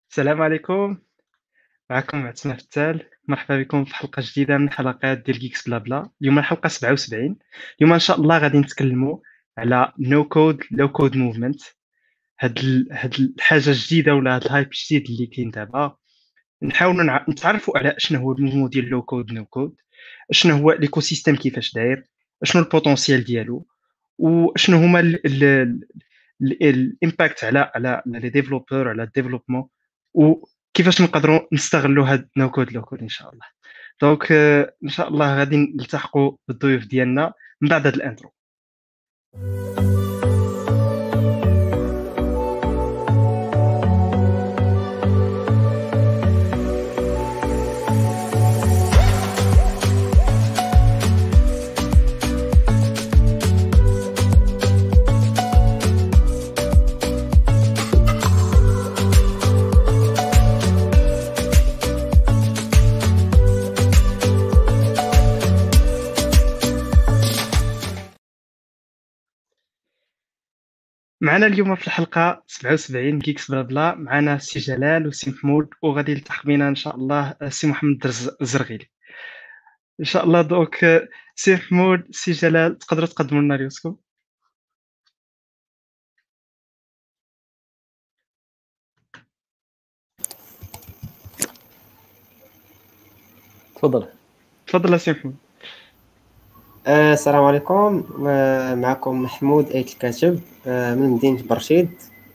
السلام عليكم، معكم عتمة فتال، مرحبا بكم في حلقة جديدة من حلقات ديال Geeks بلا بلا. اليوم الحلقة 77. اليوم إن شاء الله غادي نتكلموا على no code low code movement. هاد الحاجة الجديدة ولا هاد الهايب الجديد اللي كاين دابا. نحاولوا نتعرفوا على شنو هو الموفمون ديال low code no code، شنو هو ليكو سيستيم كيفاش داير، شنو البوتونسيال ديالو، وشنو هما الامباكت على لي ديفلوبور على الديفلوبمون، وكيفاش نقدروا نستغلوا هاد نو كود لو كود ان شاء الله. دونك ان شاء الله غادي نلتحقوا بالضيوف ديالنا من بعد هاد الانترو. معنا اليوم في الحلقه 77 كيكس بلا بلا، معنا سي جلال وسي محمود، وغادي يلتحق بنا ان شاء الله سي محمد الزرغيلي ان شاء الله. دونك سي محمود، سي جلال، تقدروا تقدموا لنا ريوسكم؟ تفضل. تفضل سي محمود. السلام عليكم. معكم محمود ايت الكاتب من مدينة برشيد،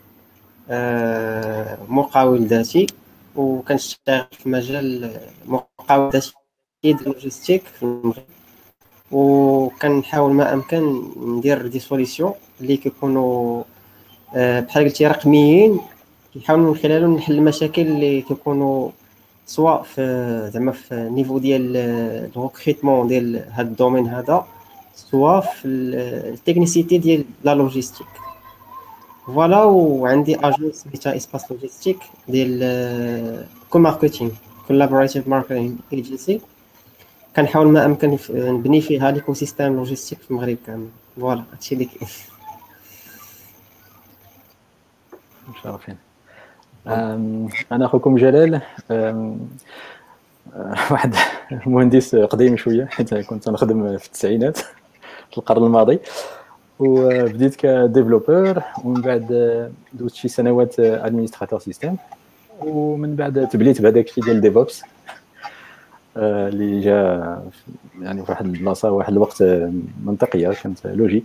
مقاول ذاتي، وكنشتغل في مجال مقاول ذاتي ديال اللوجيستيك في المغرب، وكنحاول ما امكن ندير دي سوليسيون اللي كيكونوا بحال قلتي رقميين، كنحاول من خلالهم نحل المشاكل اللي كيكونوا سواء في زعما في النيفو ديال الريكروتمون ديال هذا الدومين هذا، سواء في التكنيسيتي ديال لا لوجيستيك. فوالا، وعندي اجونس سميتها اسباس لوجيستيك ديال كو ماركتينغ، كولابوراتيف ماركتينغ ايجنسي. كنحاول ما امكن نبني فيها ليكو سيستيم لوجيستيك في المغرب كامل. فوالا هادشي اللي كاين. مشرفين. انا اخوكم جلال، واحد مهندس قديم شويه، حيت كنت نخدم في التسعينات في القرن الماضي، وبديت كديفلوبر، ومن بعد دوزت شي سنوات ادمينستراتور سيستم، ومن بعد تبليت بهذاك الشيء ديال ديفوبس اللي جا يعني في واحد البلاصه واحد الوقت منطقيه، كانت لوجيك.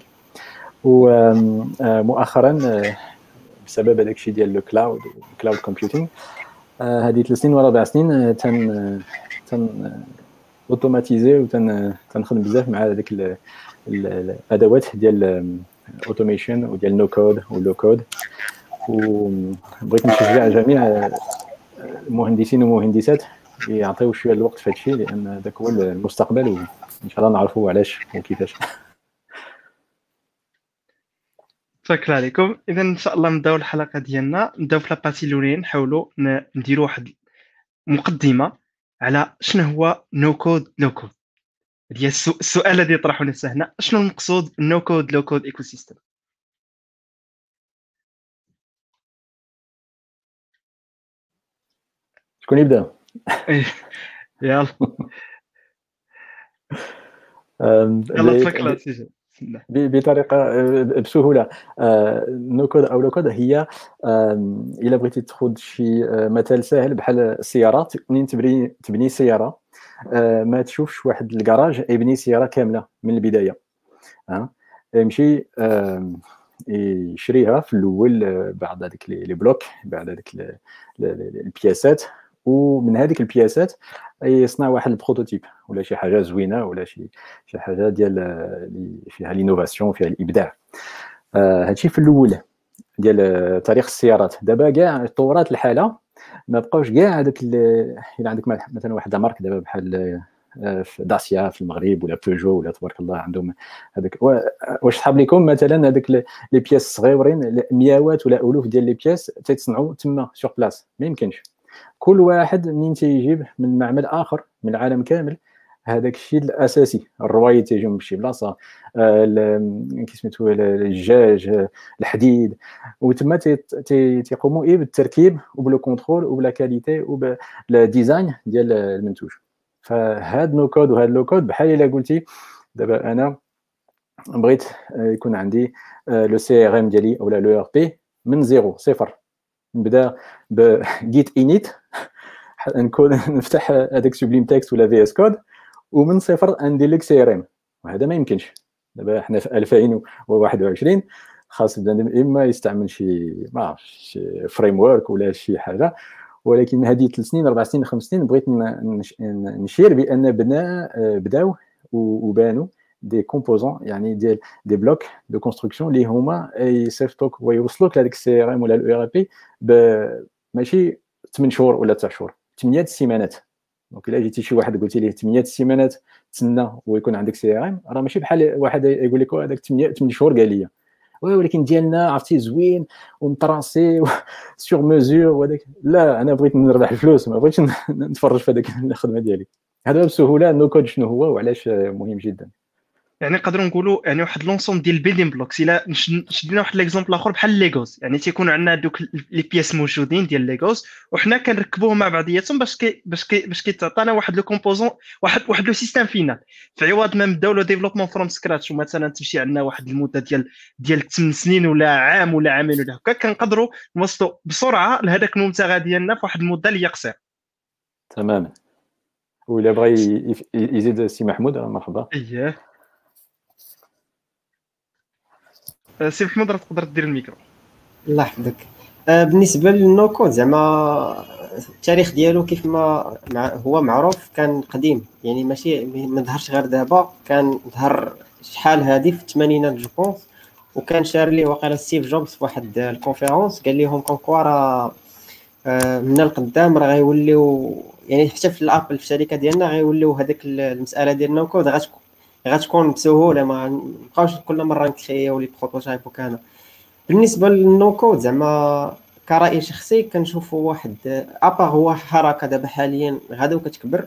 ومؤخرا بسبب هذاك الشيء ديال الكلاود كومبيوتينغ، هذه 3 سنين ولا 4 سنين تن اوتوماتيزي وتنخدم بزاف مع هذيك الادوات ديال اوتوميشن وديال نو كود ولو كود. وبغيت نشجع جميع المهندسين والمهندسات يعطيو شويه الوقت في هذا الشيء، لان ذاك هو المستقبل، وان شاء الله نعرفوا علاش وكيفاش. شكرا عليكم. اذا ان شاء الله نبداو الحلقه ديالنا، نبداو في لاباتي الاولين، نحاولوا نديروا واحد مقدمه على شنو هو نو كود لو كود. هي السؤال الذي يطرح نفسه هنا، شنو المقصود نو كود لو كود ايكو سيستم؟ شكون يبدا؟ يلا يلا تفكر سيدي. بطريقه بسهوله. نو كود او لو كود هي الا بغيتي تاخذ شي مثال سهل بحال السيارات، منين تبني سياره، ما تشوفش واحد الكراج يبني سياره كامله من البدايه. يمشي يشريها في الاول، بعد هذيك لي بلوك، بعد هذيك البياسات، ومن هذيك البياسات يصنع واحد البروتوتيب ولا شي حاجه زوينه ولا شي حاجه ديال فيها لينوفاسيون، فيها الابداع. هادشي في الاول ديال تاريخ السيارات. دابا كاع تطورات الحاله، ما بقاوش كاع هذاك الا عندك مثلا واحد مارك دابا بحال في داسيا في المغرب ولا بيجو ولا تبارك الله عندهم هذاك. واش صحاب لكم مثلا هذاك لي بياس صغيورين، مئات ولا الوف ديال لي بياس تيتصنعوا تما سور بلاص؟ ما يمكنش. كل واحد منين تيجيب من معمل اخر من العالم كامل هذاك الشيء الاساسي. الروايد تيجيو من شي بلاصه، كي سميتو الدجاج، الحديد، وتما تيقوموا بالتركيب وبلو كونترول وبلا كاليتي وبلا ديزاين ديال المنتوج. فهاد نو كود وهاد لو كود بحال الا قلتي دابا انا بغيت يكون عندي لو سي ار ام ديالي اولا لو ار بي من زيرو صفر، نبدا بجيت انيت نكون نفتح هذاك سوبليم تكست ولا في اس كود ومن صفر ندير لك سي ار ام، وهذا ما يمكنش. دابا حنا في 2021 خاص بدا اما يستعمل شي ما عرفتش شي فريم ورك ولا شي حاجه. ولكن هذه 3 سنين 4 سنين 5 سنين بغيت نشير بان بداو وبانوا دي كومبوزون، يعني ديال دي بلوك دو كونستركسيون اللي هما يصيفطوك ويوصلوك لهذاك السي ار ام ولا الاو ار بي ماشي 8 شهور ولا 9 شهور، 8 سيمانات. دونك الا جيتي شي واحد قلتي ليه 8 سيمانات تسنى ويكون عندك سي ار ام، راه ماشي بحال واحد يقول لك هذاك 8 شهور قال لي، ولكن ديالنا عرفتي زوين ومطراسي سور ميزور وهذاك. لا، انا بغيت نربح الفلوس، ما بغيتش نتفرج في هذيك الخدمه ديالي. هذا بسهوله نو كود شنو هو وعلاش مهم جدا. يعني نقدروا نقولوا يعني واحد لونسوم ديال البيلدين بلوكس. الا شدينا واحد ليكزومبل اخر بحال ليغوز، يعني تيكونوا عندنا دوك لي بياس موجودين ديال ليغوز وحنا كنركبوهم مع بعضياتهم باش كيتعطينا واحد لو كومبوزون، واحد لو سيستيم فينال، في عوض ما نبداو لو ديفلوبمون فروم سكراتش ومثلا تمشي عندنا واحد المده ديال 8 سنين ولا عام ولا عامين ولا هكا. كنقدروا نوصلوا بسرعه لهذاك المبتغى ديالنا في واحد المده اللي قصيره. تماما. وإلا بغى يزيد سي محمود مرحبا. اييه سي محمود، راه تقدر دير الميكرو. الله يحفظك. بالنسبه للنو كود زعما التاريخ ديالو كيف ما هو معروف كان قديم، يعني ماشي ما ظهرش غير دابا، كان ظهر شحال هذه في الثمانينات جو بونس. وكان شار ليه وقيلا ستيف جوبز في واحد الكونفيرونس قال لهم كونكوا راه من القدام راه غيوليو، يعني حتى في الابل في الشركه ديالنا غيوليو هذاك المساله ديال النو كود غتكون بسهوله، ما نبقاوش كل مره نكريو لي بروتوتايب وكان. بالنسبه للنو كود زعما كرأي شخصي كنشوفوا واحد ابا هو حركه دابا حاليا غادا وكتكبر،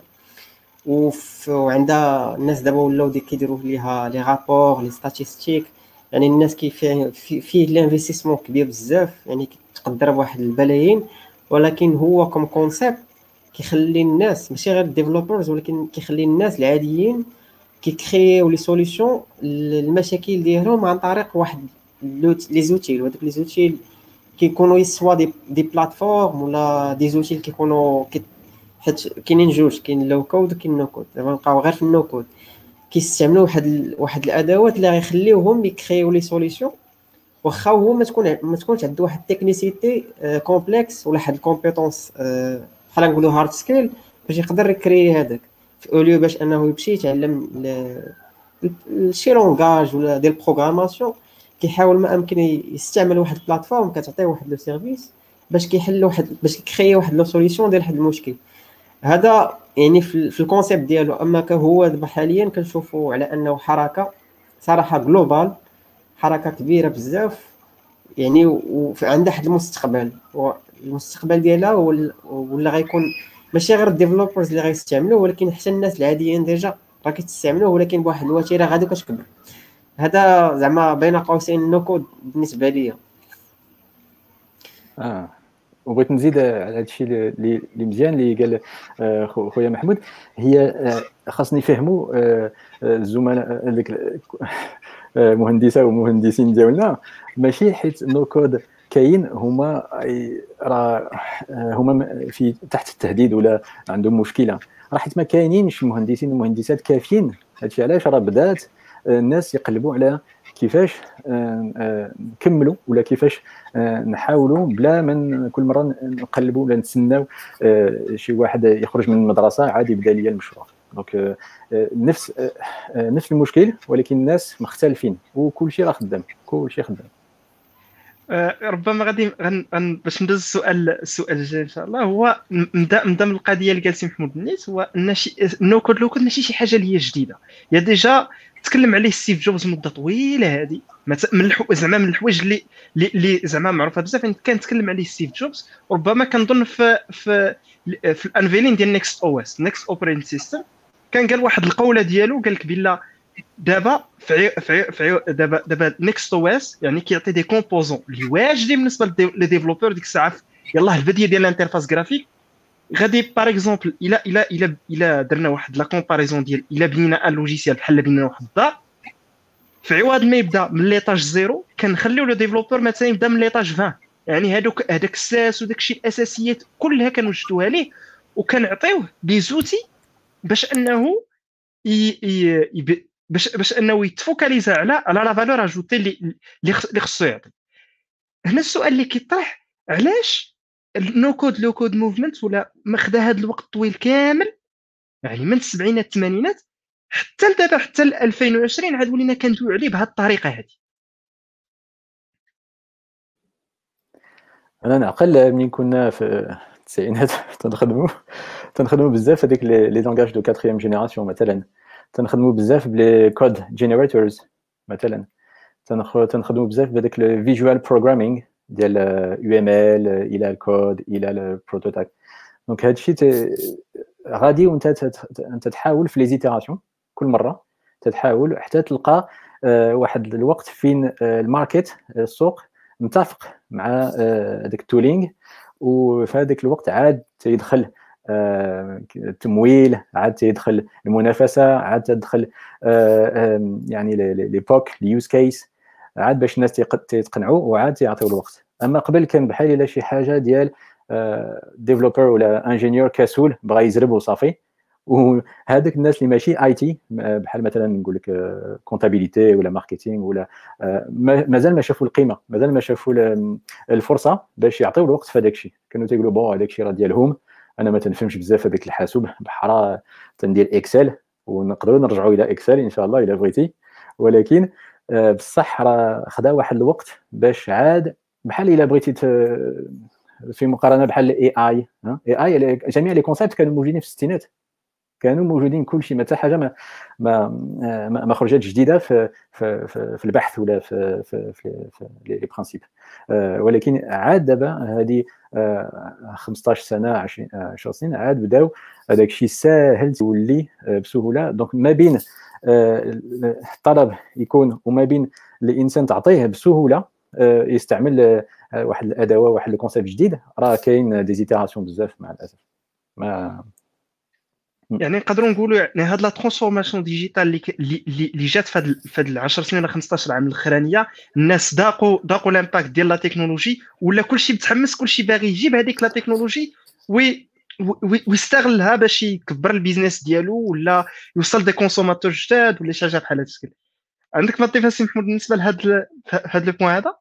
وعندها الناس دابا ولاو كيديروا ليها لي رابور لي ستاتيستيك، يعني الناس فيه الانفستيسمون كبير بزاف، يعني تقدر بواحد البلايين. ولكن هو كوم كونسيبت كيخلي الناس ماشي غير الديفلوبرز، ولكن كيخلي الناس العاديين كيكريو لي سوليوشن للمشاكل ديالهم عن طريق واحد لي زوتيل. وهذوك لي زوتيل كيكونوا سوا دي بلاتفورم ولا دي زوتيل كيكونوا حيت كاينين جوج، كاين لو كود وكاين نو كود. دابا نبقاو غير في النو كود كيستعملوا واحد الادوات اللي غيخليوهم يكريو لي سوليوشن، واخا هو ما تكونش عنده واحد التكنيسيتي كومبلكس ولا واحد الكومبيتونس بحال نقولوا هارد سكيل باش يقدر يكري هذاك، في اوليو باش انه يمشي يتعلم شي لونغاج ولا ديال البروغراماسيون. كيحاول ما امكن يستعمل واحد البلاتفورم كتعطيه واحد لو سيرفيس باش كيحل باش يكري واحد لو سوليوشن ديال واحد المشكل. هذا يعني في الكونسيبت ديالو. اما كهو دابا حاليا كنشوفوا على انه حركه صراحه جلوبال، حركه كبيره بزاف، يعني وعندها واحد المستقبل، والمستقبل ديالها ولا غيكون ماشي غير الديفلوبرز اللي غيستعملوه، ولكن حتى الناس العاديين ديجا راه كيستعملوه، ولكن بواحد الوتيره غادي كتكبر. هذا زعما بين قوسين نو كود بالنسبه ليا. وبغيت نزيد على هذا الشيء اللي مزيان اللي قال خويا محمود. هي خاصني نفهموا الزملاء ديك مهندسه ومهندسين ديالنا، ماشي حيت نو كود كاين هما راه هما في تحت التهديد ولا عندهم مشكله، راه حيت ما كاينينش مهندسين ومهندسات كافيين. هادشي علاش راه بدات الناس يقلبوا على كيفاش نكملوا ولا كيفاش نحاولوا بلا من كل مره نقلبوا ولا نتسناو شي واحد يخرج من المدرسه عاد يبدا ليا المشروع. دونك نفس المشكل، ولكن الناس مختلفين وكل شيء راه خدام، كل شيء خدام. ربما غادي باش ندوز السؤال الجاي ان شاء الله. هو نبدا من القضيه اللي قال سي محمود النيت، هو ان نو كود لو كود ماشي شي حاجه اللي هي جديده، يا ديجا تكلم عليه ستيف جوبز مده طويله هذه من زعما من الحوايج اللي زعما معروفه بزاف. كان تكلم عليه ستيف جوبز، ربما كنظن في الانفيلين ديال نيكست او اس نيكست اوبريتنج سيستم كان قال واحد القوله ديالو، قال لك بلا دابا دابا نيكست او اس يعني كيعطي دي كومبوزون اللي واجدين بالنسبه لي ديفلوبور ديك الساعه. يلاه البديه ديال الانترفاس جرافيك غادي باغ اكزومبل الا درنا واحد لا كومباريزون ديال الا بنينا ان لوجيسيال بحال بنينا واحد الدار، في عوض ما يبدا من ليطاج زيرو كنخليو لو ديفلوبور مثلا يبدا من ليطاج 20. يعني هذاك الساس وداك الشيء الاساسيات كلها كنوجدوها ليه، وكنعطيوه دي زوتي باش انه باش انه يتفوكاليزا على لا فالور اجوتي اللي خصو يعطي. هنا السؤال اللي كيطرح، علاش النو كود لو كود موفمنت ولا ماخذ هذا الوقت الطويل كامل، يعني من السبعينات الثمانينات حتى لدابا حتى ل 2020 عاد ولينا كندويو عليه بهذه الطريقه هذه؟ انا نعقل ملي كنا في التسعينات تنخدموا بزاف هذيك لي لونغاج دو كاتريام جينيراسيون، مثلا تنخدموا بزاف بلي كود جينيريتورز، مثلا تنخدموا بزاف بهذاك الفيجوال بروغرامينغ ديال يو ام ال الى الكود الى البروتوتايب. دونك هادشي غادي وانت تحاول في لي زيتيراسيون كل مره تتحاول حتى تلقى واحد الوقت فين الماركت السوق متفق مع هذاك التولينغ، وفي هذاك الوقت عاد تيدخل التمويل، عاد تيدخل المنافسه، عاد تدخل يعني لي بوك اليوز كيس، عاد باش الناس تيقنعوا وعاد يعطيو الوقت. اما قبل كان بحال الا شي حاجه ديال ديفلوبر ولا انجينيور كسول بغا يزرب وصافي، وهذاك الناس اللي ماشي اي تي بحال مثلا نقول لك كونتابيليتي ولا ماركتينغ ولا مازال ما شافوا القيمه، مازال ما شافوا الفرصه باش يعطيو الوقت في هذاك الشيء. كانوا تيقولوا بون هذاك الشيء راه ديالهم، انا ما تنفهمش بزاف هذاك الحاسوب، بحال تندير اكسل ونقدروا نرجعوا الى اكسل ان شاء الله الا بغيتي، ولكن بصح راه خدا واحد الوقت باش عاد بحال الا بغيتي في مقارنه بحال الاي اي جميع لي كونسيبت كانوا موجودين في الستينات، كانوا موجودين كل شيء، حتى حاجه ما خرجت جديده في البحث ولا في لي برينسيپ. ولكن عاد دابا هذه 15 سنه 10 سنين عاد بداو هذاك الشيء ساهل تولي بسهوله. دونك ما بين الطلب يكون وما بين الانسان تعطيه بسهوله يستعمل واحد الادوه واحد الكونسيبت جديد، راه كاين ديزيتيراسيون بزاف مع الاسف. ما يعني نقدروا نقولوا يعني هاد لا ترانسفورماسيون ديجيتال اللي جات في هاد 10 سنين ولا 15 عام الاخرانيه، الناس ذاقوا الامباكت ديال لا تكنولوجي، ولا كلشي متحمس، كلشي باغي يجيب هذيك لا تكنولوجي ويستغلها باش يكبر البيزنس ديالو ولا يوصل دي كونسوماتور جداد ولا شي حاجه بحال هكا. عندك ما تضيف سي محمود بالنسبه لهاد لو بوين هذا؟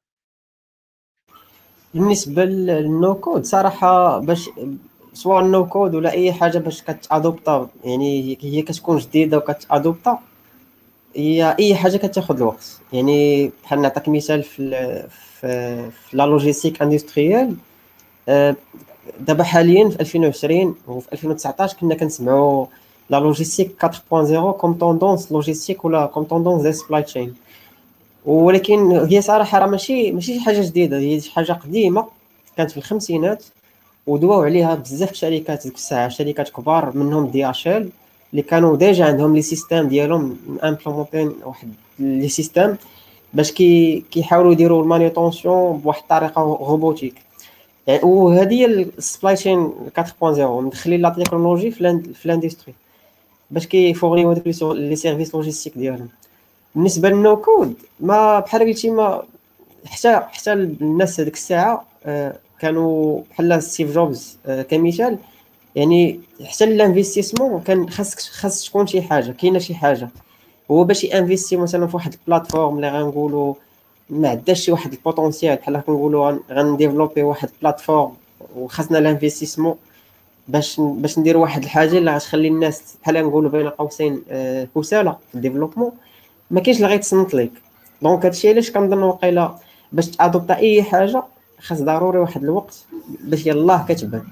بالنسبه للنو كود صراحه، باش سواء النو كود ولا اي حاجه باش كتادوبطا، يعني هي كتكون جديده وكتادوبطا، هي اي حاجه كتاخذ الوقت. يعني بحال نعطيك مثال في لا لوجيستيك اندستريال، دابا حاليا في 2020 وفي 2019 كنا كنسمعوا لا لوجيستيك 4.0 كوم توندونس لوجيستيك ولا كوم توندونس ديال سبلاي تشين، ولكن هي صراحه راه ماشي شي حاجه جديده، هي شي حاجه قديمه كانت في الخمسينات ودواو عليها بزاف الشركات ديك الساعه، شركات كبار منهم دي اش ال اللي كانوا ديجا عندهم لي سيستيم ديالهم امبلومونتين واحد لي سيستيم باش كيحاولوا يديروا المانيطونسيون بواحد الطريقه روبوتيك. يعني وهذه هي السبلاي تشين 4.0، مدخلين لا تكنولوجي في الاندستري باش كيفورنيو هذوك لي سيرفيس لوجيستيك ديالهم. بالنسبه للنو كود ما بحال قلتي، ما حتى الناس هذيك الساعه كانوا بحال ستيف جوبز كمثال، يعني حتى الانفستيسمون كان خاص تكون شي حاجه، كاينه شي حاجه هو باش ينفيستي مثلا في واحد البلاتفورم اللي غنقولوا ما عندهاش شي واحد البوتونسيال، بحال كنقولوا غنديفلوبي واحد البلاتفورم وخاصنا الانفستيسمون باش ندير واحد الحاجه اللي غتخلي الناس بحال نقولوا بين قوسين كسالى في الديفلوبمون، ما كاينش اللي غيتصنت ليك. دونك هادشي علاش كنظن واقيلا باش تادوبتا اي حاجه خاص ضروري واحد الوقت باش يلاه كتبان.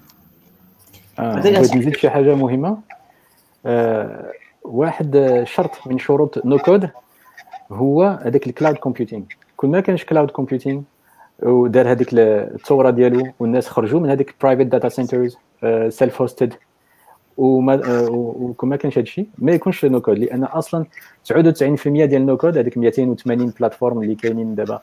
بغيت نزيد شي حاجه مهمه. واحد شرط من شروط نو كود هو هذاك الكلاود كومبيوتينغ. كون ما كانش كلاود كومبيوتينغ ودار هذيك الثوره ديالو والناس خرجوا من هذيك برايفت داتا سنترز سيلف هوستد وكما كانش هذا الشيء ما يكونش نو كود، لان اصلا 99% ديال نو كود هذيك 280 بلاتفورم اللي كاينين دابا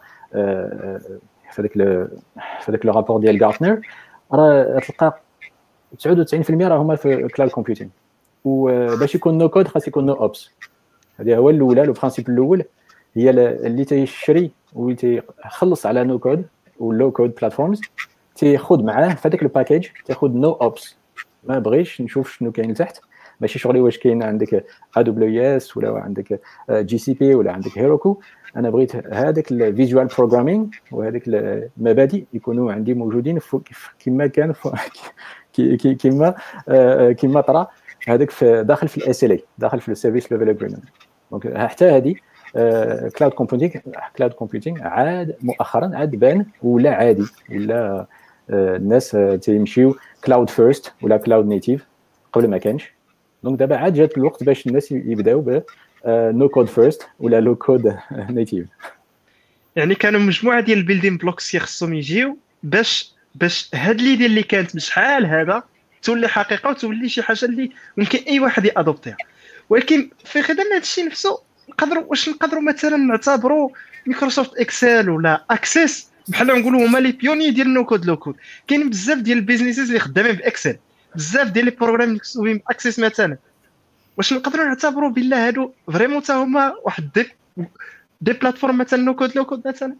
في هذاك لو رابور ديال غارتنر، راه تلقى 99% راه هما في كلاود كومبيوتينغ. وباش يكون نو كود خاص يكون نو اوبس. هذا هو الاولى، لو برينسيپ الاول هي اللي تيشري وتيخلص على نو كود ولو كود بلاتفورمز تياخذ معاه في هذاك الباكيج تاخذ نو اوبس. ما بغيش نشوف شنو كاين لتحت، ماشي شغلي واش كاين عندك AWS ولا عندك GCP ولا عندك هيروكو. انا بغيت هذاك الفيجوال بروغرامينغ وهذيك المبادئ يكونوا عندي موجودين كما كان كما طرا هذاك في داخل في الاس ال اي، داخل في السيرفيس ليفل اجريمنت. دونك حتى هذه كلاود كومبيوتينغ عاد مؤخرا عاد بان ولا عادي، ولا الناس تيمشيو كلاود فيرست ولا كلاود نيتيف. قبل ما كانش. دونك دابا عاد جات الوقت باش الناس يبداو ب نو كود فيرست ولا لو كود نيتيف. يعني كانوا مجموعه ديال البيلدين بلوكس خصهم يجيو باش هاد ليدي اللي كانت بشحال هذا تولي حقيقه وتولي شي حاجه اللي ممكن اي واحد يادوبتيها. ولكن في خدمه هذا الشيء نفسه نقدروا مثلا نعتبروا مايكروسوفت اكسل ولا اكسس بحال نقولوا هما لي بيوني ديال نو كود لو كود. كاين بزاف ديال البيزنيسز اللي خدامين باكسل، بزاف ديال لي بروغرام اللي مكتوبين باكسس مثلا. واش نقدروا نعتبروا بالله هادو فريمون حتى هما واحد دي بلاتفورم مثلا نو كود لو كود مثلا؟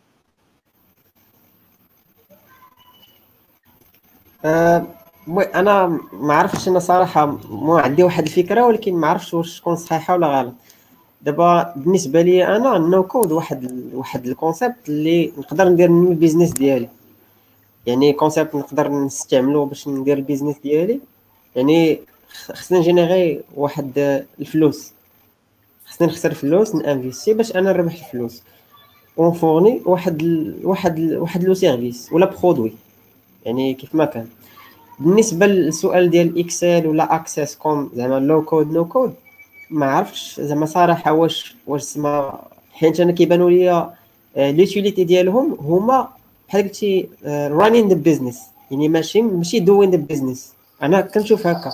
انا ما عرفتش، انا صراحه مو عندي واحد الفكره، ولكن ما عرفتش واش تكون صحيحه ولا غلط. دابا بالنسبه لي انا النو كود واحد الكونسيبت اللي نقدر ندير منه البيزنس ديالي. يعني كونسيبت نقدر نستعملو باش ندير البيزنس ديالي. يعني خصنا نجينيري واحد الفلوس، خصنا نخسر فلوس نانفيستي باش انا نربح الفلوس ونفورني واحد لو سيرفيس ولا برودوي. يعني كيف ما كان. بالنسبه للسؤال ديال اكسل ولا اكسس كوم زعما لو كود نو كود، ما عرفتش زعما صراحه واش سما، حيت انا كيبانوا ليا ليوتيليتي ديالهم هما بحال قلتي رانين ذا بيزنس، يعني ماشي دوين ذا بيزنس. انا كنشوف هكا.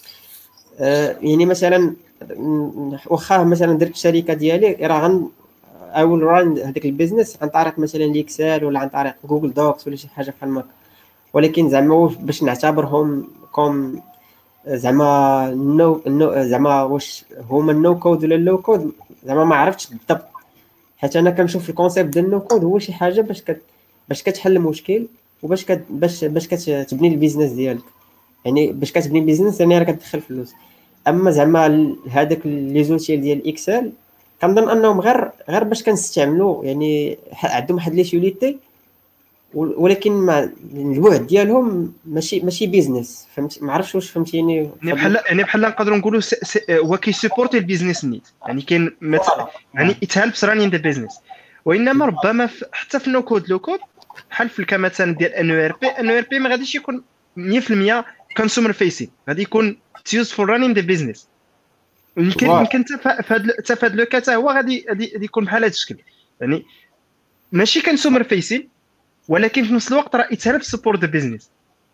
يعني مثلا واخا مثلا درت الشركه ديالي راه اول ران هذاك البيزنس عن طريق مثلا الاكسل ولا عن طريق جوجل دوكس ولا شي حاجه بحال هكا. ولكن زعما باش نعتبرهم كوم زعما زعما واش هما النو كود ولا اللو كود، زعما ما عرفتش بالضبط. حيت انا كنشوف الكونسيبت ديال النو كود هو شي حاجه باش كتحل مشكل وباش باش كتبني البيزنس ديالك. يعني باش كتبني بيزنس يعني راه كتدخل فلوس. اما زعما هذاك لي زوتيل ديال اكسل كنظن انهم غير باش كنستعملوا، يعني عندهم واحد لي شوليتي، ولكن ما البعد ديالهم ماشي بيزنس. فهمت؟ ما عرفتش واش فهمتيني. يعني بحال نقدروا نقولوا هو كيسيبورتي البيزنس نيت. يعني كاين يعني ات هيلبس رانين ذا بيزنس. وانما ربما حتى في نو كود لو كود بحال في كمثلا ديال ان او ار بي ما غاديش يكون 100% كونسومر فيسين، غادي يكون تيوز فور رانين ذا بيزنس. يمكن حتى في هذا لو كا هو غادي يكون بحال هذا الشكل. يعني ماشي كونسومر فيسين، ولكن في نفس الوقت راه يتهرب سبورت ذا بيزنس.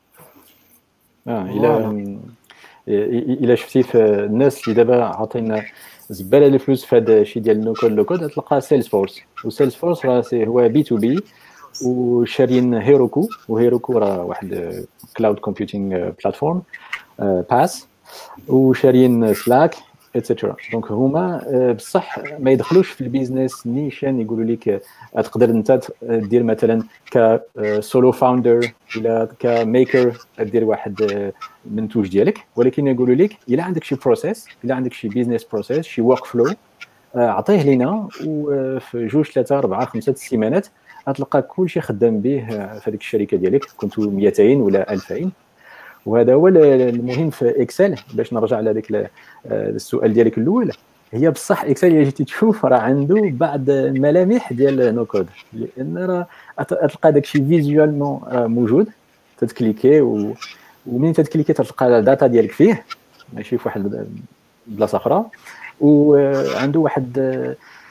الى شفتي في الناس اللي دابا عاطينا زباله الفلوس في هذا الشيء ديال نو كود لو كود، تلقى سيلز فورس. وسيلز فورس راه هو بي تو بي، وشارين هيروكو. وهيروكو راه واحد كلاود كومبيوتينغ بلاتفورم باس، وشارين سلاك اتسيتيرا. دونك هما بصح ما يدخلوش في البيزنس نيشان. يقولوا لك تقدر انت دير مثلا كسولو فاوندر ولا كميكر دير واحد منتوج ديالك، ولكن يقولوا لك الا عندك شي بروسيس، الا عندك شي بيزنس بروسيس، شي ورك فلو، عطيه لينا وفي 2 3 4 5 سيمانات غتلقى كلشي خدام به في هذيك الشركه ديالك، كنتو 200 ولا 2000. وهذا هو المهم في اكسل. باش نرجع على هذاك السؤال ديالك الاول، هي بصح اكسل اللي جيتي تشوف راه عنده بعض الملامح ديال نو كود، لان راه تلقى داكشي فيزوالمون موجود. تتكليكي ومنين تتكليكي تلقى الداتا ديالك فيه، ماشي في واحد البلاصه اخرى. وعنده واحد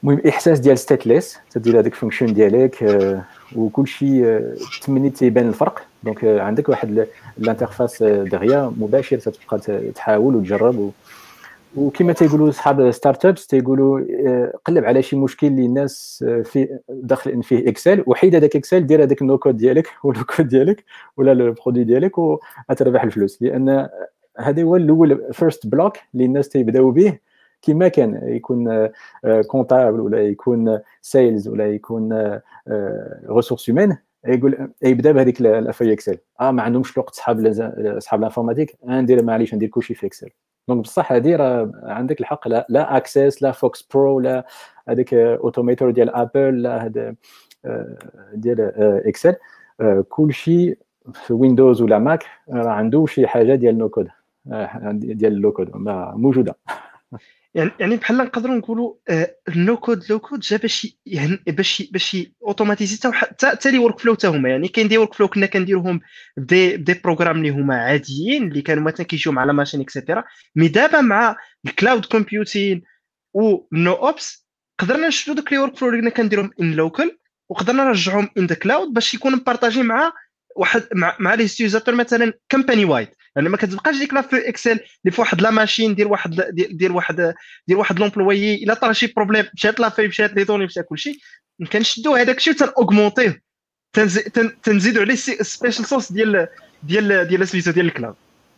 المهم احساس ديال ستاتليس تدير هذيك الفونكشن ديالك وكل شيء تمني تيبان الفرق. دونك عندك واحد الانترفاس دغيا مباشر تتبقى تحاول وتجرب وكما تيقولوا اصحاب ستارت ابس تيقولوا قلب على شي مشكل اللي الناس في داخل فيه اكسل وحيد هذاك اكسل دير هذاك النو كود ديالك ولو كود ديالك ولا البرودوي ديالك وغتربح الفلوس. لان هذا هو الاول فيرست بلوك اللي الناس تيبداو به كما كان يكون كونتابل ولا يكون سيلز ولا يكون ريسورس هيومان يقول يبدا بهذيك الافاي اكسل ما عندهمش الوقت اصحاب الانفورماتيك ندير معليش ندير كلشي في اكسل. دونك بصح هذه راه عندك الحق لا اكسس لا فوكس برو لا هذاك اوتوميتور ديال ابل لا هذا ديال اكسل كلشي في ويندوز ولا ماك راه عنده شي حاجه ديال نو كود ديال اللو كود موجوده. يعني بحال نقدروا نقولوا النو كود لو كود جا باش اوتوماتيزي حتى لي ورك فلو حتى هما. يعني كاين دي ورك فلو كنا كنديروهم بدي بروغرام اللي هما عاديين اللي كانوا مثلا كيجيو مع لا ماشين اكسيتيرا. مي دابا مع الكلاود كومبيوتين ونو اوبس قدرنا نشدو دوك لي ورك فلو اللي كنا كنديرهم ان لوكال وقدرنا نرجعهم ان ذا كلاود باش يكونوا مبارطاجي مع واحد مع لي ستيزاتور مثلا كومباني وايد. يعني ما كتبقاش ديك لا في اكسل اللي في واحد لا ماشين دير واحد لومبلويي الا طرا شي بروبليم مشات لا في مشات لي دوني مشى كلشي كنشدو هذاك الشيء وتنوغمونطيه تنزيدوا عليه سبيشال سورس ديال سميتو ديال الكلاود.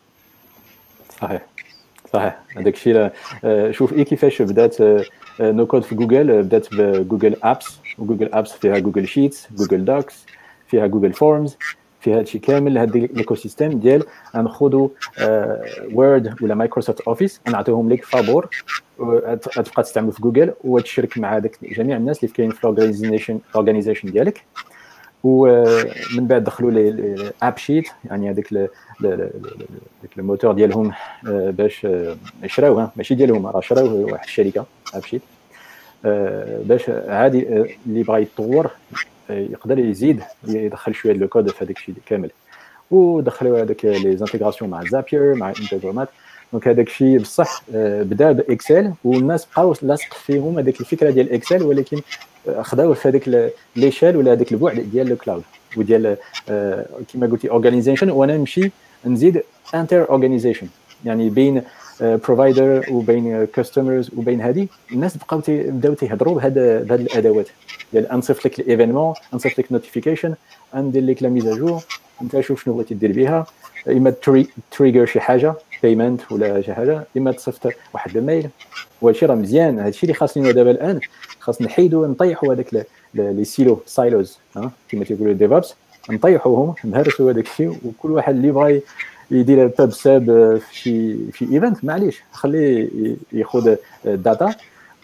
صحيح هذاك الشيء. شوف كيفاش بدات نو كود في جوجل. بدات بجوجل ابس وجوجل ابس فيها جوجل شيتس جوجل دوكس فيها جوجل فورمز فيها هادشي كامل. هاد الايكو سيستيم ديال ناخذوا وورد ولا مايكروسوفت اوفيس نعطيهم لك فابور تبقى تستعمل في جوجل وتشارك مع هذاك جميع الناس اللي كاين في الاورغانيزيشن ديالك. ومن بعد دخلوا لي اب شيت يعني هذاك الموتور ديالهم باش يشراوه ماشي ديالهم راه شراوه واحد الشركه اب شيت باش عادي اللي بغى يتطور يقدر يزيد يدخل شويه لو كود في هذاك الشيء كامل. ودخلوا هذاك لي زانتيغراسيون مع زابير مع انتجرامات. دونك هذاك الشيء بصح بدا باكسل والناس بقاو لاصق فيهم هذيك الفكره ديال اكسل ولكن خداوه في هذاك ليشال ولا هذاك البعد ديال الكلاود وديال كما قلتي اورغانيزيشن. وانا نمشي نزيد انتر اورغانيزيشن يعني بين بروفايدر وبين كاستمرز وبين هذه الناس بداو تيهضروا بهاد الادوات ديال انصيفط لك الايفينمون انصيفط لك نوتيفيكيشن ندير لك لا ميزاجور انت شوف شنو بغيتي دير بها. اما تريجر شي حاجه بيمنت ولا شي حاجه اما تصيفط واحد الميل. وهادشي راه مزيان. هادشي اللي خاصني دابا الان خاص نحيدوا نطيحوا هذاك لي سايلوز كما تيقولوا ديفوبس نطيحوهم نهرسوا هذاك الشيء وكل واحد اللي بغى يدير باب ساب في ايفنت معليش خليه ياخذ الداتا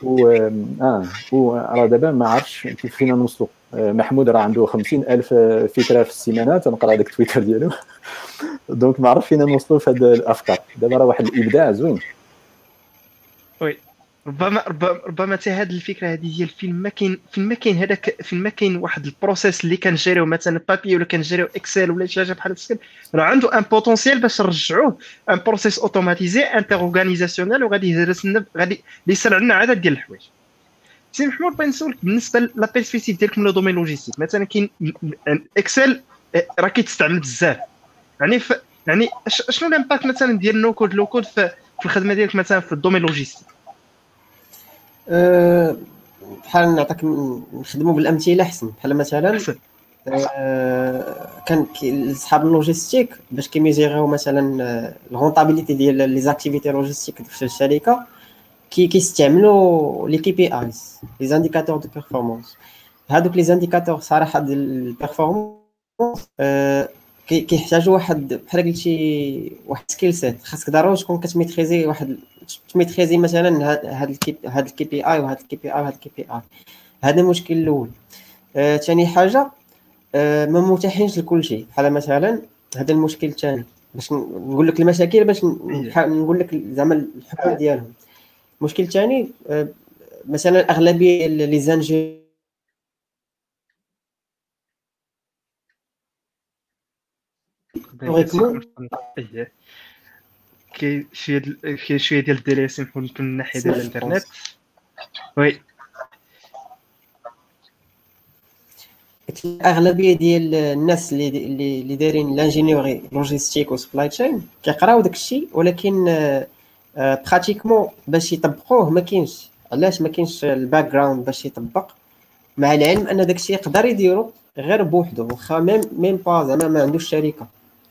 وراه دابا ما عرفتش كيف فينا نوصلوا. محمود راه عنده 50,000 فكره في السيمانه تنقرا هذاك تويتر ديالو دونك ما عرف فينا نوصلوا في هذه الافكار. دابا راه واحد الابداع زوين. وي ربما حتى هذه الفكره هذه ديال فين ما كاين واحد البروسيس اللي كنجريو مثلا بابي ولا كنجريو اكسل ولا شي حاجه بحال هكا راه عنده ان بوتونسيال باش نرجعوه ان بروسيس اوتوماتيزي انتر اورغانيزاسيونيل وغادي يهرسنا غادي يسرع لنا عدد ديال الحوايج. سي محمود بغيت نسولك بالنسبه لا بيرسبكتيف ديالكم لو دومين لوجيستيك مثلا كاين اكسل راه كيتستعمل بزاف يعني شنو الامباكت مثلا ديال نو كود لو كود في الخدمه ديالك مثلا في الدومين لوجيستيك؟ بحال نعطيك نخدموا بالامثله احسن. بحال مثلا كان اصحاب اللوجيستيك باش كيميزيريو مثلا الرونطابيليتي ديال لي زاكتيفيتي لوجيستيك في الشركه كيستعملوا لي كي بي ايز لي زانديكاتور دو بيرفورمانس. هادوك لي زانديكاتور صراحه ديال البيرفورمانس كيحتاجوا واحد بحال قلتي واحد سكيل سيت. خاصك ضروري تكون كتميتريزي تميتريزي مثلا هاد الكي بي اي وهاد الكي بي اي وهاد الكي بي اي. هذا المشكل الاول. ثاني حاجه ما متاحينش لكل شيء. بحال مثلا هذا المشكل الثاني باش نقول لك المشاكل باش نقول لك زعما الحلول ديالهم. المشكل الثاني مثلا اغلبيه لي زانجي كاين شويه ديال الدراسه من ناحيه ديال الانترنت. وي قلت لك اغلبيه ديال الناس اللي دايرين لانجينيوري لوجيستيك وسبلاي تشين كيقراو داك الشيء، ولكن براتيكمون باش يطبقوه ما كاينش. علاش ما كاينش الباك جراوند باش يطبق، مع العلم ان داك الشيء يقدر يديرو غير بوحدو، واخا ميم با زعما ما عندوش شركه.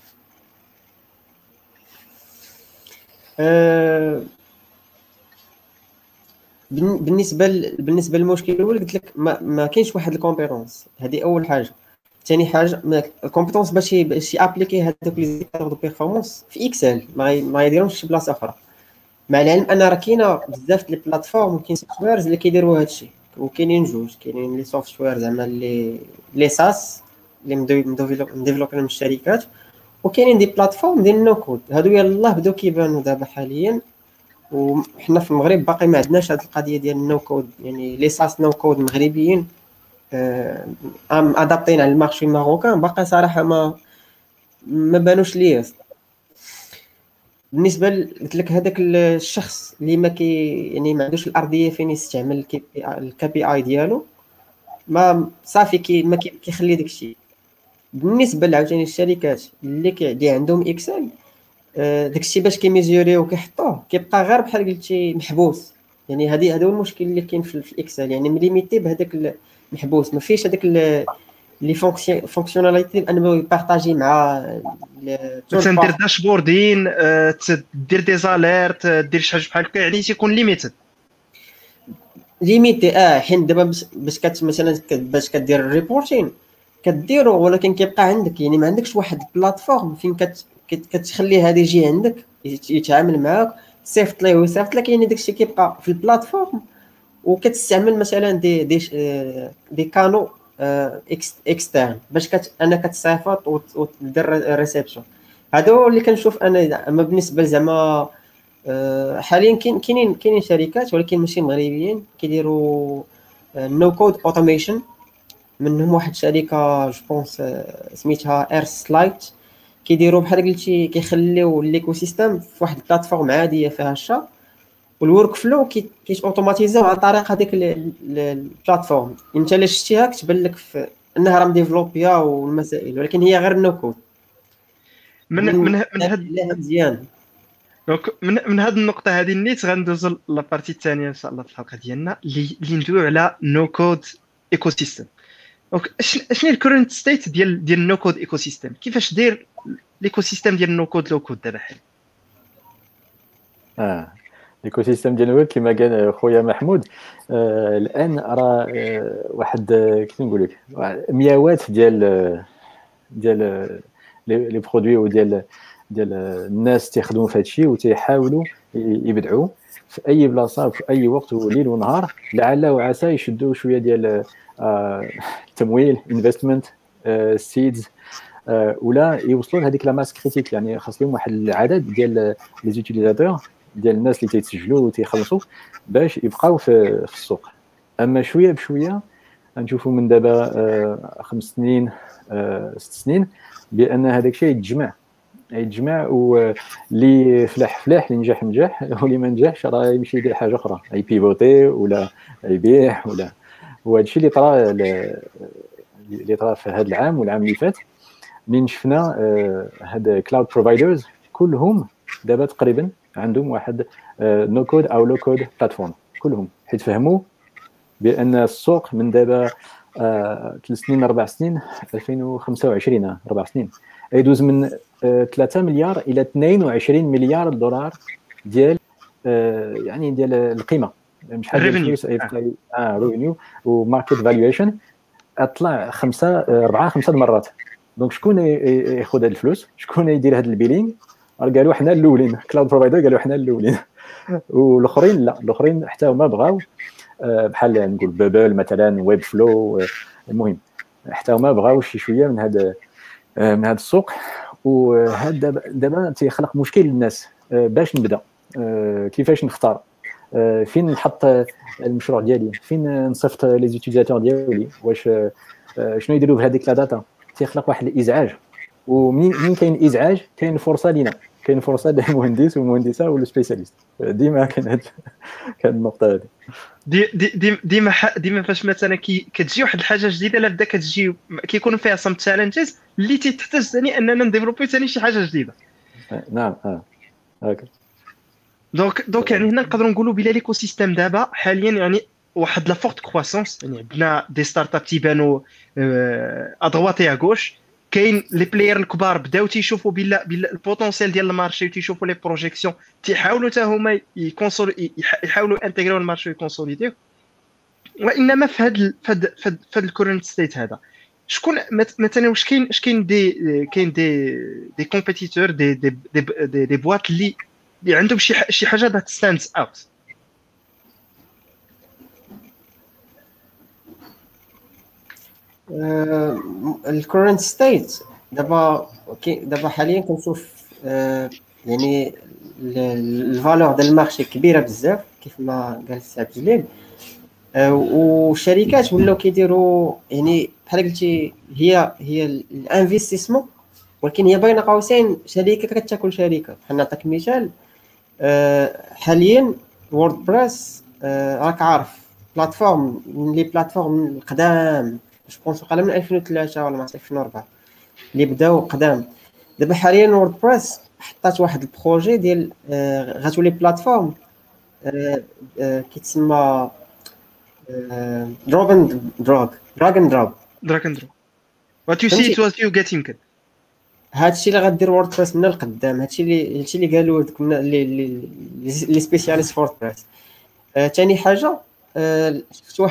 بالنسبه للمشكل الاول قلت لك ما كاينش واحد الكومبيتونس، هذه اول حاجه. ثاني حاجه الكومبيتونس باش يابليكي هذوك لي زيكتور دو بيرفورمانس في اكسل ما يديرهمش في بلاصه اخرى. مع العلم ان راه كاينه بزاف ديال البلاتفورم وكاين سوفتويرز اللي كيديروا هذا الشيء، وكاينين جوج. كاينين لي سوفتوير زعما لي ساس اللي مديفلوبين من الشركات، وكاينين دي بلاتفورم ديال النو كود. هادو يلاه بداو كيبانوا دابا حاليا، وحنا في المغرب باقي ما عندناش هذه القضيه ديال النو كود، يعني لي ساس نو كود مغربيين ادابطين على المارشي الماروكان باقي صراحه ما بانوش ليا. بالنسبه قلت لك هذاك الشخص اللي يعني ما عندوش الارضيه فين يستعمل الكي بي اي ديالو، ما صافي ما كيخلي داك الشيء. بالنسبه عاوتاني الشركات اللي عندهم اكسل، داك الشيء باش كيميزوريو وكيحطوه كيبقى غير بحال قلتي محبوس. يعني هذا هو المشكل اللي كاين في الاكسل، يعني مليميتي بهذاك المحبوس، ما فيش هذاك لي فونكسيوناليتي انه يبارطاجي مع تندير داشبوردين، تدير دي زاليرت، دير شي حاجه بحال هكا، يعني تيكون ليميتد حين دابا باش مثلا باش كدير الريبورتين كديرو، ولكن كيبقى عندك يعني ما عندكش واحد البلاتفورم فين كتخلي هذا يجي عندك يتعامل معاك، صيفط ليه ويصيفط لك. يعني داكشي كيبقى في البلاتفورم، وكتستعمل مثلا دي كانو اكسترن باش انك تصيفط ودير ريسبشن. هذا هو اللي كنشوف انا. اما بالنسبه زعما حاليا كاينين شركات ولكن ماشي مغربيين كيديروا نو كود اوتوميشن. منهم واحد الشركه جو بونس سميتها اير سلايت، كيديروا بحال قلتي كيخليو ليكو سيستيم في واحد البلاتفورم عاديه فيها الشا، والورك فلو اوتوماتيزاو عن طريق هذيك البلاتفورم. انت الا شفتيها كتبان لك انها راه مديفلوبيا والمسائل، ولكن هي غير نو كود. من هاد مزيان. دونك من هاد النقطه هذه نيت غندوزو لابارتي الثانيه ان شاء الله في الحلقه ديالنا اللي ندويو على نو كود ايكو سيستم. دونك شنو الكورنت ستيت ديال نو كود ايكو سيستم؟ كيفاش داير ليكو سيستم ديال نو كود لو كود دابا حاليا؟ ليكو سيستم ديال الويب كما قال خويا محمود، الان راه واحد كيف نقول لك مياوات ديال لي برودوي وديال الناس تيخدموا في هذا الشيء وتيحاولوا يبدعوا في اي بلاصه في اي وقت وليل ونهار، لعل وعسى يشدوا شويه ديال التمويل انفستمنت سيدز، ولا يوصلوا لهذيك لا ماس كريتيك. يعني خاص لهم واحد العدد ديال لي زوتيليزاتور ديال الناس اللي تيتسجلوا وتيخلصوا باش يبقاو في السوق. اما شويه بشويه نشوفوا من دابا 5 سنين 6 سنين بان هذاك الشيء يتجمع واللي فلاح اللي نجح واللي ما نجحش راه يمشي يدير حاجه اخرى، اي بيفوتي ولا يبيع ولا. وهذا الشيء اللي طرا في هذا العام والعام اللي فات، منين شفنا هاد كلاود بروفايدرز كلهم دابا تقريبا عندهم واحد نو كود او لو كود بلاتفورم كلهم، حيت فهموا بان السوق من دابا 3 سنين 4 سنين 2025 4 سنين يدوز من 3 مليار الى 22 مليار دولار ديال يعني ديال القيمه، مش حاجه الفلوس ريفينيو وماركت فالويشن اطلع 4-5 مرات. دونك شكون ياخذ هاد الفلوس؟ شكون يدير هاد البيلين؟ قالوا حنا الاولين، كلاود بروفايدر قالوا حنا الاولين والاخرين لا، الاخرين حتى هما بغاو بحال نقول بابل مثلا ويب فلو، المهم حتى هما بغاو شي شويه من هذا السوق. وهذا دابا تيخلق مشكل للناس باش نبدا، كيفاش نختار، فين نحط المشروع ديالي، فين نصيفط لي زوتيليزاتور ديالي، واش شنو يديروا بهذيك لا داتا. تيخلق واحد الازعاج، ومنين كاين ازعاج كاين فرصه لينا كاين فرصه للمهندس والمهندسه والسبيسياليست، ديما كاين كاين النقطه هذه. ديما فاش مثلا كتجي واحد الحاجه جديده، لا بدا كتجي كيكونوا فيها سم تشالنجز اللي تحتاج ثاني اننا نديفلوبي ثاني شي حاجه جديده. نعم هكا. دونك يعني هنا نقدروا نقولوا بلا ليكو سيستيم دابا حاليا يعني واحد لا فورت كرواسونس، يعني عندنا دي ستارت اب تيبانوا ادغوات يا غوش، كاين لي بلاير الكبار بداو تيشوفوا بلا البوتونسيال ديال المارشي وتيشوفوا لي بروجيكسيون، تيحاولوا حتى هما يحاولوا انتغريو المارشي ويكونسوليديو. وانما في هاد الكورنت ستيت هذا شكون مثلا واش كاين دي كومبيتيتور دي بواط اللي عندهم شي حاجه ذات ستاندز اوت؟ الكورنت ستيت دابا حاليا كنشوف يعني الفالور ديال المارشي كبيره بزاف كيف ما قال السي عبد الجليل، والشركات ولاو كيديروا يعني بحال قلتي هي الانفستيسمون، ولكن هي بين قوسين شركه كتاكل شركه. بحال نعطيك مثال، حاليا ووردبريس راك عارف بلاتفورم من لي بلاتفورم القدام، جوبونس وقال من 2003 ولا 2004 اللي بداو قدام. دابا حاليا ووردبريس حطات واحد البروجي ديال غتولي بلاتفورم كيتسمى دراغ اند دروب. وات يو سي ات وات يو جيت. يمكن هادشي اللي غدير ووردبريس من القدام، هادشي اللي قالوا دوك لي سبيسياليست ووردبريس. ثاني حاجه شفت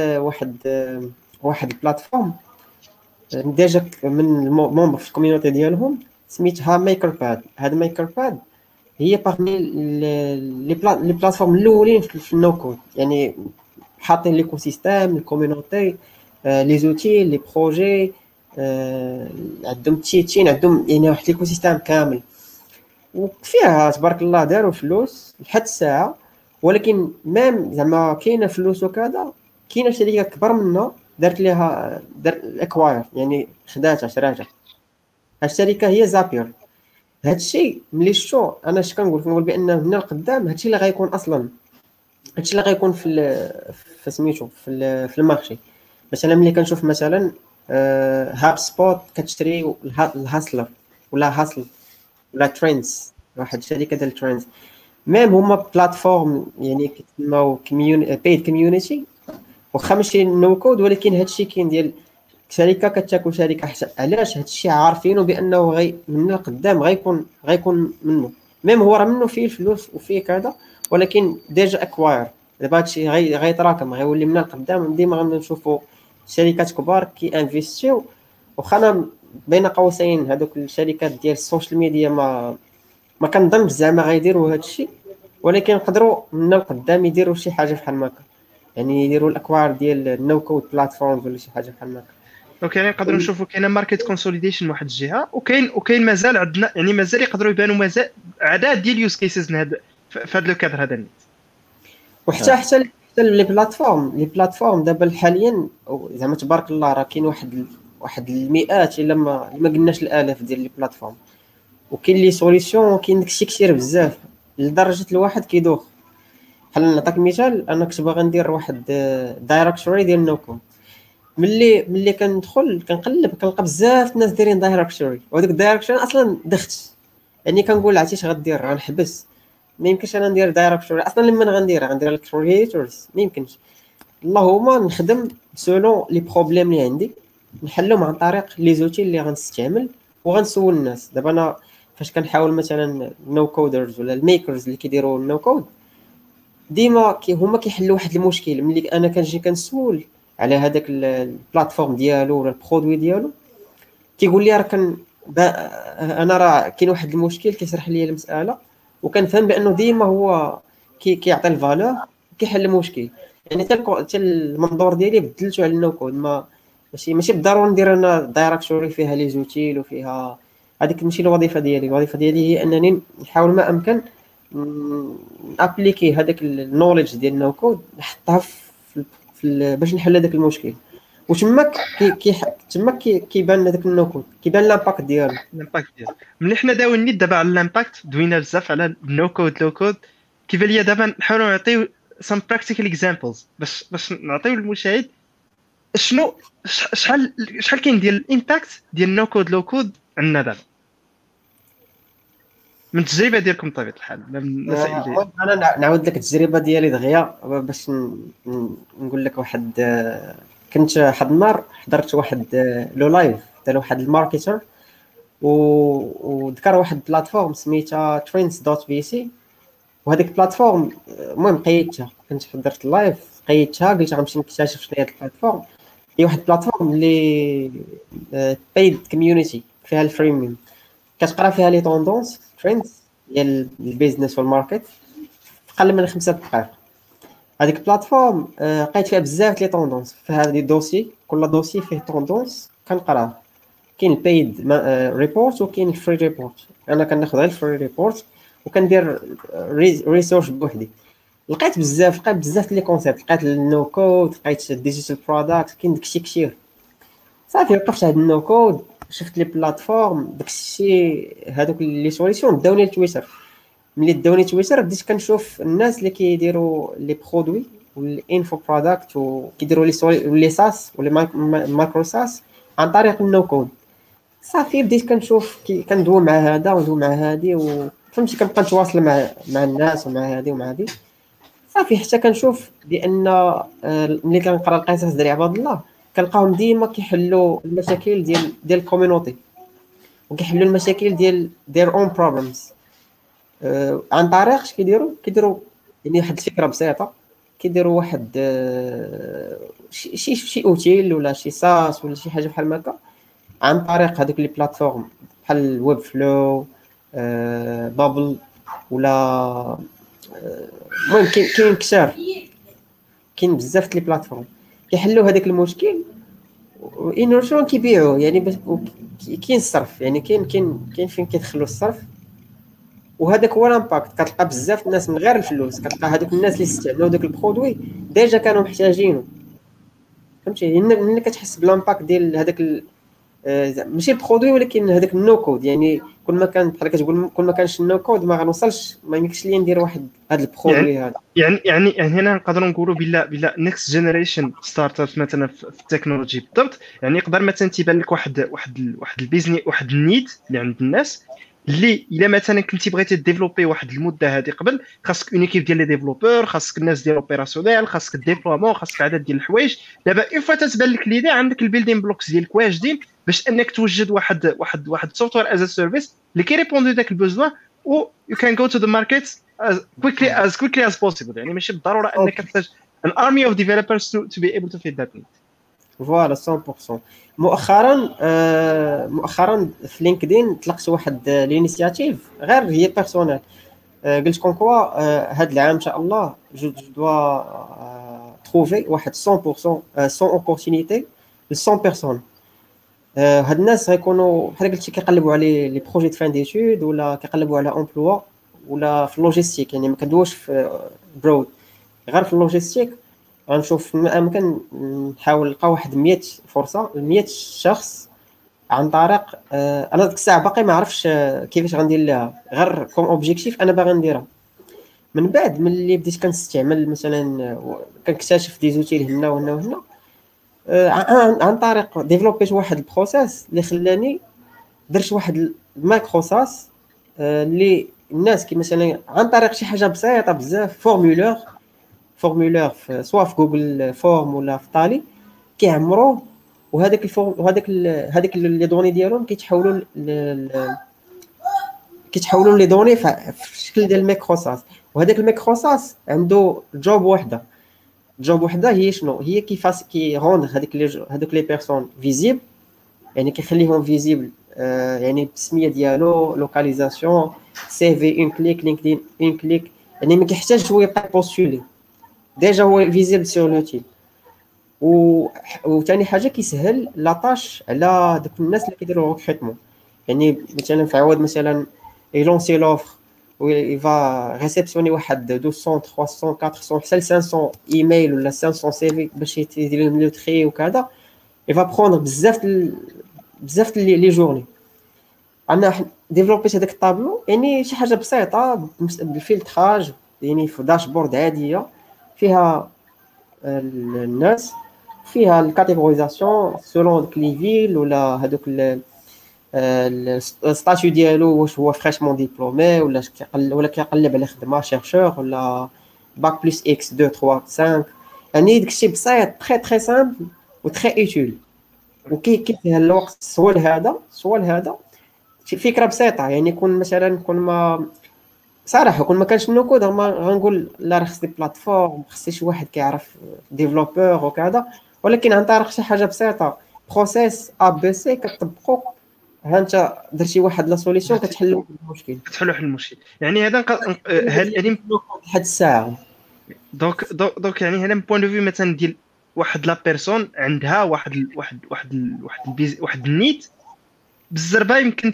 واحد البلاتفورم ديجا من المومبر في الكوميونيتي ديالهم سميتها ميكر باد. هاد ميكر باد هي باغمي لي بلاتفورم الاولين في النو كود، يعني حاطين ليكو سيستيم الكوميونيتي لي زوتي لي بروجي عندهم تيتشين، عندهم يعني واحد ليكو سيستيم كامل، وفيها تبارك الله داروا فلوس لحد الساعه. ولكن ميم زعما كاينه فلوس وكذا، كاينه شركه كبر منها دارت ليها اكواير، يعني خداتها شراتها. هاد الشركه هي زابير. هادشي ملي شفتو انا اش كنقول بان من القدام هادشي اللي غيكون اصلا، هادشي اللي غيكون في سميتو في المارشي. مثلا ملي كنشوف مثلا هاب سبوت كتشري الهاسلر ولا هاسل ولا تريندز، واحد الشركه ديال تريندز، ميم هما بلاتفورم يعني كيتسموا بيد كوميونيتي، واخا ماشي نو كود، ولكن هادشي كاين ديال شركه كتاكل شركه. علاش؟ هادشي عارفينه بانه من القدام غيكون منه، ميم هو راه منه فيه الفلوس وفيه كذا، ولكن ديجا اكواير. دابا هادشي غيتراكم، غيولي من القدام ديما غنشوفوا شركات كبار كي انفيستيو. وخا بين قوسين هذوك الشركات ديال السوشيال ميديا ما كنظنش زعما غيديروا هادشي، ولكن يقدروا من القدام يديروا شي حاجه بحال هكا، يعني يديروا الاكوار ديال النو كود بلاتفورمز ولا شي حاجه بحال هكا. دونك يعني نقدروا نشوفوا كاينه ماركت كونسوليديشن من واحد الجهه، وكاين مازال عندنا يعني مازال يقدروا يبانوا مازال عدد ديال يوز كيسز في هذا لو كادر هذا. وحتى لي بلاتفورم دابا حاليا زعما تبارك الله راه كاين واحد المئات الا ما قلناش الالاف ديال لي بلاتفورم، وكاين لي سوليسيون، وكاين داكشي كثير بزاف لدرجه الواحد كيدوخ. بحال نعطيك مثال، انا كنت باغي ندير واحد دايركتوري ديال نوكوم، ملي كندخل كنقلب كنلقى بزاف الناس دايرين دايركتوري، وهذاك الدايركتوري اصلا دخت، يعني كنقول عرفتي اش غدير، غنحبس. ما يمكنش انا ندير دايركتوري اصلا. لما غندير الكرييتورز ما يمكنش، اللهم نخدم سولون لي بروبليم اللي عندي نحلهم عن طريق لي زوتي اللي غنستعمل وغنسول الناس. دابا انا فاش كنحاول مثلا نو كودرز ولا الميكرز اللي كيديروا النو كود، ديما هما كيحلوا واحد المشكل. ملي انا كنجي كنسول على هذاك البلاتفورم ديالو ولا البرودوي ديالو، كيقول لي انا راه كاين واحد المشكل، كيشرح لي المساله وكنفهم بانه ديما هو كيعطي الفالور كيحل المشكل. يعني حتى المنظور ديالي بدلته على النو كود. ماشي بالضروره ندير انا دايركتوري فيها لي زوتيل وفيها هذيك، ماشي الوظيفه ديالي. الوظيفه ديالي هي انني نحاول ما امكن ابليكي هذاك النوليدج ديال النو كود، نحطها باش نحل هذاك المشكل. وتماك تماك كيبان هذاك النوكود، كيبان لامباكت ديالو. ملي حنا داوين نيت دابا على الامباكت، دوينا بزاف على النو كود لو كود. كيف ليا دابا نحاولوا نعطيو some practical examples باش نعطيو للمشاهد شنو شحال كاين ديال الامباكت ديال نو كود لو كود عندنا دابا من التجربه ديالكم بطبيعه الحال، من المسائل اللي انا نعاود لك التجربه ديالي دغيا باش نقول لك واحد. كنت واحد النهار حضرت واحد لو لايف تاع واحد الماركتر، وذكر واحد بلاتفورم سميتها trends.vc، وهذيك البلاتفورم المهم قيدتها. كنت حضرت اللايف قيدتها، قلت غنمشي نكتشف شنو هي البلاتفورم. هي واحد البلاتفورم اللي بايد كوميونيتي فيها الفريميوم، كتقرا فيها لي توندونس تريندز ديال البيزنس والماركت في اقل من 5 دقائق. هذيك البلاتفورم لقيت فيها بزاف لي توندونس، فيها دي دوسي، كل دوسي فيه توندونس كنقراه. كاين البايد ريبورت وكاين الفري ريبورت. انا كناخذ غير الفري ريبورت وكندير ريسيرش بوحدي. لقيت بزاف لي كونسيبت، لقيت النو كود، لقيت الديجيتال برودكت، كاين داكشي كثير. صافي وقفت هاد النو كود، شفت لي بلاتفورم داكشي هادوك لي سوليسيون داوني لتويتر. ملي داوني تويتر بديت كنشوف الناس اللي كيديروا لي برودوي والانفو برودكت وكيديروا لي ساس ولا مايكرو ساس عن طريق النو كود. صافي بديت كنشوف كندوي مع هذا وندوي مع هادي، وفهمتي كنبقى نتواصل مع الناس ومع هادي ومع هادي. صافي حتى كنشوف بان ملي كنقرا القصص ديال عباد الله كنلقاهم ديما كيحلوا المشاكل ديال الكوميونيتي، وكيحلوا المشاكل ديال their own problems عن طريق اش كيديروا يعني واحد الفكره بسيطه. كيديروا واحد شي اوتيل ولا شي ساس ولا شي حاجه بحال هكا عن طريق هذوك لي بلاتفورم بحال ويب فلو، بابل، ولا المهم كاين كثار، كاين بزاف لي بلاتفورم كيحلوا هذاك المشكل وانورشون كيبيعوه. يعني كاين الصرف، يعني كاين فين كيدخلوا الصرف، وهذاك هو الامباكت. كتلقى بزاف الناس من غير الفلوس، كتلقى هذوك الناس اللي استعملوا داك البرودوي ديجا كانوا محتاجينه. فهمتي؟ ملي كتحس بالامباكت ديال هذاك ماشي البرودوي ولكن هذاك النو كود. يعني كل ما كان بحال كتقول كل ما كانش النو كود ما غنوصلش، ما يمكنش لي ندير واحد هذا البرودوي هذا. يعني هنا نقدروا نقولوا بلا نيكست جينيريشن ستارت اب مثلا في التكنولوجي بالضبط. يعني يقدر مثلا تيبان لك واحد البيزنس، واحد النيد اللي عند الناس، اللي الا مثلا كنتي بغيتي ديفلوبي واحد المده هذه قبل، خاصك اون ايكيب ديال لي ديفلوبور، خاصك الناس ديال اوبيراسيونيل، خاصك الديبلومون، خاصك عدد ديال الحوايج. دابا اون فوا تتبان لك ليدي، عندك البيلدين بلوكس ديالك واجدين باش انك توجد واحد سوفتوير از سيرفيس اللي كيريبوندي داك البوزوا، و يو كان جو تو ذا ماركت as quickly as possible. يعني ماشي بالضروره انك تحتاج an army of developers to be able to fit that need. فوالا 100%. مؤخرا في لينكدين طلقت واحد لينيسياتيف غير هي بيرسونيل. قلت كون كوا هذا العام ان شاء الله جو دوا تروفي واحد 100% 100 اوبورتونيتي ل 100 بيرسون. هاد الناس غيكونوا بحال قلتي كيقلبوا على لي بروجي د فان ديتود، ولا كيقلبوا على امبلوا، ولا في اللوجيستيك. يعني ما كندوش في برود، غير في اللوجيستيك. غنشوف امكن نحاول نلقى واحد 100 فرصه ل 100 شخص عن طريق انا ديك الساعه باقي ما عرفتش كيفاش غندير لها، غير كوم اوبجيكتيف انا باغي نديرها. من بعد ملي بديت كنستعمل مثلا كنكتشف دي زوتيل هنا وهنا وهنا، عن طريق ديفلوبيت واحد البروسيس اللي خلاني درت واحد المايكرو ساس اللي الناس كي مثلا عن طريق شي حاجه بسيطه بزاف، فورمولير سواء في جوجل فورم ولا في طالي كيعمروه، وهذاك الفورم وهذاك لي دوني ديالهم كيتحولوا لي دوني في الشكل ديال الميكروساس. وهذاك الميكروساس عنده جوب وحده هي شنو هي؟ كيفاش كيروند هذوك لي بيرسون فيزيبل، يعني كيخليهم فيزيبل يعني بالسميه ديالو، لوكاليزاسيون، سي في اون كليك، لينكدين اون كليك. يعني ما كيحتاجش هو يبقى بوستولي، ديجا هو فيزيبل سور لوتيل. وثاني حاجه كيسهل لاطاش على دوك الناس اللي كيديروا ريكروتمون. يعني مثلا في عوض مثلا يلونسي لوفر ويفا ريسبسيوني واحد 200 300 400 حتى 500 ايميل ولا 500 سي في باش يدير لهم لو تري وكذا، il va prendre بزاف لي جورني. انا ديفلوبيت هذاك الطابلو يعني شي حاجه بسيطه بالفلتراج، يعني في داشبورد عاديه فيها الناس، فيها الكاتيجوريزاسيون سولون لي فيل ولا هذوك الستاتيو ديالو، واش هو فريشمون ديبلومي ولا كيقلب على خدمه شيرشور ولا باك بلس اكس 2 3 5. يعني داكشي بسيط تري سامبل و تري اوتيل، وكيفيه الوقت سوا لهذا شي فكره بسيطه. يعني كون مثلا ما صراحه كون ما كانش نو كود غنقول لا راه خصني بلاتفورم، خصني شي واحد كيعرف ديفلوبور وكذا، ولكن عن طريق شي حاجه بسيطه بروسيس ا بي سي كتطبقو، ها انت درتي واحد لا سوليسيون كتحل المشكل، كتحلوا حل المشكل. يعني هذا يعني لحد الساعه. دونك يعني هنا من بوين دو في مثلا ديال واحد لا بيرسون عندها واحد النيت بالزربه يمكن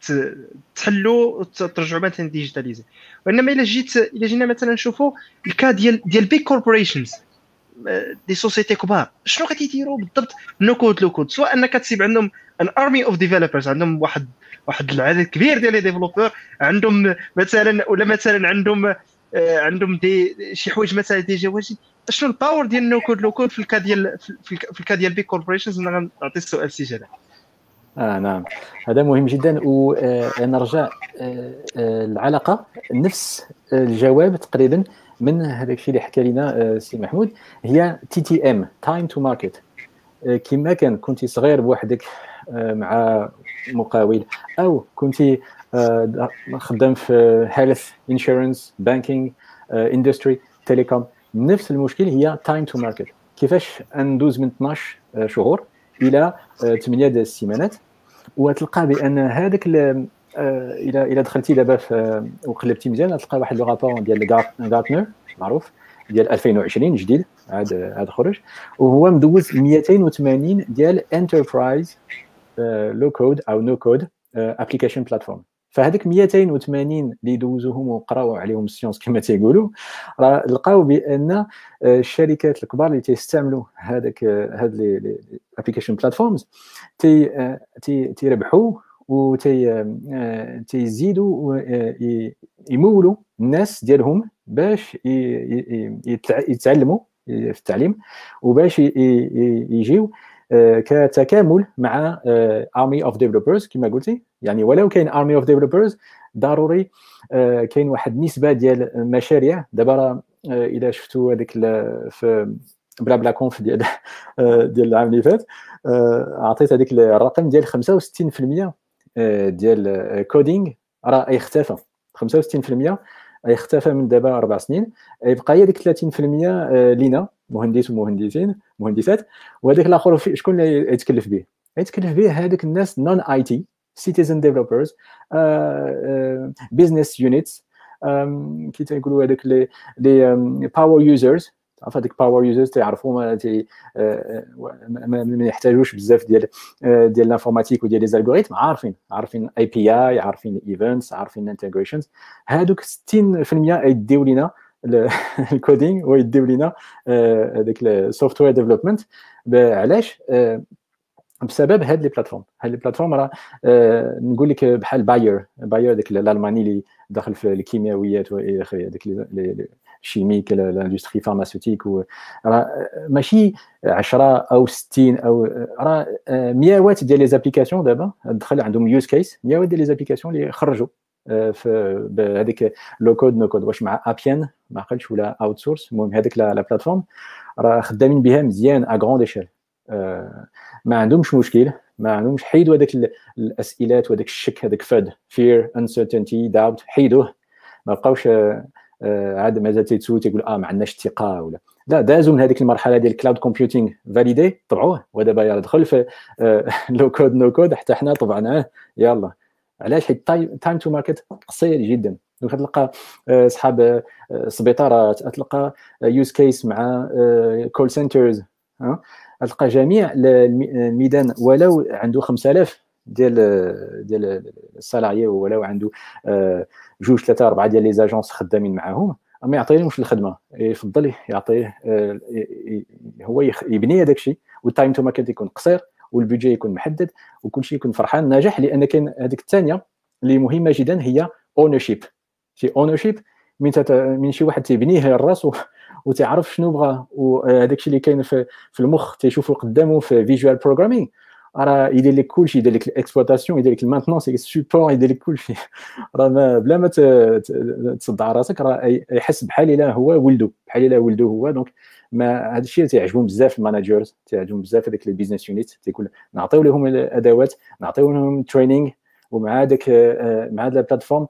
تحلو وترجعوا مثلا ديجيتاليزي. وانما الا جينا مثلا نشوفوا الكا ديال بيج كوربوريشنز، دي سوسيتي كبار، شنو غادي يديروا بالضبط؟ نو كود لو كود، سواء انك تسيب عندهم ان ارمي اوف ديفلوبرز، عندهم واحد العدد كبير ديال لي ديفلوبور، عندهم مثلا ولا مثلا عندهم شي حوايج مثلا ديجا واجد. شنو الباور ديال نو كود لو كود في الكا ديال بيج كوربوريشنز؟ انا نعطي السؤال سي جلال. نعم، هذا مهم جدا. ونرجع العلاقه نفس الجواب تقريبا من هذاك الشيء اللي حكى لنا سي محمود، هي TTM تايم تو ماركت. كما كنتي صغير بوحدك مع مقاول، او كنتي خدام في هيلث انشورنس بانكينغ اندستري تيليكوم، نفس المشكل هي تايم تو ماركت. كيفاش ندوز من 12 شهور الى 8 ديال السيمانات، وتلقى بان هذاك الى دخلتي دابا وقلبتي مزيان تلقى واحد لو رابور ديال غارتنر معروف ديال 2020 جديد عاد خرج، وهو مدوز 280 ديال انتربرايز لو كود او نو كود ابليكيشن بلاتفورم. فهذيك 280 اللي دوزوهم وقراو عليهم السيونس كما تيقولوا، راه لقاو بان الشركات الكبار اللي تيستعملوا هاد لي ابليكيشن بلاتفورمز تيربحوا و تيزيدوا يمولوا الناس ديالهم باش يتعلموا في التعليم، وباش يجيو كتكامل مع army of developers كما قلتي. يعني ولو كاين army of developers ضروري كاين واحد النسبه ديال المشاريع. دابا اذا شفتوا هذيك في بلا بلا كونف ديال العام اللي فات، عطيت هذيك الرقم ديال 65% ديال كودينغ راه يختفى. 65% يختفى من دابا 4 سنين، يبقى هي ديك 30% لينا مهندس ومهندسين مهندسات. وهذاك الاخر شكون اللي يتكلف به؟ يتكلف به هذوك الناس نون اي تي، سيتيزن ديفلوبرز، بيزنس يونيتس، كي تيقولوا هذوك لي باور يوزرز. عرف هذيك باور يوزرز تعرفوا ما يحتاجوش بزاف ديال الانفورماتيك وديال لي زالغوريثم، عارفين اي بي اي، عارفين ايفنتس، عارفين انتجريشنز. هذوك 60% يديو لينا الكودينغ ويديو لينا هذاك السوفتوير ديفلوبمنت. علاش؟ بسبب هاد لي بلاتفورم راه نقول لك بحال باير داك الالماني اللي داخل في الكيميائيات والى اخره، داك الشيميك الاندستري فارماسيوتيك، راه ماشي 10 او 60 او راه مئات ديال لي زابليكاسيون دابا دخل عندهم يوز كيس، مئات ديال لي زابليكاسيون اللي خرجوا في بهذيك لو كود نو كود، واش مع ابيان ما عقلتش ولا اوت سورس. المهم هذيك لا بلاتفورم راه خدامين بها مزيان ا غروند ايشيل، ما عندهمش مشكل، ما عندهمش. حيدوا هذاك الاسئلات وهذاك الشك، هذاك فاد فير انسرتينتي داوت، حيدوه. ما بقاوش عاد مازال تيتسول تيقول ما عندناش الثقه ولا لا. دازوا من هذيك المرحله ديال كلاود كومبيوتينغ فاليدي، طبعوه، ودابا يلا دخل في لو كود نو كود، حتى حنا طبعناه يلا. علاش؟ حيت تايم تو ماركت قصير جدا. كتلقى صحاب سبيطار، تلقى يوز كيس مع كول سنترز، تلقى جميع الميدان ولو عنده 5000 ديال السالاريي، ولو عنده 2 3 4 ديال لي زاجونس خدامين معاهم، ما يعطيهمش الخدمه. يفضل يعطيه هو يبني هذاك الشيء والتايم تو ماركت يكون قصير والبيدجي يكون محدد وكل شيء يكون فرحان ناجح. لان كاين هذيك الثانيه اللي مهمه جدا هي اونرشيب. شي اونرشيب من شي واحد تيبنيه الراس وتعرف شنو بغى، وهذاك الشيء اللي كاين في المخ تيشوفوا قدامه في فيجوال بروغرامينغ، راه يدير لك كلشي، يدير لك الاكسبلوطاسيون، يدير لك المانتنونس، يدير لك السيبور، يدير لك كلشي. راه بلا ما تصدع راسك، راه يحس بحال الا هو ولده، بحال الا ولده هو. دونك ما هذا الشيء تيعجبهم بزاف الماناجرز، تيعجبهم بزاف هذيك لي بيزنس يونيت، تيقول نعطيو لهم الادوات، نعطيو لهم ترينينغ، ومع داك مع هذا البلاتفورم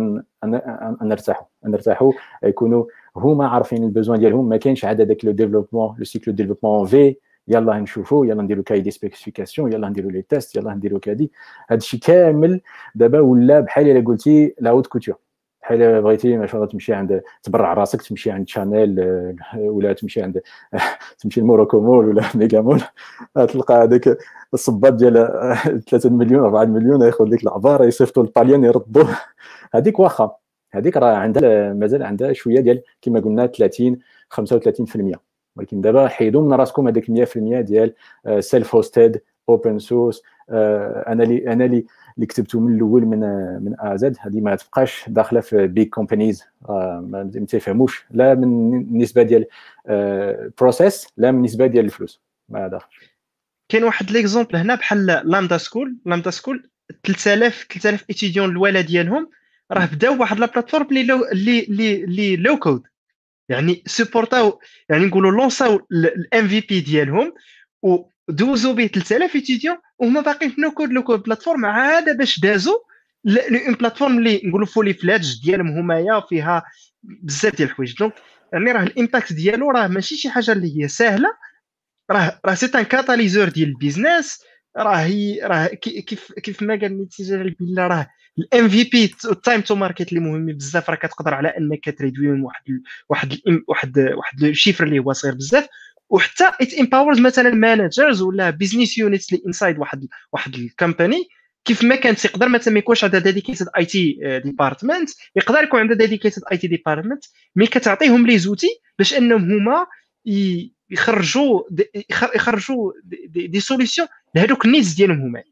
نرتاحوا يكونوا هما عارفين البوزوان ديالهم. ما كاينش عاد هذاك لو ديفلوبمون، لو سيكل ديفلوبمون في يلا نشوفوا، يلا نديروا كاي دي سبيسيفيكاسيون، يلا نديروا لي تيست، يلا نديروا كادي. هذا الشيء كامل دابا ولا بحال الا قلتي لا هوت كوتور، بحال بغيتي ما شاء الله تمشي عند تبرع راسك، تمشي عند شانيل ولا تمشي عند تمشي لموروكو مول ولا ميغا مول، تلقى هذاك الصباط ديال 3 مليون 4 مليون ياخذ لك العباره، يصيفطوا الطاليان يردوه. هذيك واخا، هذيك راه عندها مازال عندها شويه ديال كما قلنا 30 35%، ولكن دابا حيدوا من راسكم هذيك 100% ديال سيلف هوستد اوبن سورس. انا اللي كتبته من الاول من ا زد، هذه ما تبقاش داخله في بيج كومبانيز، ما تفهموش لا من النسبه ديال بروسيس لا من النسبه ديال الفلوس، ما داخلش. كاين واحد ليكزومبل هنا بحال لامدا سكول 3000 ايتيديون الاولى ديالهم راه بداو واحد لا بلاتفورم اللي لو كود، يعني سيبورتاو، يعني نقولوا لونساو الام في بي ديالهم ودوزو به 3000 ايتيديون وهما باقيين في لو كود بلاتفورم عاد باش دازوا اون بلاتفورم اللي نقولوا فولي فلاج ديالهم همايا فيها بزاف ديال الحوايج. دونك يعني راه الامباكت ديالو راه ماشي شي حاجه اللي هي سهله، راه سي ان كاتاليزور ديال البيزنس. راه كيف ما قال نيتي جلال بالله، راه الام في بي التايم تو ماركت اللي مهم بزاف، راه كتقدر على انك تريدويهم واحد الشيفر اللي هو صغير بزاف. وحتى ات امباورز مثلا مانجرز ولا بيزنس يونيتس اللي انسايد واحد الكومباني، كيف ما كانت يقدر مثلا ما يكونش عندها ديديكيتد اي تي ديبارتمنت، يقدر يكون عندها ديديكيتد اي تي ديبارتمنت، مي كتعطيهم لي زوتي باش انهم هما يخرجوا دي سوليسيون لهذوك النيز ديالهم هما.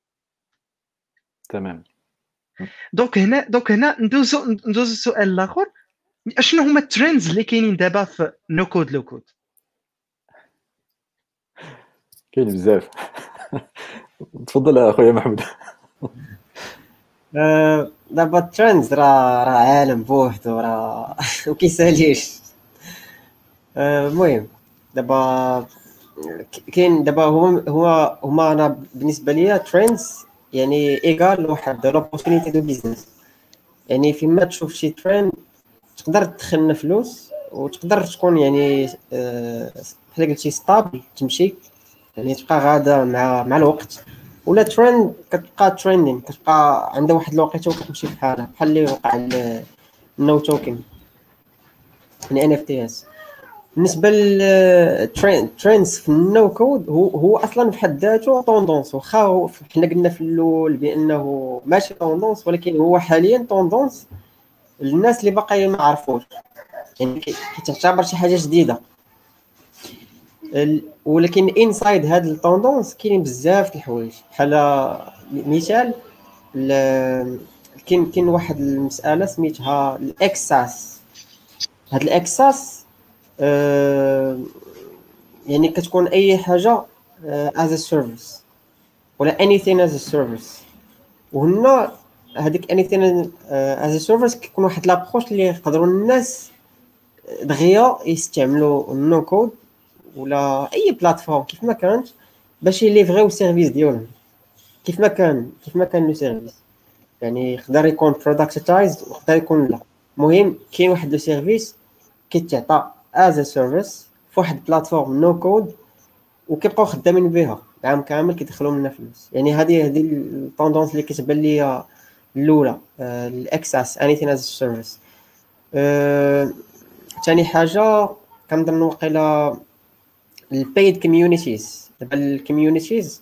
تمام. دونك هنا ندوزو السؤال الاخر، اشنو هما الترندز اللي كاينين دابا في نو كود لو كود؟ كاين بزاف. تفضل اخويا محمود. دابا الترندز راه عالم بوحدو، راه وكيساليش. المهم دابا كاين دابا هما انا بالنسبه ليا ترندز يعني ايغال واحد لوبورتونيتي دو بيزنس. يعني فيما تشوف شي ترند تقدر تدخل فلوس وتقدر تكون يعني بحال قلتي ستابل تمشي، يعني تبقى غاده مع الوقت. ولا ترند كتبقى تريندين، كتبقى عندها واحد الوقيته وكتمشي بحالها، بحال اللي وقع النو توكن يعني ان اف تي اس. بالنسبه للترندز في النو كود هو اصلا في حد ذاته طوندونس، واخا حنا قلنا في الاول بانه ماشي طوندونس، ولكن هو حاليا طوندونس للناس اللي باقي ما عرفوش، يعني كتعتبر شي حاجه جديده. ولكن انسايد هاد الطوندونس كاين بزاف د الحوايج. بحال مثال كاين واحد المساله سميتها الاكساس. هاد الاكساس يعني كتكون اي حاجه as a service ولا anything as a service. وهنا هذيك anything as a service كيكون واحد لابروش اللي يقدروا الناس دغيا يستعملوا النو كود ولا اي بلاتفورم كيف ما كانت باش يليفريو سيرفيس ديالهم كيف ما كان لو سيرفيس. يعني يقدر يكون برودكتايزد ويقدر يكون لا. المهم كاين واحد لو سيرفيس كيتعطى as a service في واحد بلاتفورم نو كود وكيبقاو خدامين بها العام كامل كيدخلوا منها فلوس. يعني هذه الطوندونس اللي كتبان ليا الاولى الاكساس anything as a service. ثاني حاجه كنظن واقيلا البيد كوميونيتيز. دابا الكوميونيتيز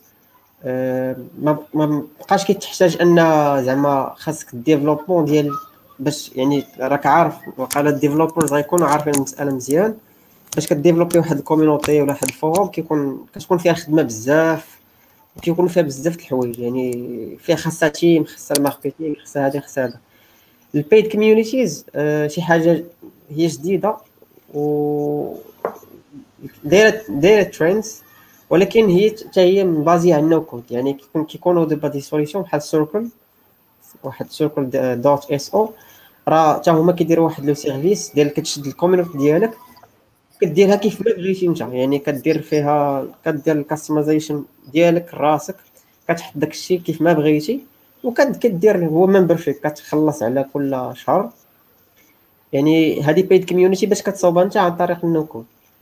ما بقاش كتحتاج ان زعما خاصك الديفلوبمون ديال باش يعني راك عارف وقال الديفلوبرز غيكونوا عارفين المساله مزيان فاش كديفلوبي واحد الكوميونيتي ولا واحد الفوروم كتكون فيها خدمه بزاف، وكيكونوا فيها بزاف د الحوايج، يعني فيها خاصها تيم، خاصها الماركتينغ، خاصها هذه خاصها هذا. البيد كوميونيتيز شي حاجه هي جديده و دايره تريندز، ولكن هي حتى هي مبازيه على النو كود. يعني كيكونوا دابا دي سوليسيون بحال سيركل، واحد سيركل دوت اس او، راه حتى هما كيديروا واحد لو سيرفيس ديال كتشد الكوميونيتي ديالك كديرها كيف ما بغيتي انت، يعني كدير فيها كدير الكاستمايزيشن ديالك راسك، كتحط داكشي كيف ما بغيتي، وكدير هو ممبرشيب كتخلص على كل شهر. يعني هذه بيد كوميونيتي باش كتصاوبها انت عن طريق النو كود.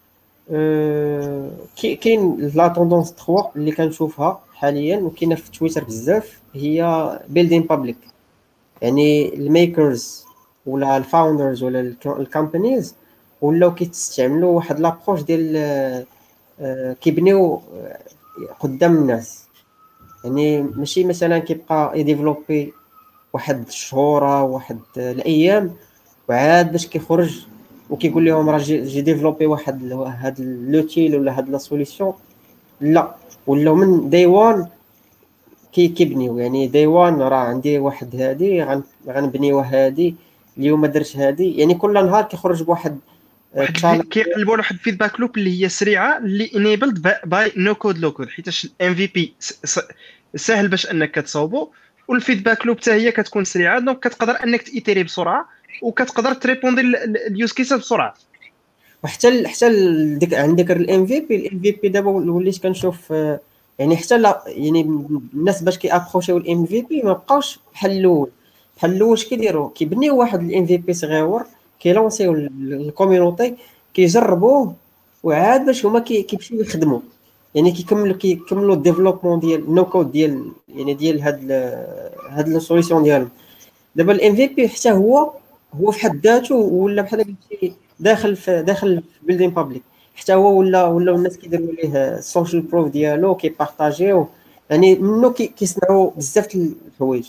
كاين لا توندونس 3 اللي كنشوفها حاليا وكاينه في تويتر بزاف، هي بيلدين بابليك. يعني الميكرز ولا الفاوندرز ولا الكومبانيز ولاو كيستعملوا واحد لابروش ديال كيبنيو قدام الناس. يعني ماشي مثلا كيبقى يديفلوبي واحد الشهور واحد الايام وعاد باش كيخرج وكيقول لهم راه جي ديفلوبي واحد هاد لوتيل ولا هاد لا سوليسيون. لا، ولاو من داي وان كيبنيو. يعني داي وان راه عندي واحد هادي غنبنيوها هادي، اليوم درت هادي. يعني كل نهار كيخرج بواحد كيقلبوا على واحد الفيدباك لوب اللي هي سريعه، اللي انيبلد باي نو كود لو كود، حيت الام في بي سهل باش انك تصاوبو، والفيدباك لوب حتى هي كتكون سريعه، دونك كتقدر انك تيتيري بسرعه وكتقدر تريبوندي اليوز كيسات بسرعه. حتى ديك عندك الام في بي دابا وليت كنشوف يعني حتى لا، يعني الناس باش كيابروشيو الام في بي ما بقاوش بحال الاول. بحال الاول اش كيديروا؟ كيبنيو واحد الام في بي صغيور، كيلونسيو الكوميونيتي، كيجربوه، وعاد باش هما كيمشيو يخدموا. يعني كيكملوا الديفلوبمون ديال نو كود ديال هاد السوليسيون ديالهم. دابا الام في بي حتى هو في حد ذاته ولا بحال قلتي داخل في بيلدين بابليك. حتى هو ولا الناس كيديروا ليه السوشيال بروف ديالو، كيبارطاجيو، يعني منه كيصنعوا بزاف د الحوايج.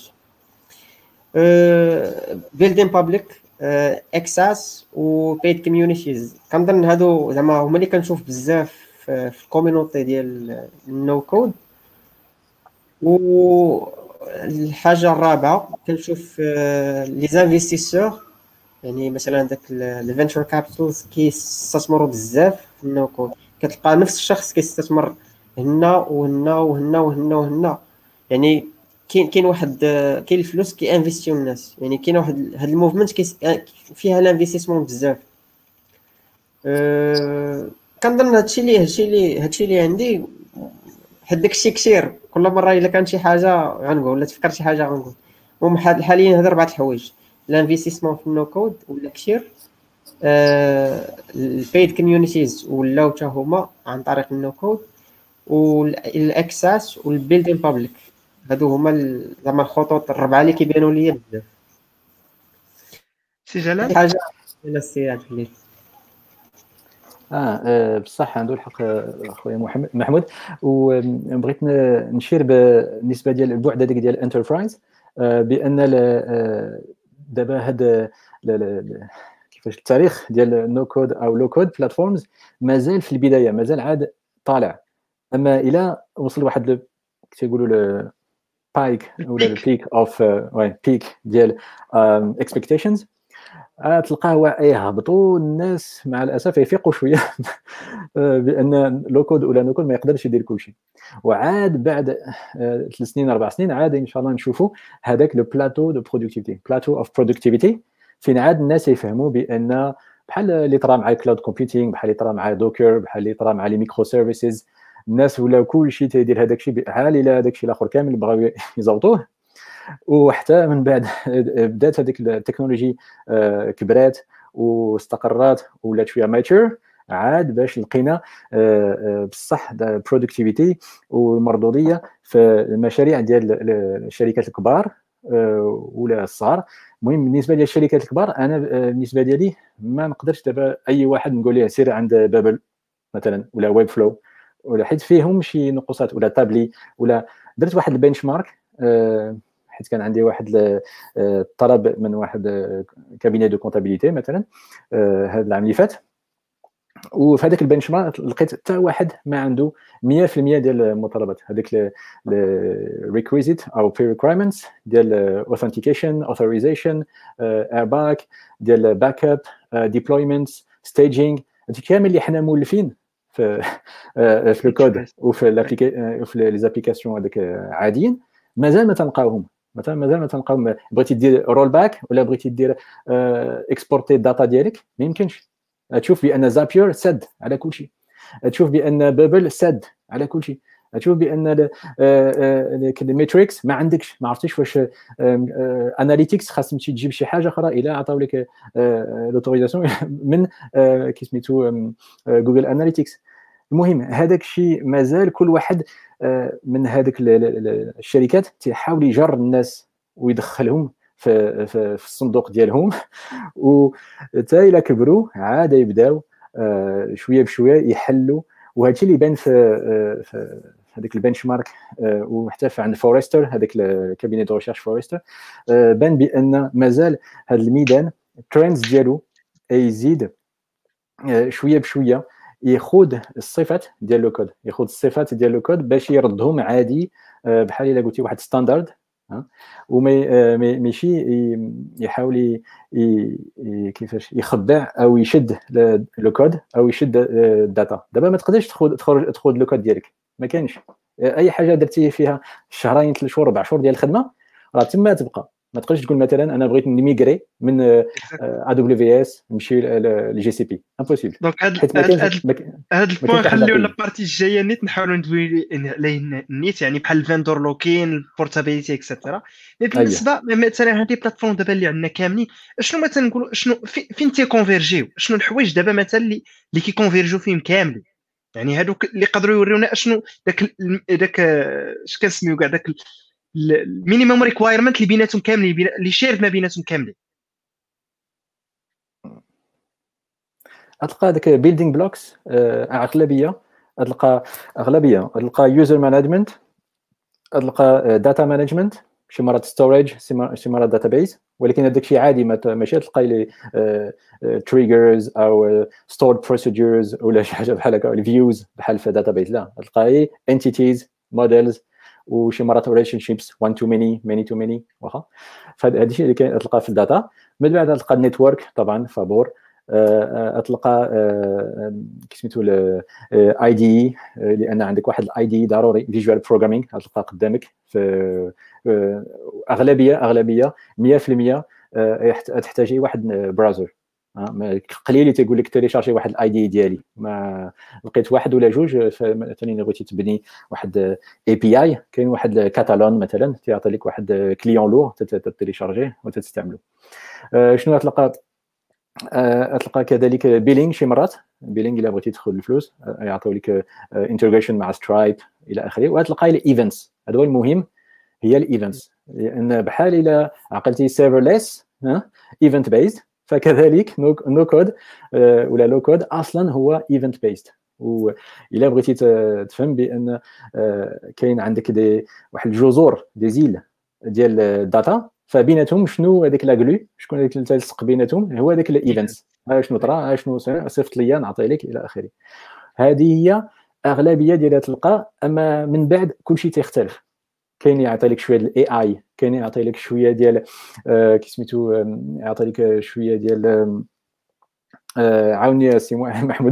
بيلدين بابليك، اكساس وبيد كوميونيتيز، كنظن هادو زعما هما اللي كنشوف بزاف في الكوميونيتي ديال النو كود. والحاجه الرابعه كنشوف لي زانفيستيسور، يعني مثلا داك الفينتشر كابيتالز كيستثمروا بزاف في النو كود. كتلقى نفس الشخص كيستثمر هنا وهنا وهنا وهنا وهنا. يعني كاين واحد كاين الفلوس كيانفيستيو الناس. يعني كاين واحد هاد الموفمنت فيها الانفستيسمون بزاف. كنظن هادشي اللي عندي. حد داكشي كثير، كل مره الا كان شي حاجه غنقول، ولا تفكر شي حاجه غنقول. المهم حاليا هاد 4 الحوايج: الانفستيسمون في النو كود ولا كثير، البيد كوميونيتيز ولاو حتى هما عن طريق النو كود، والاكساس والبيلدين بابليك. هادو هما زعما الخطوط الربعه اللي كيبانوا ليا بزاف. سي جلال شي حاجه الى السي عبد الليل. بصح عنده الحق خويا محمود. وبغيت نشير بالنسبه ديال البعد هذاك ديال الانتربرايز، بان دابا هذا كيفاش التاريخ ديال نو كود او لو كود بلاتفورمز مازال في البدايه، مازال عاد طالع. اما الى وصل واحد كيقولوا بايك ولا البيك اوف بيك ديال اكسبكتيشنز، تلقاه يهبطوا الناس مع الاسف يفيقوا شويه بان لو كود ولا نو كود ما يقدرش يدير كل شيء. وعاد بعد 3 سنين 4 سنين عاد ان شاء الله نشوفوا هذاك لو بلاتو دو برودكتيفيتي، بلاتو اوف برودكتيفيتي، فين عاد الناس يفهموا بان بحال اللي طرا مع الكلاود كومبيوتينغ، بحال اللي طرا مع دوكر، بحال اللي طرا مع لي ميكرو سيرفيسز، الناس ولاو كل شيء تيدير هذاك الشيء بحال الى هذاك الشيء الاخر كامل بغاو يزوطوه. وحتى من بعد بدات هذيك التكنولوجي كبرات واستقرات ولات شويه ماتور، عاد باش لقينا بصح البرودكتيفيتي والمردوديه في المشاريع ديال الشركات الكبار ولا الصغار. المهم بالنسبه للشركات الكبار، انا بالنسبه ديالي ما نقدرش دابا اي واحد نقول ليه سير عند بابل مثلا ولا ويب فلو، ولا حيت فيهم شي نقصات، ولا تابلي. ولا درت واحد البنش مارك، حيت كان عندي واحد الطلب من واحد كابيني دو كونتابيليتي مثلا هذا العام اللي فات، وفي هذاك البنش مارك لقيت حتى واحد ما عنده 100% ديال المتطلبات، هذيك الريكويزيت او بري ريكويرمنتس ديال authentication authorization airbag ديال باك اب ديبلويمنتس ستaging، هادشي كامل اللي حنا مولفين في في الكود وفي لي زابليكاسيون هذاك عاديين، مازال ما تلقاوهم، مازال ما تلقاوهم. بغيتي دير رول باك ولا بغيتي دير اكسبورتي الداتا ديالك ما يمكنش. تشوف بان زابير سد على كل شيء، تشوف بان بابل سد على كل شيء، تشوف بان الميتريكس ما عندكش، ما عرفتيش واش اناليتيكس خاص تمشي تجيب شي حاجه اخرى الى عطاو لك لوتوريزاسيون من كيسميتو جوجل اناليتيكس. المهم هذاك الشيء مازال كل واحد من هذيك الشركات تيحاول يجر الناس ويدخلهم في الصندوق ديالهم، وحتى الى كبروا عاد يبداو شويه بشويه يحلوا. وهذا الشيء اللي بان في هذاك البنش مارك وحتى عند فورستر، هذاك الكابيني دو ريشيرش فورستر، بان بان مازال هذا الميدان الترندز ديالو يزيد شويه بشويه، ياخذ الصفات ديال لو كود، ياخذ الصفات ديال لو كود باش يردهم عادي بحال الا قلتي واحد ستاندرد، وما ماشي يحاول كيفاش يخبع او يشد لو كود او يشد الداتا. دابا ما تقدرش تخرج لو كود ديالك، ما كاينش. اي حاجه درتي فيها شهرين 3 شهور 4 شهور ديال الخدمه راه تما تبقى. ما تقدرش تقول مثلا انا بغيت نميغري من ا دبليو في اس نمشي لجي سي بي، امبوسيبل. دونك هذا البوين خليو لابارتي الجايه نيت نحاولوا ندوي عليه نيت، يعني بحال الفاندور لوكين البورتابيليتي اكسترا. بالنسبه مثلا هذه بلاتفورم دابا اللي عندنا كاملين، شنو مثلا نقولوا شنو فين تيكونفيرجيو، شنو الحوايج دابا مثلا اللي كيكونفيرجيو فيهم كاملين، يعني هذوك اللي يقدروا يوريونا شنو داك اش كنسميو كاع داك المينيموم ريكوايرمنت اللي بيناتهم كاملين، اللي شير ما بيناتهم كاملين. تلقى داك بيلدينغ بلوكس اغلبيه، تلقى يوزر مانجمنت، تلقى داتا مانجمنت، شي مرات ستوريج، شي مرات داتابيز، ولكن هذاك الشيء عادي ماشي تلقاي لي تريجرز او ستورد بروسيدورز ولا شي حاجه بحال هكا، الفيوز بحال في داتابيز، لا تلقاي انتيتيز موديلز وشي مرات ريليشن شيبس 1 تو ماني ماني تو ماني واخا. فهذا الشيء اللي كتلقى في الداتا. من بعد تلقى النيتورك طبعا فابور، تلقى كيسميتو الاي دي، لان عندك واحد الاي دي ضروري فيجوال بروغرامينغ تلقى قدامك في اغلبيه 100% تحتاج واحد براوزر. قليل اللي تيقول لك تيليشارجي واحد الاي دي ديالي، ما لقيت واحد ولا جوج. مثلا بغيتي تبني واحد اي بي اي، كاين واحد كاتالون مثلا تيعطي لك واحد كليون لور تيليشارجيه وتستعمله. شنو تلقى كذلك بيلينغ، شي مرات بيلينغ الا بغيتي تدخل الفلوس يعطيو لك انتجريشن مع سترايب الى اخره. وتلقى الايفنتس، هذا هو المهم، هي الايفنتس، لان بحال الا عقلتي سيرفرليس ايفنت بيزد، فكذلك نو كود ولا لو كود اصلا هو ايفنت بيزد. والا بغيتي تفهم بان كاين عندك واحد الجذور دي زيل ديال الداتا، فبيناتهم شنو هذيك لاغلو، شكون هذيك اللي تلصق بيناتهم، هو هذاك الايفنتس. شنو طرا، شنو صيفط ليا نعطي لك الى اخره. هذه هي اغلبيه ديالها تلقى. اما من بعد كلشي تيختلف، كاين يعطي لك شويه الاي اي، كاين يعطي لك شويه ديال كيسميتو يعطي لك شويه ديال عاوني سي محمود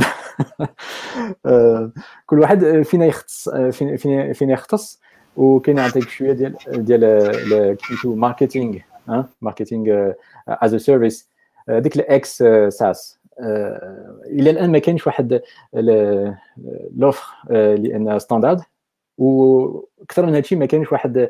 كل واحد فينا يختص، فينا يختص. وكاين يعطيك شويه ديال كيسميتو ماركتينغ، ماركتينغ از ا سيرفيس، ديك الاكس ساس. الى الان ما كاينش واحد لوفر لان ستاندرد، واكثر من هادشي ما كاينش واحد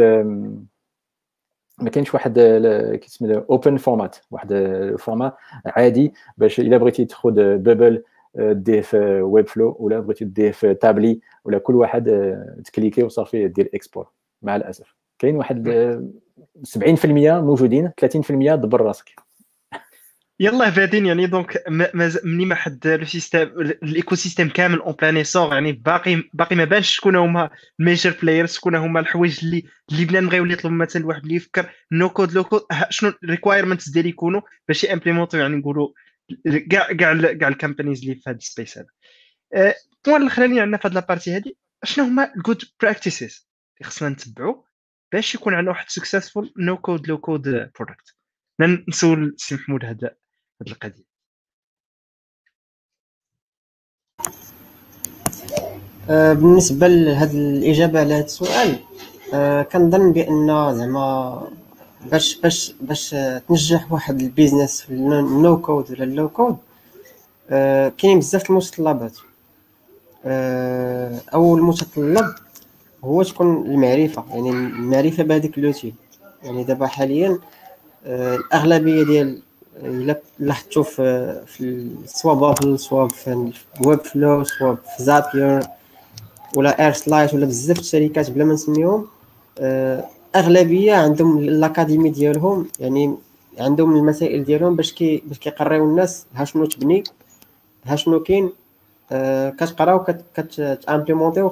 كيسميتو اوبن فورمات، واحد فورما عادي باش الا بغيتي تاخذ بابل ديه في ويب فلو ولا بغيتي ديه في تابلي ولا كل واحد تكليكي وصافي دير اكسبور. مع الاسف كاين واحد 70% موجودين، 30% دبر راسك. يلا بادين يعني. دونك مني ما حد لو سيستيم الايكو سيستيم كامل اون بلان ايسور، يعني باقي ما بانش شكون هما الميجر بلايرز، شكون هما الحوايج اللي بنادم غيولي يطلب. مثلا واحد اللي يفكر نو كود لو كود، شنو الريكوايرمنتس ديالي يكونوا باش يامبليمونطو، يعني نقولوا كاع الكامبانيز اللي في هذا السبيس هذا. البوان اللي خلاني عندنا في هذه لابارتي هذه شنو هما الجود براكتيسز اللي خصنا نتبعوا باش يكون عندنا واحد سكسسفول نو كود لو كود برودكت. نسول سي محمود هذا القضيه. بالنسبه لهذه الاجابه على هذا السؤال، كنظن بان زعما باش تنجح واحد البيزنس في النو كود ولا اللو كود، كاين بزاف المتطلبات. اول متطلب هو تكون المعرفه، يعني المعرفه بهذيك لوتي. يعني دابا حاليا الاغلبيه ديال الا لاحظتوا في سواء بابل سواء في ويب فلو سواء في زابير ولا اير سلايت ولا بزاف الشركات بلا ما نسميهم، اغلبيه عندهم الاكاديمي ديالهم، يعني عندهم المسائل ديالهم باش كيقريو الناس ها شنو تبني ها شنو كاين. كتقراو كتامبليمونتي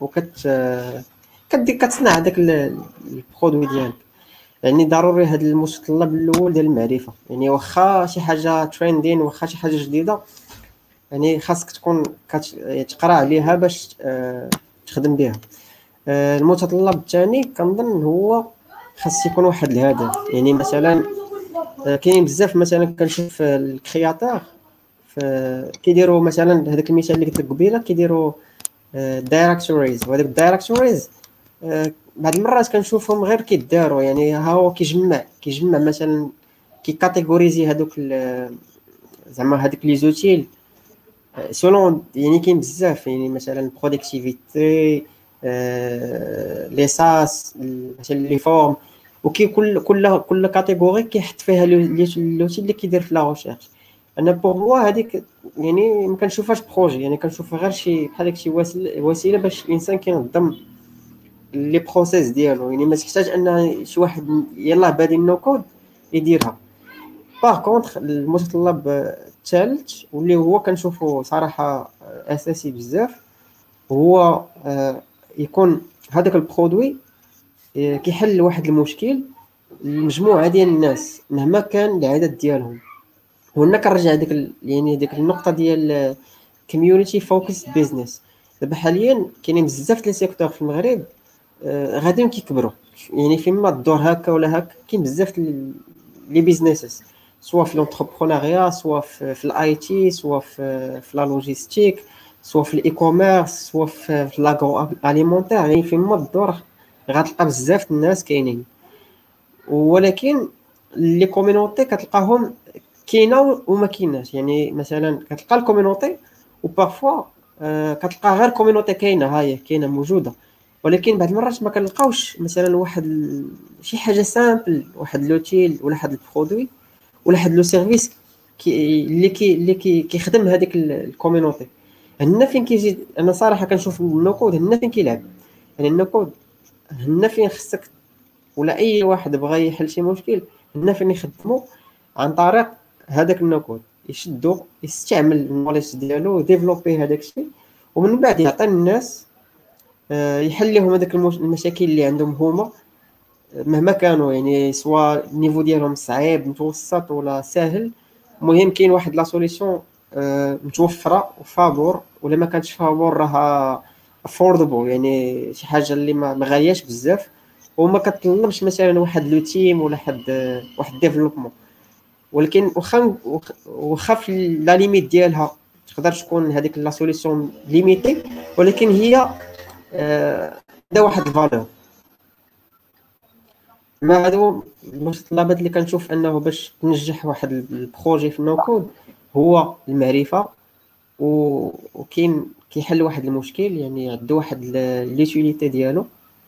كتصنع هذاك البرودوي ديالك. يعني ضروري هذا المتطلب الاول ديال المعرفه. يعني واخا شي حاجه تريندين واخا شي حاجه جديده، يعني خاصك تكون كتقرا عليها باش تخدم بها. المتطلب الثاني كنظن هو خاص يكون واحد الهدف. يعني مثلا كاين بزاف مثلا كنشوف الكرياتور كيديروا مثلا هذاك المثال اللي قلت لك قبيله، كيديروا دايركتوريز، وهذوك الدايركتوريز بعض المرات كنشوفهم غير كيداروا. يعني ها هو كيجمع مثلا كيكاتيغوريزي هذوك زعما هذوك لي زوتيل سولون. يعني كاين بزاف، يعني مثلا برودكتيفيتي، لي ساس، مثلا لي فورم، وكي كل كاتيجوري كيحط فيها لوتي اللي كيدير في لا ريشيرش. انا بوغ موا هذيك يعني ما كنشوفهاش بروجي، يعني كنشوفها غير شي بحال داك شي وسيله باش الانسان كينظم لي بروسيس ديالو. يعني ما تحتاج ان شي واحد يلاه بادي نو كود يديرها. باغ كونطخ المتطلب الثالث واللي هو كنشوفه صراحه اساسي بزاف هو يكون هذاك البرودوي كيحل واحد المشكل لمجموعه ديال الناس مهما كان العدد ديالهم. وهنا كنرجع يعني ديك النقطه ديال كوميونيتي فوكس بيزنس. دابا حاليا كاينين بزاف لي سيكتور في المغرب غاديين كيكبروا، يعني فيما الدور هكا ولا هكا كاين بزاف لي بيزنسز، سواء في لونتربرونيا سواء في الاي تي سواء في لا لوجيستيك سواء في الاي كوميرس سواء في لاغرو اليمونتير. يعني فيما الدور غتلقى بزاف الناس كاينين، ولكن لي كوميونيتي كتلقاهم كاينه وما كايناش. يعني مثلا كتلقى الكوميونيتي وبارفوا كتلقى غير كوميونيتي كاينه، هاهي كاينه موجوده، ولكن بعض المرات ما كنلقاوش مثلا واحد شي حاجه سامبل، واحد لوتيل ولا واحد البرودوي ولا واحد لو سيرفيس اللي كيخدم هذيك الكوميونيتي. هنا فين كيجي انا صراحه كنشوف النو كود هنا فين كيلعب. يعني النو كود هنا فين خصك ولا اي واحد بغى يحل شي مشكل هنا فين يخدموا عن طريق هذاك النو كود، يشدو يستعمل النوليدج ديالو ديفلوبي هذاك الشيء، ومن بعد يعطي الناس يحل لهم هذاك المشاكل اللي عندهم هما مهما كانوا. يعني سواء النيفو ديالهم صعيب متوسط ولا ساهل، المهم كاين واحد لا سوليسيون متوفره وفابور، ولا ما كانتش فابور راها افوردبل، يعني شي حاجه اللي ما غالياش بزاف وما كتطلبش مثلا واحد لو تيم ولا واحد ديفلوبمون. ولكن واخا في لا ليميت ديالها تقدر تكون هذيك لا سوليسيون ليميتي، ولكن هي عندها واحد الفالور. ما هادو المتطلبات اللي كنشوف انه باش تنجح واحد البروجي في النو كود هو المعرفه، وكاين كيحل واحد المشكل، يعني عنده واحد ليتيليتي ديالو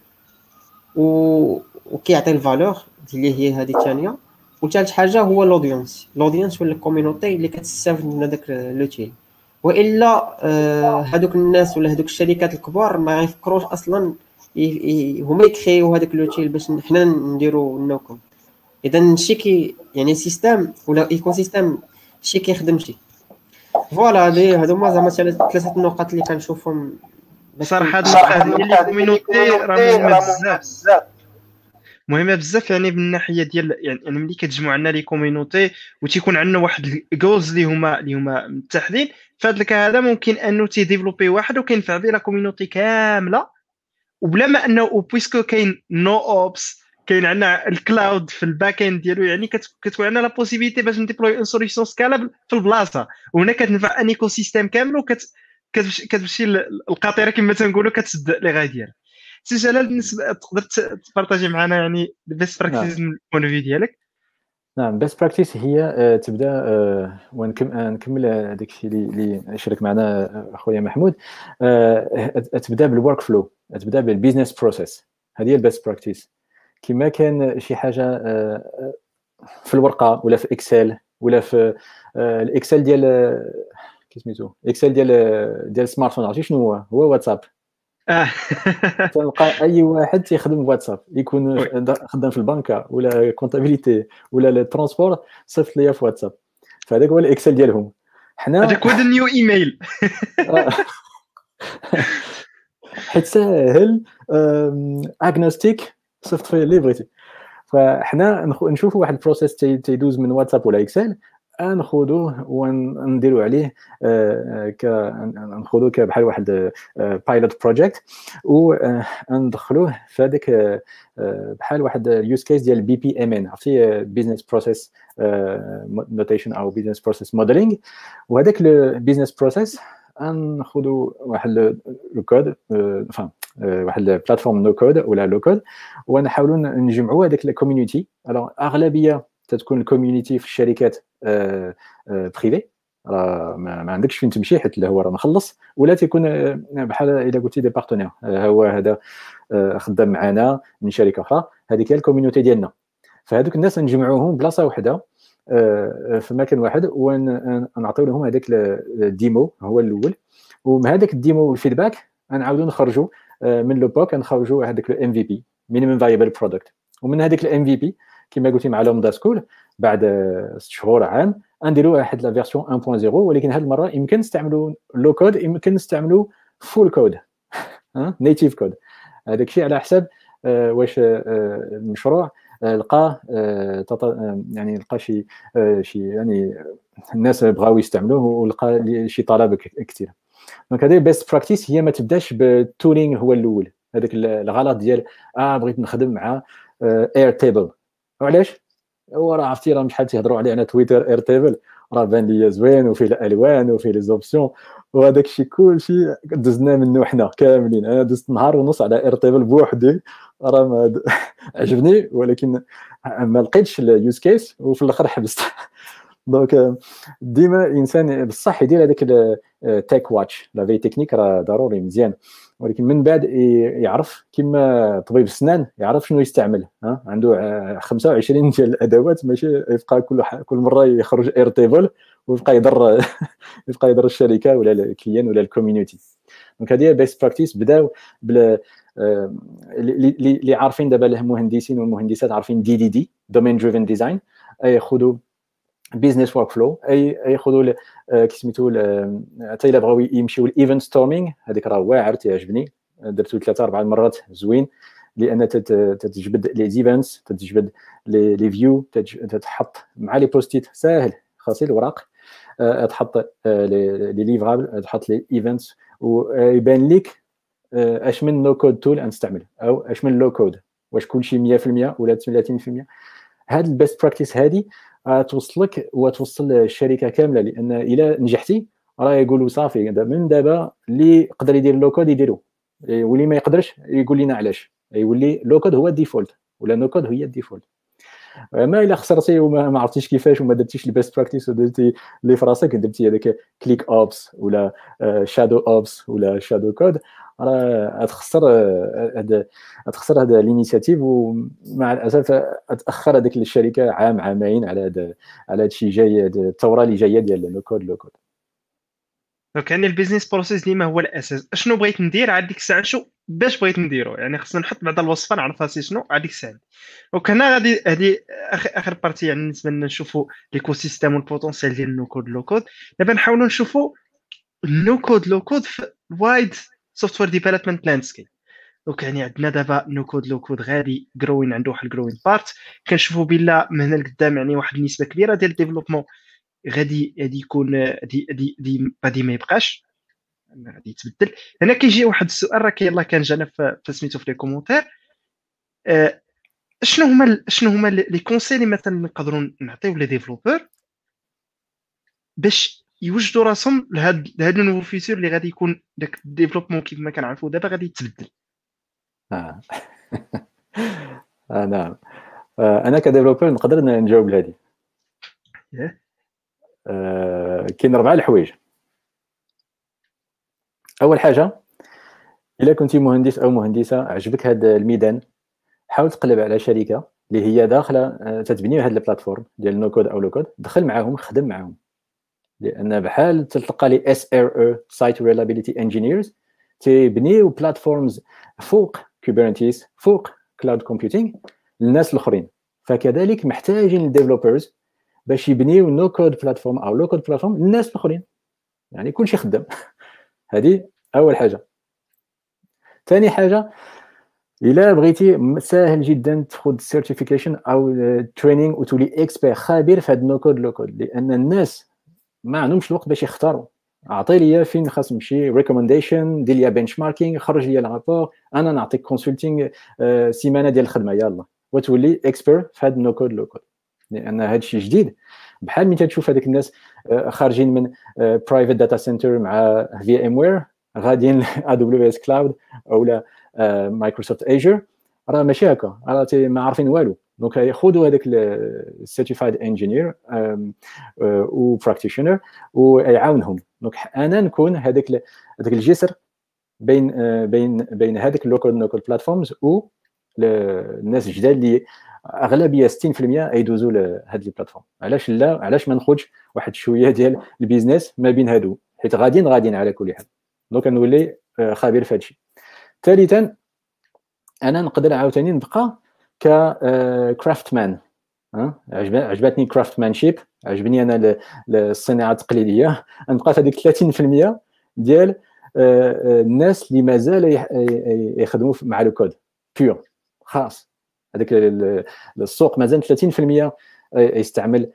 وكيعطي الفالور اللي هي هذه الثانيه. وثالث حاجه هو الاودينس ولا الكوميونيتي اللي كتستافد من هذاك لوتيل. والا هذوك الناس ولا هذوك الشركات الكبار ما يفكروش اصلا هما يكريو هذاك لوتيل باش حنا نديرو النوكم. اذا شي يعني سيستم ولا ايكو سيستم شي كيخدم شي. فوالا هادو هما زعما ثلاثه النقط اللي كنشوفهم بصراحه هاد النقطه ديال الكوميونيتي راه مهمه بزاف. مهمه بزاف يعني من الناحيه ديال يعني ملي كتجمعوا عندنا لي كوميونيتي وتيكون عندنا واحد الجولز اللي هما متحدين، فهاد الكا هذا ممكن انه تيديفلوبي واحد وكينفع به لا كوميونيتي كامله، وبلا ما انه بويسكو كاين نو اوبس، كاين عندنا الكلاود في الباك اند ديالو، يعني كتكون عندنا لا بوسيبيليتي باش نديبلوي اون سوليوشن سكالابل في البلاصه، وهنا كتنفع ان ايكو سيستيم كامل كتمشي القاطره كما تنقولوا كتسد لي غاي ديالها. سي جلال، بالنسبه تقدر تبارطاجي معنا يعني البيست نعم براكتيس من البوان فيو ديالك؟ نعم بيست براكتيس هي تبدا ونكمل داك الشيء اللي شارك معنا اخويا محمود. تبدا بالورك فلو، تبدا بالبيزنس بروسيس. هذه هي البيست براكتيس. كما كان شي حاجه في الورقه ولا في اكسل ولا في الاكسل ديال كيسميتو اكسل ديال سمارت فون، عرفتي شنو هو واتساب. تلقى اي واحد تيخدم بواتساب، يكون وي، خدام في البنكه ولا كونتابيليتي ولا الترونسبور، صيفط ليا في واتساب. فهذاك هو الاكسل ديالهم. حنا هذاك هو النيو ايميل. حيت ساهل اغنوستيك، صيفط فيه اللي بغيتي. فحنا نشوفوا واحد البروسيس تيدوز من واتساب ولا اكسل، ناخذوه ونديروا عليه ناخذوه بحال واحد بايلوت بروجيكت، وندخلوه في هذاك بحال واحد اليوز كيس ديال بي بي ام ان، عرفتي بيزنس بروسيس نوتيشن او بيزنس بروسيس موديلينغ. وهذاك البيزنس بروسيس ناخذوا واحد الكود، واحد البلاتفورم نو كود ولا لو كود، ونحاولوا نجمعوا هذاك الكوميونيتي. اغلبيه تتكون الكوميونيتي في الشركات بريفي، راه ما عندكش فين تمشي حيت هو راه مخلص، ولا تيكون بحال الا قلتي دي بارتنير، هو هذا خدام معنا من شركه اخرى، هذيك هي الكوميونيتي ديالنا. فهذوك الناس نجمعوهم بلاصه واحده في مكان واحد، ونعطيو لهم هذاك الديمو هو الاول، ومن هذاك الديمو والفيدباك نعاودوا نخرجوا من لو بوك، نخرجوا هذاك الام في بي، مينيمم فايبل برودكت. ومن هذاك الام في بي كما قلتي مع لومدا سكول، بعد 6 شهور عام نديروا واحد لا فيرسيون 1.0، ولكن هذه المره يمكن نستعملوا لو كود، يمكن نستعملوا فول كود، نيتيف كود. هذاك الشيء على حسب واش المشروع لقى يعني لقى شي يعني الناس بغاو يستعملوه ولقى شي طلب كثير. دونك هذه بيست براكتيس، هي ما تبداش بالتولينغ هو الاول. هذاك الغلط ديال بغيت نخدم مع اير تيبل. وعلاش؟ هو راه عرفتي راه شحال تيهضروا عليه على تويتر، اير تيبل راه بان لي زوين وفيه الالوان وفيه لي زوبسيون، وهذاك الشيء كلشي دزنا منه حنا كاملين. انا دزت نهار ونص على اير تيبل بوحدي، راه ما عجبني، ولكن ما لقيتش اليوز كيس وفي الاخر حبست. دونك ديما الانسان بصح يدير هذاك تيك واتش، لا في تكنيك راه ضروري مزيان، ولكن من بعد يعرف كما طبيب السنان يعرف شنو يستعمل. عنده 25 ديال الادوات، ماشي يبقى كل مره يخرج اير تيبل ويبقى يضر يبقى يضر الشركه ولا الكليان ولا الكوميونيتي. دونك هذه بيست براكتيس. بداو بال اللي عارفين دابا المهندسين والمهندسات عارفين دي دومين دريفن ديزاين، ياخذوا بيزنس ورك فلو، ياخذوا كيسميتو حتى الا بغاو يمشيو الايفنت ستورمينغ، هذيك راه واعر تيعجبني، درتو 3 4 مرات زوين، لان تتجبد لي ايفنتس، تتجبد لي فيو، تتحط مع لي بوستيت ساهل، خاصي الوراق، تحط لي ليفرابل، تحط لي ايفنتس، ويبان لك اش من نو كود تول نستعمل او اش من لو كود، واش كلشي 100% ولا 30%. هاد البيست براكتيس هذه توصلك وتوصل الشركه كامله، لان الا نجحتي راه يقولوا صافي من دابا اللي يقدر يدير لو كود يديروا، واللي ما يقدرش يقول لنا علاش، يولي لو كود هو الديفولت ولا نو كود هي الديفولت. ما الا خسرتي وما عرفتيش كيفاش وما درتيش البيست براكتيس ودرتي اللي في راسك، درتي هذاك كليك اوبس ولا شادو اوبس ولا شادو كود، راه تخسر هذا الانيشيتيف، ومع الاسف تاخر هذيك الشركه عام عامين على هذا الشيء جاي، الثوره اللي جايه ديال لو كود. دونك يعني البيزنس بروسيس ديما هو الاساس. اشنو بغيت ندير عاد ديك الساعه، شو باش بغيت نديرو، يعني خصنا نحط بعض الوصفه نعرف راسي شنو عاد ديك الساعه. دونك هنا غادي هذه اخر بارتي، يعني بالنسبه لنا نشوفوا ليكو سيستيم والبوتونسيال ديال النو كود لو كود. دابا نحاولوا نشوفوا النو كود لو كود في وايد سوفتوير ديفلوبمنت لاندسكيب. دونك يعني عندنا دابا نو كود لو كود غادي جروين عنده واحد الجروين بارت. كنشوفوا بلا من هنا لقدام يعني واحد النسبه كبيره ديال الديفلوبمون غادي يكون غادي ما يبقاش، غادي يتبدل. هنا كيجي واحد السؤال راه يلاه كان جانا في سميتو في لي كومونتير. شنو هما لي كونساي اللي مثلا نقدروا نعطيو لي ديفلوبور باش يوجدوا راسهم لهاد النوفو فيتور اللي غادي يكون داك الديفلوبمون كيف ما كنعرفوا دابا غادي يتبدل. نعم. انا كديفلوبر نقدر نجاوب لهذه. كاين 4 الحوايج. اول حاجه، الا كنتي مهندس او مهندسه عجبك هذا الميدان، حاول تقلب على شركه اللي هي داخله تتبني هذا البلاتفورم ديال نو كود او لو كود، دخل معاهم خدم معاهم، لان بحال تلقى لي SRE Site Reliability Engineers تيبنيو بلاتفورمز فوق كوبرنيتيس فوق كلاود كومبيوتينغ للناس الاخرين. فكذلك محتاجين الديفلوبرز باش يبنيو نو كود بلاتفورم او لو كود بلاتفورم للناس الاخرين، يعني كلشي خدام. هذه اول حاجه. ثاني حاجه، الا بغيتي ساهل جدا تاخذ سيرتيفيكيشن او تريننج وتولي اكسبير خبير في هذا نو كود لو كود، لان الناس ما عندهمش الوقت باش يختاروا. اعطي لي فين خاص نمشي، ريكومنديشن، دير لي بنش ماركينغ، خرج لي الرابور، انا نعطيك كونسلتينغ سيمانه ديال الخدمه يلا وتولي اكسبير في هذا نو كود لو كود. لان هذا الشيء جديد، بحال ملي تشوف هذيك الناس خارجين من برايفت داتا سنتر مع في ام وير غاديين AWS كلاود او مايكروسوفت ايجر، راه ماشي هكا، راه ما عارفين والو. دونك ياخذوا هذاك السيرتيفايد انجينير و براكتيشنر ويعاونهم. دونك انا نكون هذاك الجسر بين هذاك اللوكال نو كود بلاتفورمز و الناس الجداد اللي اغلبيه 60% يدوزوا لهذه البلاتفورم. علاش لا؟ علاش ما ناخذش واحد شويه ديال البيزنس ما بين هادو، حيت غاديين على كل حال. دونك نولي خبير في هذا الشيء. ثالثا، انا نقدر عاوتاني نبقى كرافت مان. عجبتني كرافت مان شيب، عجبني انا الصناعه التقليديه. نبقى في هذيك 30% ديال الناس اللي مازال يخدموا مع لو كود بيور خاص. هذاك السوق مازال 30% يستعمل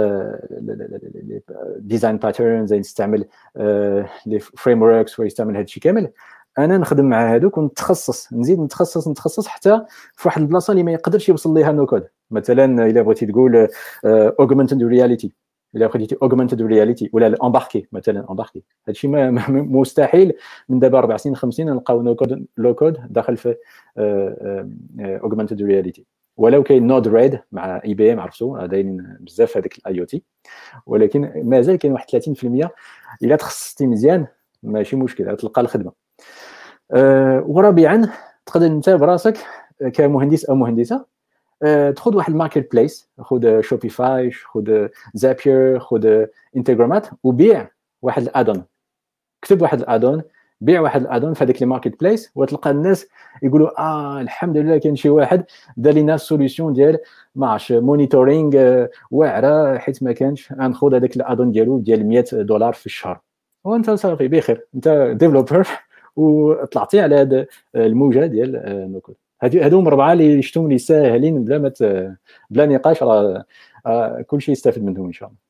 ديزاين باترنز، يستعمل لي فريم وركس ويستعمل هذا الشيء كامل. انا نخدم مع هذوك ونتخصص، نزيد نتخصص حتى في واحد البلاصه اللي ما يقدرش يوصل ليها نو كود. مثلا الا بغيتي تقول اوغمنتد رياليتي، الا خديتي اوغمنتد رياليتي ولا الامباركي، مثلا امباركي، هذا الشيء مستحيل من دابا 4 سنين 5 سنين نلقاو نو كود لو كود داخل في اوغمنتد رياليتي. ولو كاين نود ريد مع اي بي ام، عرفتوا دايرين بزاف هذاك الاي او تي، ولكن مازال كاين واحد 30% الا تخصصتي مزيان ماشي مشكل تلقى الخدمه. ورابعا، تقدر انت براسك كمهندس او مهندسه تاخذ واحد الماركت بليس، خذ شوبيفاي، خذ زابير، خذ انتغرامات، وبيع واحد الادون. كتب واحد الادون، بيع واحد الادون في هذيك الماركت بليس، وتلقى الناس يقولوا الحمد لله كاين شي واحد دار لنا سوليوشن ديال ما عرفتش مونيتورينغ واعره، حيت ما كانش غناخذ هذاك الادون ديالو ديال $100 في الشهر، وانت صافي بخير، انت ديفلوبر وطلعتي على هذا الموجه ديال نو كود. هادو 4 اللي شفتهم اللي ساهلين بلا نقاش، راه كلشي يستافد منهم ان شاء الله.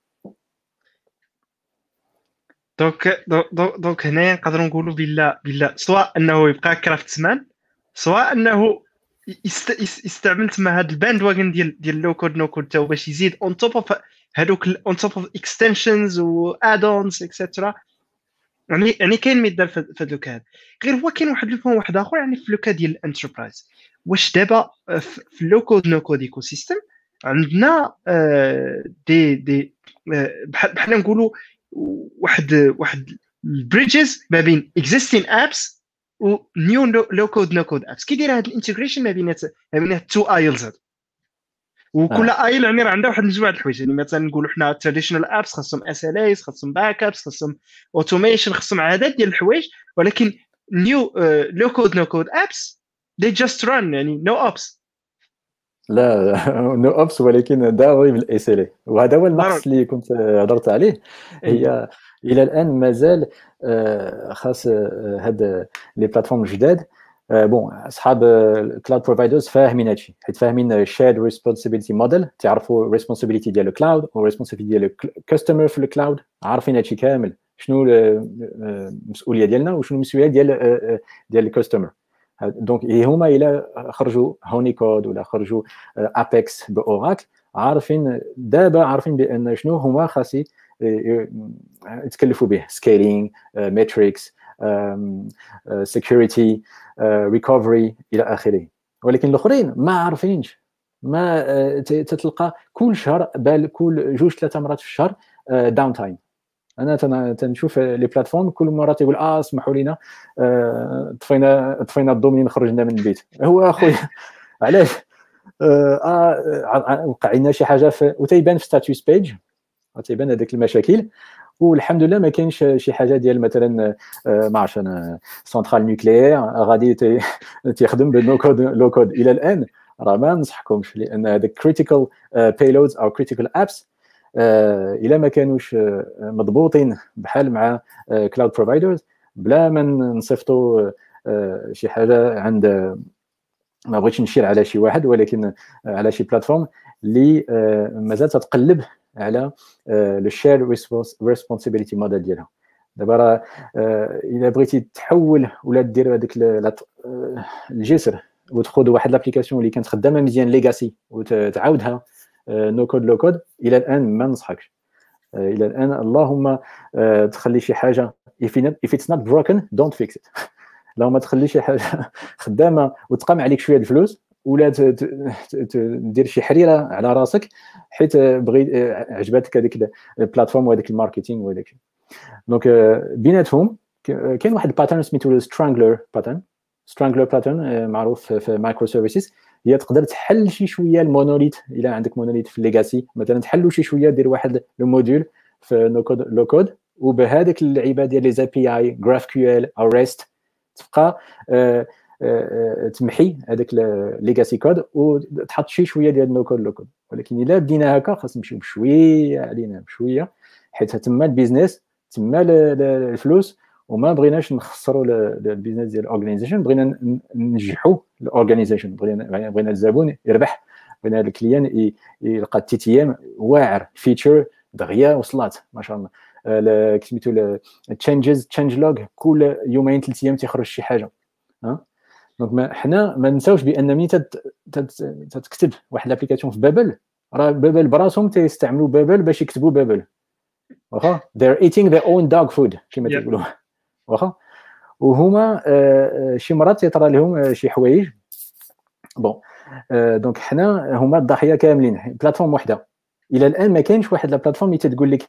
دونك هنايا نقدروا نقولوا بلا سواء انه يبقى كرافت مان، سواء انه يستعمل تما هذا الباند واغن ديال لو كود نو كود تاو باش يزيد اون توب اوف هذوك اون توب اوف اكستنشنز و ادونز اكسترا. يعني كاين ما يدار في هذوك هذا. غير هو كاين واحد البوان واحد اخر، يعني في لوكا ديال الانتربرايز، واش دابا في لو كود نو كود ايكو سيستم عندنا دي بحال نقولوا واحد البريدجز ما بين existing apps و new low code no code apps. كي داير هذا الانتجريشن ما بين التو ايلز هذو، وكل ايل يعني راه عندها واحد مجموعه الحوايج. يعني مثلا نقولوا حنا تراديشنال ابس خاصهم SLAs، خاصهم باك ابس، خاصهم اوتوميشن، خاصهم عدد ديال الحوايج. ولكن new low code no code apps they just run، يعني no ops. لا نو اوبس، ولكن داوي بالاس ال اي، وهذا هو النقص اللي كنت هضرت عليه. هي الى الان مازال خاص هاد لي بلاتفورم الجداد بون اصحاب الكلاود بروفايدرز فاهمين هادشي، حيت فاهمين الشيرد ريسبونسابيلتي موديل، تعرفوا الريسبونسابيلتي ديال الكلاود والريسبونسابيلتي ديال الكاستمر في الكلاود، عارفين هادشي كامل شنو المسؤوليه ديالنا وشنو المسؤوليه ديال الكاستمر. دونك هما الى خرجوا هوني كود ولا خرجوا ابيكس باوراكل، عارفين بان شنو هما خاص يتكلفوا به، سكيلينغ، ماتريكس، سيكوريتي، ريكفري الى اخره. ولكن الاخرين ما عارفينش، ما تتلقى كل شهر بال كل 2-3 مرات في الشهر داون تايم. انا تنشوف لي بلاتفورم كل مره تيقول اسمحوا لنا طفينا الدومين خرجنا من البيت. هو اخويا علاش وقع لنا شي حاجه وتيبان في ستاتوس بيج، تيبان هذيك المشاكل، والحمد لله ما كاينش شي حاجه ديال مثلا ما عرفتش انا سنترال نوكليير غادي تيخدم بالنو كود لو كود. الى الان راه ما ننصحكمش، لان هذاك كريتيكال بايلودز او كريتيكال ابس الى ما كانوش مضبوطين بحال مع كلاود بروفايدرز، بلا ما نصيفطوا شي حاجه عند، ما بغيتش نشير على شي واحد، ولكن على شي بلاتفورم اللي مازال تتقلب على لو شير ريسبونسابيلتي موديل ديالها. دابا راه الا بغيتي تحول ولا دير هذاك الجسر وتاخذ واحد لابليكاسيون اللي كانت خدامه مزيان ليغاسي وتعاودها نو كود لو كود، الى الان ما ننصحكش. الى الان اللهم تخلي شي حاجه if it's not broken don't fix it. لو ما تخليش شي حاجه خدامه وتقام عليك شويه الفلوس، ولا دير شي حريره على راسك حيت بغي عجبتك هذيك البلاتفورم وهذيك الماركتينغ وهذاك. دونك بيناتهم كاين واحد الباترن سميتو سترانجلر باترن معروف في مايكرو سيرفيسز. هي تقدر تحل شي شويه المونوليت، الا عندك مونوليت في الليغاسي مثلا تحلوا شي شويه، دير واحد الموديول في نو كود لو كود، وبهذاك اللعيبه ديال لي زي بي اي جراف كيو ال او ريست تبقى تمحي هذاك الليغاسي كود وتحط شي شويه ديال نو كود لو كود. ولكن الا بدينا هكا خاص نمشيو بشويه علينا بشويه، حيت تما البيزنس تما الفلوس، وما بغيناش نخسروا البيزنس ديال الاورغانيزيشن، بغينا ننجحوا الاورغانيزيشن، بغينا الزبون يربح، بغينا الكليان يلقى التي تي ام واعر، فيتشر دغيا وصلات ما شاء الله. سميتو تشينج لوغ كل 2-3 ايام تيخرج شي حاجه. دونك حنا ما نساوش بان ملي تكتب واحد لابليكاسيون في بابل، راه بابل براسهم تيستعملوا بابل باش يكتبوا بابل، واخا they're eating their own dog food كما تيقولوا، واخا. وهما شي مرات يطرى لهم شي حوايج بون. دونك حنا هما الضحيه كاملين، بلاتفورم وحده. الى الان ما كاينش واحد لا بلاتفورم اللي تقول لك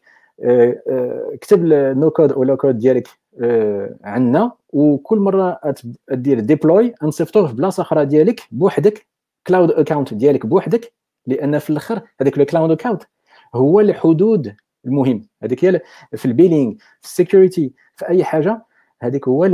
كتب النو كود او لو كود ديالك عندنا، وكل مره دير ديبلوي نصيفطوه في بلاصه اخرى ديالك بوحدك، كلاود اكاونت ديالك بوحدك، لان في الاخر هذاك الكلاود اكاونت هو الحدود المهم. هذيك هي في البيلينغ، في السيكوريتي، في اي حاجه، هذيك هو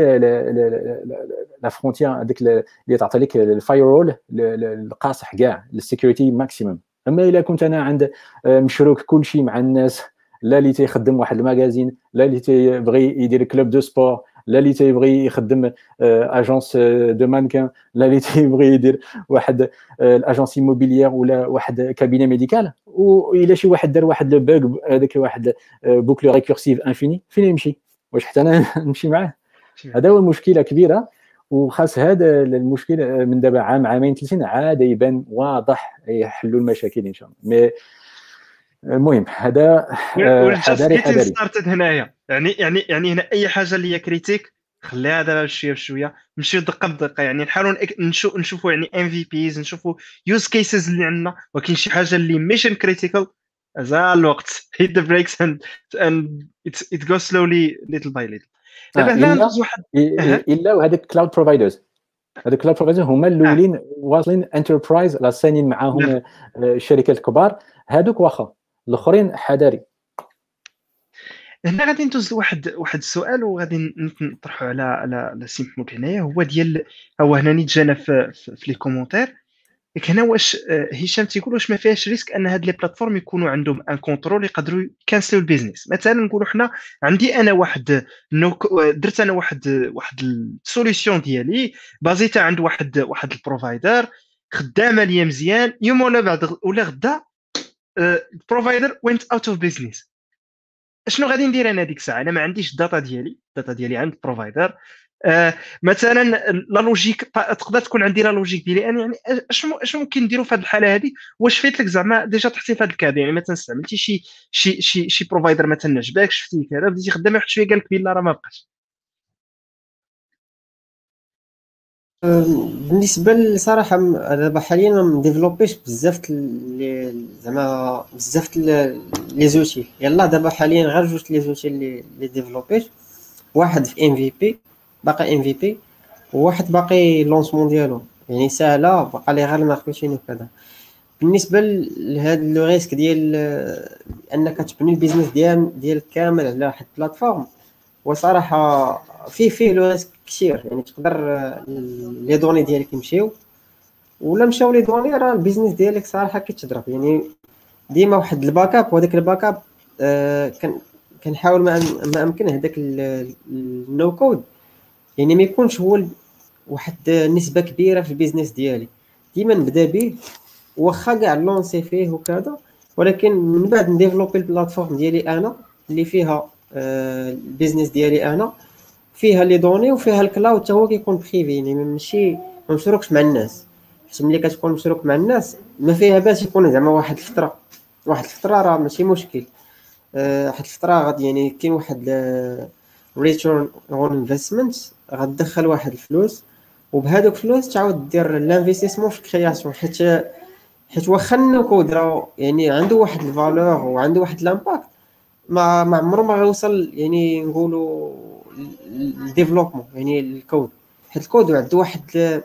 لا فرونتيير، هذيك اللي تعطي لك الفاير رول القاصح كاع للسيكوريتي ماكسيموم. اما الا كنت انا عند مشروك كل شيء مع الناس، لا اللي تيخدم واحد الماغازين، لا اللي تيبغي يدير كلوب دو سبور، لا اللي تيبغي يخدم اجونس دو مانكان، لا اللي تيبغي يدير واحد الاجونس ايموبيليير ولا واحد كابينه ميديكال، والا شي واحد دار واحد لو بوغ هذاك واحد بوكل ريكورسيف انفيني، فين يمشي؟ واش حتى انا نمشي معاه؟ هذا هو المشكله كبيره. وخاص هذا المشكل من دابا عام 2-3 عاد يبان واضح، يحلوا المشاكل ان شاء الله. مي المهم هذا حذاري ستارتد هنايا، يعني هنا اي حاجه اللي هي كريتيك خليها دابا بشويه بشويه، نمشيو دقه بدقه، يعني نحاولوا نشوفوا يعني ام في بيز، نشوفوا يوز كيسز اللي عندنا، ولكن شي حاجه اللي ميشن كريتيكال زال الوقت hit the brakes and it goes slowly little by little. دابا هنا ندوز واحد الا وهذاك كلاود بروفايدرز، هذوك كلاود بروفايدرز هما الاولين واصلين انتربرايز، لا سانين معاهم الشركات الكبار، هذوك واخا الاخرين حذاري. هنا غادي ندوز واحد السؤال وغادي نطرحه على سيمبل هنايا، هو ديال هو هنا نيت جانا في لي كومونتير. ديك هنا واش هشام تيقول واش ما فيهاش ريسك ان هاد لي بلاتفورم يكونوا عندهم ان كونترول يقدروا يكنسلوا البيزنس. مثلا نقولوا حنا عندي انا واحد درت انا واحد السوليسيون ديالي بازيتها عند واحد البروفايدر، خدامه ليا مزيان، يوم ولا بعد ولا غدا البروفايدر وينت اوت اوف بيزنس. شنو غادي ندير انا ديك الساعه؟ انا ما عنديش الداتا ديالي عند البروفايدر. مثلا لا لوجيك تقدر تكون عندي لا لوجيك ديالي انا، يعني اش ممكن نديروا في هذه الحاله هذه؟ واش فايت لك زعما ديجا تحتي في هذا الكاد؟ يعني مثلا استعملتي شي بروفايدر مثلا عجبك، شفتي كذا، بديتي خدامه واحد شويه قال لك بلا راه ما بقاش. بالنسبه للصراحه دابا حاليا ما مديفلوبيش بزاف زعما بزاف لي زوتي. يلا دابا حاليا غير جوج لي زوتي اللي ديفلوبيت، واحد في ام في بي، باقي ام في بي، وواحد باقي لونسمون ديالو يعني ساهله، باقي لي غير الماركتين وكذا. بالنسبه لهذا لو ريسك ديال انك تبني البيزنس ديالك كامل على واحد البلاتفورم، وصراحه فيه لو ريسك كثير. يعني تقدر لي دوني ديالك يمشيو، ولا مشاو لي دوني راه البيزنس ديالك صراحه كيتضرب. يعني ديما واحد الباك اب، وهذاك الباك اب كنحاول ما امكن هذاك النو كود يعني ما يكونش هو واحد نسبه كبيره في البيزنس ديالي. ديما نبدا به واخا كاع لونسي فيه وكذا، ولكن من بعد نديفلوبي البلاتفورم ديالي انا اللي فيها البيزنس ديالي انا، فيها لي دوني وفيها الكلاود حتى هو كيكون بريفي، يعني ماشي ما مشروكش مع الناس. حيت ملي كتكون مشروك مع الناس ما فيها باش يكون زعما واحد الفتره راه ماشي مشكل. واحد الفتره غادي يعني كاين واحد ريتيرن اون انفستمنت، غتدخل واحد الفلوس، وبهذوك الفلوس تعاود دير لانفستيسمون في الكرياسيون. حيت واخا النكود راه يعني عنده واحد الفالور وعنده واحد الامباكت، ما عمره ما غيوصل يعني نقولوا الديفلوبمون يعني الكود. حيت الكود عنده واحد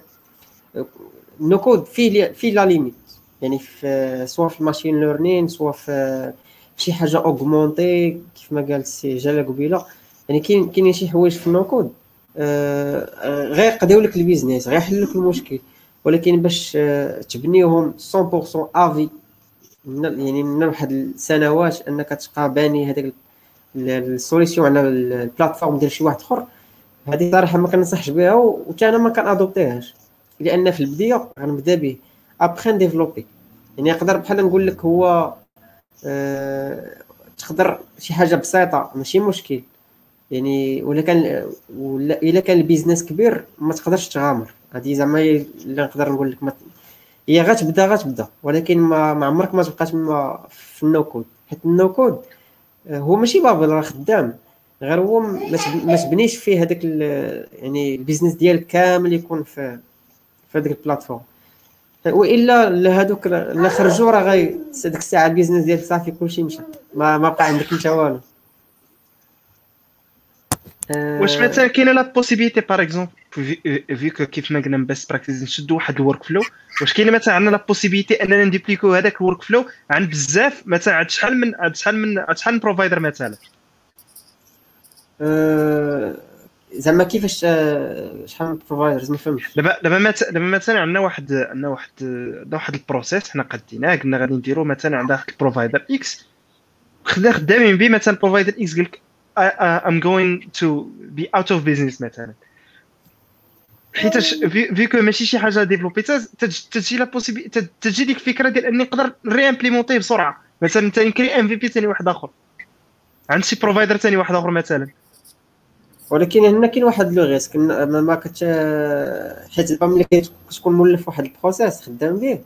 النكود فيه لا ليميت، يعني في سواء في الماشين ليرنين، سواء في شي حاجه اوغمونتي كيف ما قال السي جلال قبيله. يعني كاين شي حوايج في النكود غير قضيو لك البيزنس، غير يحلوا لك المشكل، ولكن باش تبنيهم 100% افي يعني من واحد السنوات انك تبقى باني هذاك السوليسيون على البلاتفورم ديال شي واحد اخر، هذه صراحه ما كنصحش بها، وحتى انا ما كنادوبتيهاش. لان في البدايه غنبدا به ابخي نديفلوبي. يعني نقدر بحال نقول لك هو تقدر شي حاجه بسيطه ماشي مشكل يعني، ولا الا كان البيزنس كبير ما تقدرش تغامر. هذه زعما اللي نقدر نقول لك هي غتبدا، ولكن ما عمرك ما تبقى تما في النو كود. حيت النو كود هو ماشي بابل راه خدام، غير هو ما تبنيش فيه هذاك يعني البيزنس ديالك كامل يكون في هذيك البلاتفورم. والا هذوك لا خرجوا راه غير ديك الساعه البيزنس ديالك صافي كلشي مشى، ما بقى عندك انت والو. واش مثلا كاينه لا بوسيبيليتي باغ اكزومبل فيك كيف ما قلنا من بيست براكتيس نشدوا واحد الورك فلو، واش كاينه مثلا عندنا لا بوسيبيليتي اننا نديبليكو هذاك الورك فلو عند بزاف مثلا عند شحال من بروفايدر مثلا؟ زعما كيفاش شحال من بروفايدرز ما فهمتش. دابا مثلا عندنا واحد البروسيس حنا قديناه، قلنا غادي نديرو مثلا عند واحد البروفايدر اكس، خدامين به مثلا بروفايدر اكس قال لك I'm going to be out of business مثلا، حيتاش فيكو ماشي شي حاجه ديفلوبي تجي لا بوسيبيليتي، تجي ديك الفكره ديال اني نقدر ري امبليمونتي بسرعه. مثلا ثاني كري ام في بي ثاني واحد اخر عند شي بروفايدر ثاني واحد اخر مثلا. ولكن هنا كاين واحد لو ريسك ما حيت دابا ملي كتكون مولف واحد البروسيس خدام به،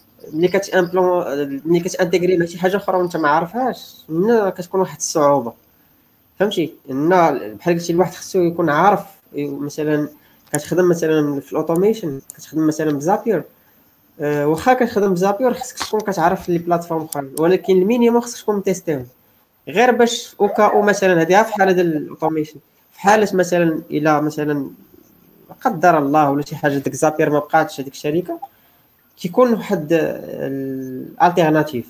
ملي كتانتيغري مع شي حاجه اخرى وانت ما عارفهاش، هنا كتكون واحد الصعوبه. فهمتي؟ هنا بحال قلتي الواحد خصو يكون عارف. مثلا كتخدم مثلا في الاوتوميشن، كتخدم مثلا بزابير، واخا كتخدم بزابير خصك تكون كتعرف لي بلاتفورم اخرين، ولكن المينيموم خصك تكون تيستيهم غير باش او مثلا هذه في حاله ديال الاوتوميشن. في حاله مثلا الى مثلا قدر الله ولا شي حاجه ديك زابير ما بقاتش هذيك الشركه، كيكون واحد الالتيرناتيف.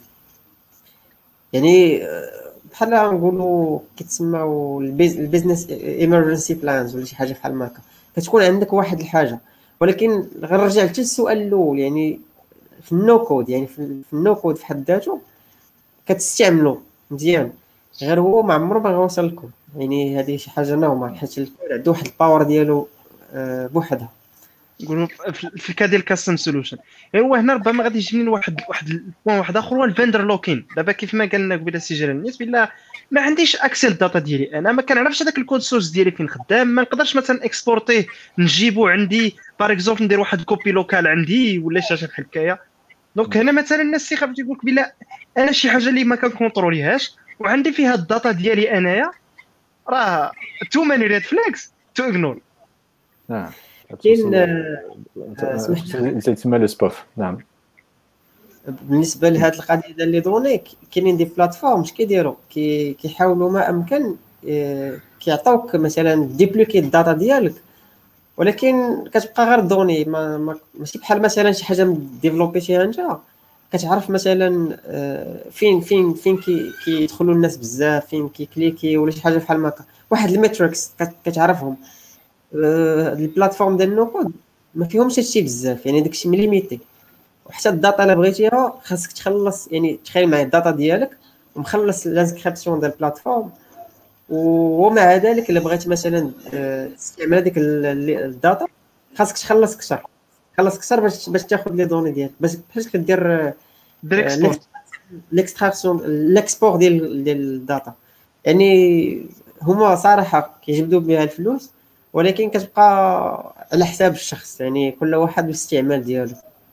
يعني بحال نقولوا كيتسموا البيزنس ايمرجنسي بلانز ولا شي حاجه بحال هكا. كتكون عندك واحد الحاجه، ولكن غنرجع حتى للسؤال الاول، يعني في النو كود، يعني في النو كود في حد ذاته كتستعملو مزيان، غير هو ما عمره ما غيوصل لكم. يعني هذه شي حاجه نورمال، حيت الكود عنده واحد الباور ديالو بوحدها. نقولوا في الكا ديال كاستم سولوشن. هو هنا ربما غادي يجيني واحد البوان واحد اخر، هو الفندر لوكين. دابا كيف ما قالنا قبيله سي جيران الناس بلا ما عنديش اكسل الداتا ديالي، انا ما كنعرفش هذاك الكود سورس ديالي فين خدام، ما نقدرش مثلا اكسبورتيه نجيبو عندي باغ اكزومبل، ندير واحد كوبي لوكال عندي ولا شي حاجه بحال هكايا. دونك هنا مثلا الناس تيخاف تيقول لك بلا انا شي حاجه اللي ما كنكونتروليهاش وعندي فيها الداتا ديالي انايا، راه تو ماني ريد فلاكس تو اغنور. نعم كاين تسمى لو سبوف. نعم بالنسبه لهاد القضيه ديال لي دوني، كاينين دي بلاتفورمز كيديروا كيحاولوا ما امكن كيعطيوك مثلا ديبلوكي الداتا ديالك، ولكن كتبقى غير دوني ماشي بحال مثلا شي حاجه ديفلوبيتيها انت كتعرف مثلا فين كيدخلوا الناس بزاف، فين كيكليكي ولا شي حاجه بحال هكا، واحد الميتريكس كتعرفهم. البلاتفورم ديال نو كود ما فيهمش هادشي بزاف، يعني داكشي مليميتي. وحتى الداتا الا بغيتيها خاصك تخلص، يعني تخيل معايا الداتا ديالك ومخلص لانسكريبسيون ديال البلاتفورم، ومع ذلك الا بغيت مثلا تستعمل هذيك الداتا خاصك تخلص كثر باش تاخذ لي دوني ديالك، باش كدير ليكستراكسيون الاكسبور ديال الداتا. يعني هما صراحه كيجبدوا بها الفلوس، ولكن كتبقى على حساب الشخص، يعني كل واحد بالاستعمال ديالو.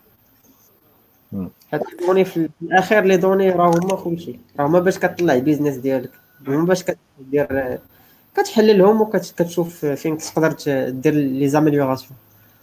حتى دوني في الاخير لي دوني راه هما كلشي، راه هما باش كطلع بيزنس ديالك، هما باش كدير كتحللهم وكتشوف فين تقدر دير لي زاميليوراسيون.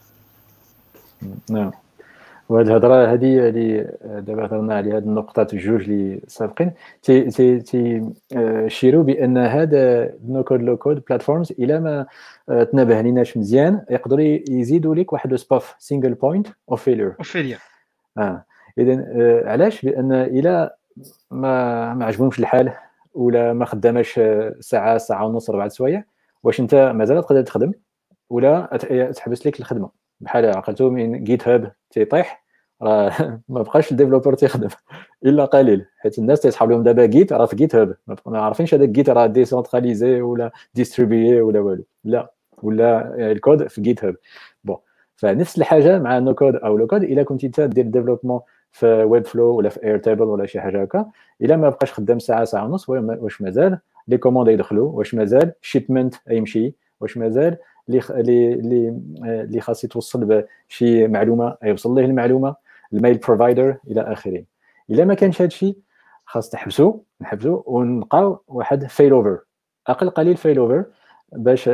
نعم. وهاد الهضره هذه اللي دابا هضرنا على هاد النقطات الجوج اللي سابقين تي شيروا بان هذا نو كود لو كود بلاتفورمز الى ما تنبه ليناش مزيان يقدروا يزيدوا لك واحد سبوف سينجل بوينت اوف فيلير. اذا علاش؟ لان الى ما عجبهمش الحال ولا ما خداماش ساعه ونص 4 سوايع، واش انت مازال تقدر تخدم ولا تحبس لك الخدمه؟ بحال عقلتو من جيت هاب تيطيح، راه ما بقاش الديفلوبر تيخدم الا قليل، حيت الناس تيصحاب لهم دابا جيت راه في جيت هاب، ما عارفينش هذاك جيت راه ديسونتراليزي ولا ديستريبيي ولا والو، لا ولا الكود في جيت هاب. بون فنفس الحاجه مع نو كود او لو كود. الا كنتي تدير ديفلوبمون في ويب فلو ولا في اير تيبل ولا شي حاجه هكا، الا ما بقاش خدام ساعه ونص، واش مازال لي كوموند يدخلوا؟ واش مازال شيبمنت يمشي؟ واش مازال اللي خاص يتوصل بشي معلومه يوصل ليه المعلومه، الميل بروفايدر الى اخره؟ الا ما كانش هذا الشيء خاص نحبسوا ونلقاو واحد فيل اوفر، اقل قليل فيل اوفر، باش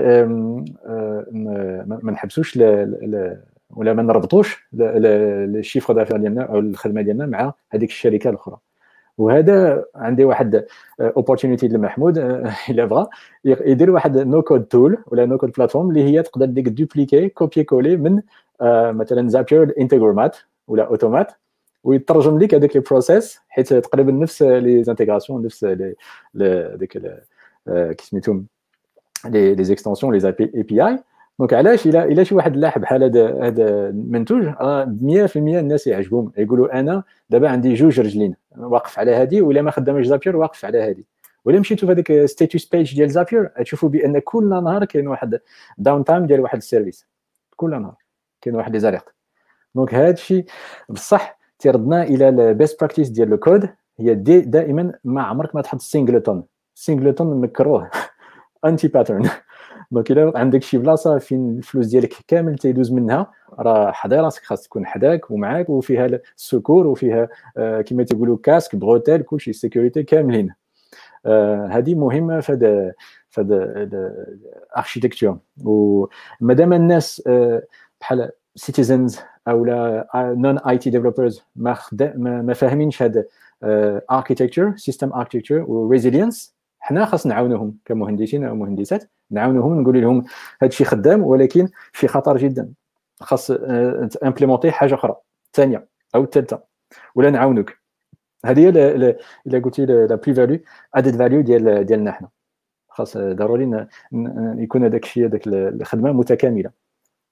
ما نحبسوش ولا ما نربطوش الشيفر دافير ديالنا او الخدمه ديالنا مع هذيك الشركه الاخرى. وهذا عندي واحد اوبورتونيتي لمحمود الا بغى يدير واحد نو كود تول ولا نو كود بلاتفورم اللي هي تقدر ديك دوبليكي كوبي كولي من مثلا زابير انتجرمات ولا اوتومات، ويترجم لك هذاك البروسيس، حيت تقريبا نفس لي زانتيغراسيون، نفس ديك كي سميتهم لي زيكستنسيون لي اي بي اي. دونك علاش الا شي واحد لاح بحال هذا المنتوج 100% الناس يعجبهم، يقولوا انا دابا عندي جوج رجلين واقف على هذه، ولا ما خدامش زابير واقف على هذه. ولا مشيتوا في هذيك ستاتوس بيج ديال زابير تشوفوا بان كل نهار كاين واحد داون تايم ديال واحد السيرفيس، كل نهار كاين واحد لي زاليرت. دونك هذا الشيء بصح تيردنا الى البيست براكتيس ديال الكود، هي دائما ما عمرك ما تحط سينجلتون مكروه انتي باترن. دونك الا عندك شي بلاصه فين الفلوس ديالك كامل تيدوز منها، راه حضي راسك، خاص تكون حداك ومعاك وفيها السكور وفيها كما تيقولوا كاسك بروتيل كلشي سيكوريتي كاملين. هذه مهمه في هذا الاركيتكتور. ومادام الناس بحال سيتيزنز او نون اي تي ديفلوبرز ما فاهمينش هذا اركيتكتور سيستم اركيتكتور وريزيلينس، حنا خاص نعاونوهم كمهندسين او مهندسات، نعاونوهم نقول لهم هذا الشيء خدام ولكن في خطر جدا، خاص تامبليمونتي حاجه اخرى ثانيه او الثالثه، ولا نعاونوك. هذه هي الا قلتي لا بري فاليو ادد فاليو ديالنا حنا، خاص ضروري يكون هذاك الشيء، هذاك الخدمه متكامله.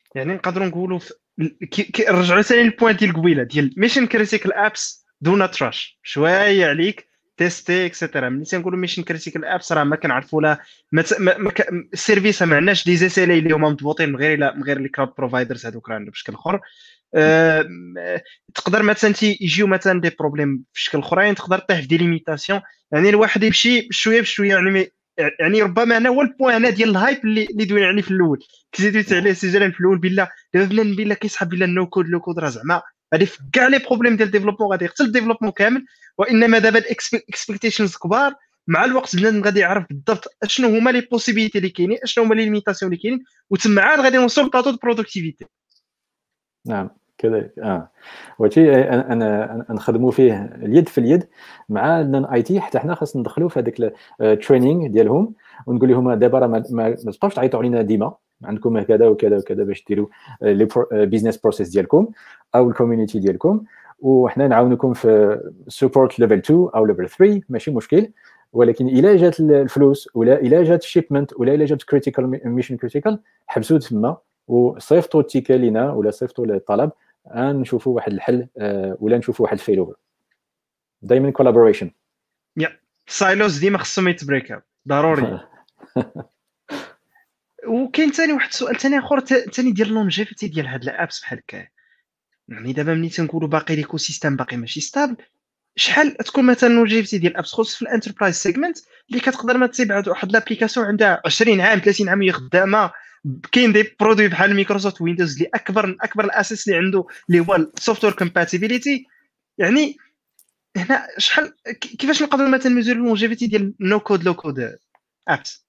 يعني نقدروا نقولوا رجعوا ثاني البوان ديال قبيله ديال ميشن كريتيكال ابس دون تراش شويه عليك تيستي اكسيتيرا. ملي تنقولوا ميشن كريتيكال ابس راه ما كنعرفوا لا السيرفيس ما عندناش دي زي سي اللي هما مضبوطين من غير الكلاود بروفايدرز هذوك راه عندهم بشكل اخر. تقدر مثلا يجيو مثلا دي بروبليم في شكل اخرين، تقدر طيح في دي ليميتاسيون. يعني الواحد يمشي بشويه بشويه يعني ربما انا هو البوان هنا ديال الهايب اللي دوينا عليه في الاول، كزيدوت عليه سجلا في الاول بالله دابا بنادم بالله كيسحب بالله النو كود لو كود راه زعما غادي في كاع لي بروبليم ديال الديفلوبمون غادي يقتل الديفلوبمون كامل. وانما دابا الاكسبكتيشنز كبار، مع الوقت بنادم غادي يعرف بالضبط اشنو هما لي بوسيبيليتي اللي كاينين، اشنو هما لي ليميتاسيون اللي كاينين، وتما عاد غادي نوصلوا لبلاطو دو برودكتيفيتي. نعم كذلك. وهادشي انا نخدموا فيه اليد في اليد مع النون اي تي، حتى حنا خاص ندخلوا في هذاك التريننج ديالهم ونقول لهم دابا راه ما تبقاوش تعيطوا علينا ديما، عندكم كذا وكذا وكذا باش ديروا لي بيزنس بروسيس ديالكم او الكوميونيتي ديالكم، وحنا نعاونكم في سبورت ليفل 2 او ليفل 3 ماشي مشكل. ولكن الا جات الفلوس ولا الا جات الشيبمنت ولا الا جات كريتيكال ميشن كريتيكال، حبسوا تما وصيفطوا التيكا لينا ولا صيفطوا الطلب، نشوفوا واحد الحل ولا نشوفوا واحد الفيلوفر. دائما كولابوريشن. يا سايلوز ديما خصهم يتبريكاو ضروري. وكاين ثاني واحد السؤال ثاني اخر ثاني ديال لونجيفيتي ديال هاد الابس بحال هكا. يعني دابا ملي تنقولوا باقي ليكو سيستم باقي ماشي ستابل، شحال تكون مثلا لونجيفيتي ديال الابس خصوصا في الانتربرايز سيجمنت اللي كتقدر ما تبعد واحد لابليكاسيون عندها 20 عام 30 عام هي خدامه. كاين دي برودوي بحال مايكروسوفت ويندوز اللي اكبر الاساس اللي عنده اللي هو السوفتوير كومباتيبيليتي. يعني هنا شحال كيفاش نقدروا مثلا نميزوري لونجيفيتي ديال نو كود لو كود ابس؟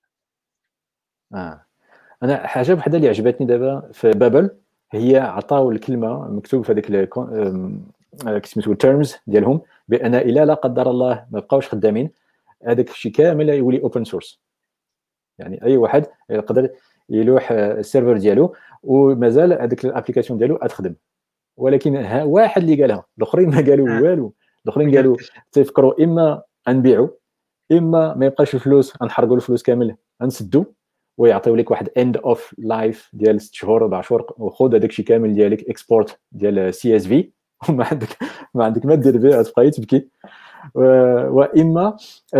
انا حاجه وحده اللي عجبتني دابا في بابل، هي عطاو الكلمه مكتوب في هذيك سميتو التيرمز ديالهم بان الا لا قدر الله ما بقاوش خدامين هذاك الشيء كامل يولي اوبن سورس. يعني اي واحد يقدر يلوح السيرفر ديالو ومازال هذيك الابليكاسيون ديالو تخدم. ولكن واحد اللي قالها، الاخرين ما قالوا والو. الاخرين قالوا تفكروا اما نبيعوا اما ما يبقاش الفلوس، نحرقوا الفلوس كامل نسدوا ويعطيو لك واحد اند اوف لايف ديال 6 شهور 4 شهور، وخذ هذاك الشيء كامل ديالك اكسبورت ديال سي اس في وما عندك ما دير به، تبقى تبكي. واما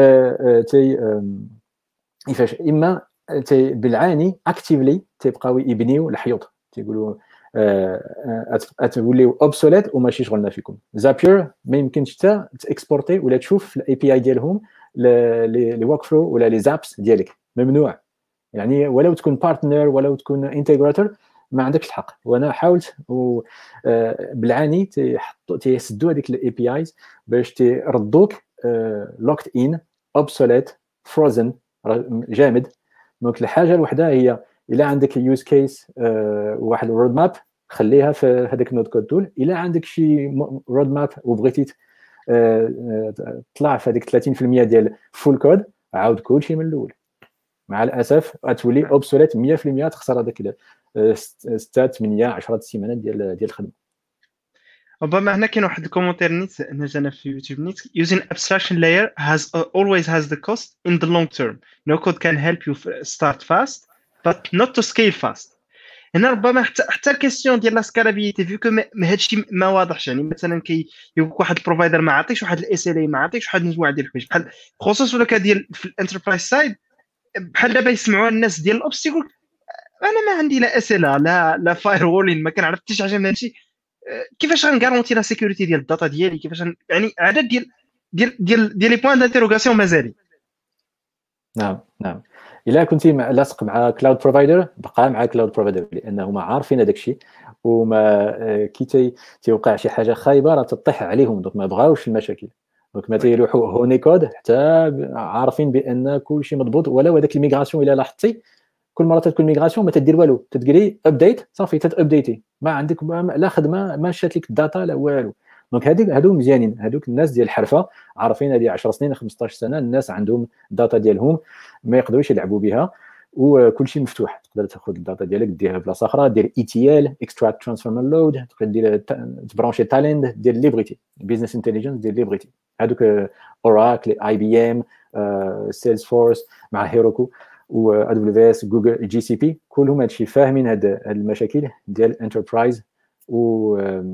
كيفاش اما بالعاني اكتيفلي تيبقاو يبنيو الحيوط، تيقولوا توليو اوبسوليت وماشي شغلنا فيكم. زابير ما يمكنش حتى تاكسبورتي ولا تشوف في الاي بي اي ديالهم لي ورك فلو ولا لي زابس ديالك، ممنوع. يعني ولو تكون بارتنر ولو تكون انتجراتور ما عندكش الحق. وانا حاولت بالعاني تيسدوا هذيك الاي بي ايز باش تردوك لوكت ان اوبسوليت فروزن جامد. دونك الحاجه الوحده هي الا عندك يوز كيس واحد رود ماب خليها في هذاك النود كود تول. الا عندك شي رود ماب وبغيتي تطلع في هذيك 30% ديال فول كود، عاود كلشي من الاول. مع الاسف غتولي اوبسوليت 100%، تخسر هذاك 6 8 10 سيمانات ديال الخدمه. ربما هنا كاين واحد الكومونتير نيت نزلنا في يوتيوب نيت using abstraction layer always has the cost in the long term. No code can help you start fast but not to scale fast. هنا ربما حتى الكيستيون ديال لا سكالابيليتي فيكو هادشي ما واضحش. يعني مثلا يقول واحد البروفايدر ما عطيش واحد الاس ال اي، ما عطيش واحد مجموعه ديال الحوايج بحال خصوصا ولا ديال في الانتربرايز سايد. بحال دابا يسمعوا الناس ديال الاوبس يقول انا ما عندي لا اس ال لا فاير وولين، ما كنعرف حتى شي حاجه من هادشي. كيفاش غنغارونتي لا سيكوريتي ديال الداتا ديالي؟ كيفاش يعني عدد ديال لي بوين دانتيروغاسيون مازالين. نعم الا كنتي لاصق مع كلاود بروفايدر بقى مع كلاود بروفايدر، لانه ما عارفين هذاك الشيء. وما كي تيوقع شي حاجه خايبه راه تطيح عليهم، دونك ما بغاوش المشاكل. دونك ما تيلوحوا هوني كود حتى عارفين بان كل شيء مضبوط. ولو هذاك الميغراسيون الا لاحظتي كل مره تكون ميغراسيون ما تدير والو، تديري ابديت صافي تابديتي، ما عندك لا خدمه ما شات لك الداتا لا والو. دونك هادو مزيانين، هادوك الناس ديال الحرفه عارفين هذه 10 سنين 15 سنه الناس عندهم الداتا ديالهم ما يقدروش يلعبوا بها، وكل شيء مفتوح. تقدر تاخذ الداتا ديالك ديرها بلاصه اخرى، دير اي تي ال اكستراكت ترانسفورم لود، تقدر دير تبرونشي تالنت دير اللي بغيتي، بيزنس انتليجنس دير اللي بغيتي. هذوك اوراكل اي بي ام سيلز فورس مع هيروكو و ادو دبليو اس جوجل جي سي بي كلهم هادشي فاهمين هاد المشاكل ديال الانتربرايز و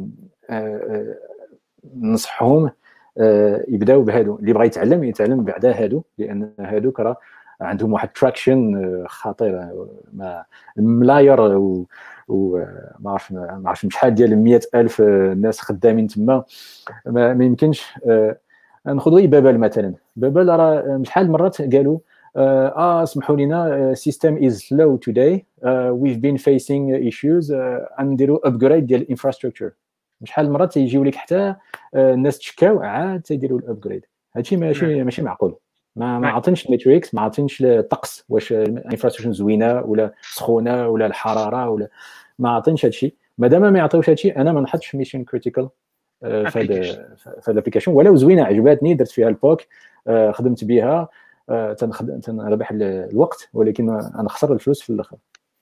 نصحهم يبداو بهادو اللي بغى يتعلم بعدا هادو لان هادوك راه عندهم واحد تراكشن خطير ما ملاير وما عرفش شحال ديال 100,000 ناس خدامين تما ما يمكنش ناخذوا بابل مثلا بابل راه شحال مرات قالوا اسمحوا لنا system is slow today we've been facing issues نديروا upgrade ديال الانفراستراكشر شحال مرات تيجيو لك حتى الناس تشكاو عاد تيديروا الابجريد هادشي ماشي معقول ما عاطينش الماتريكس ما عاطينش الطقس واش الانفراستراكشر زوينه ولا سخونه ولا الحراره ولا ما عاطينش هادشي مادام ما يعطيوش هادشي انا ما نحطش ميشن كريتيكال في الابليكيشن ولو زوينه عجباتني درت فيها البوك خدمت بها تنربح الوقت ولكن انا خسر الفلوس في الاخر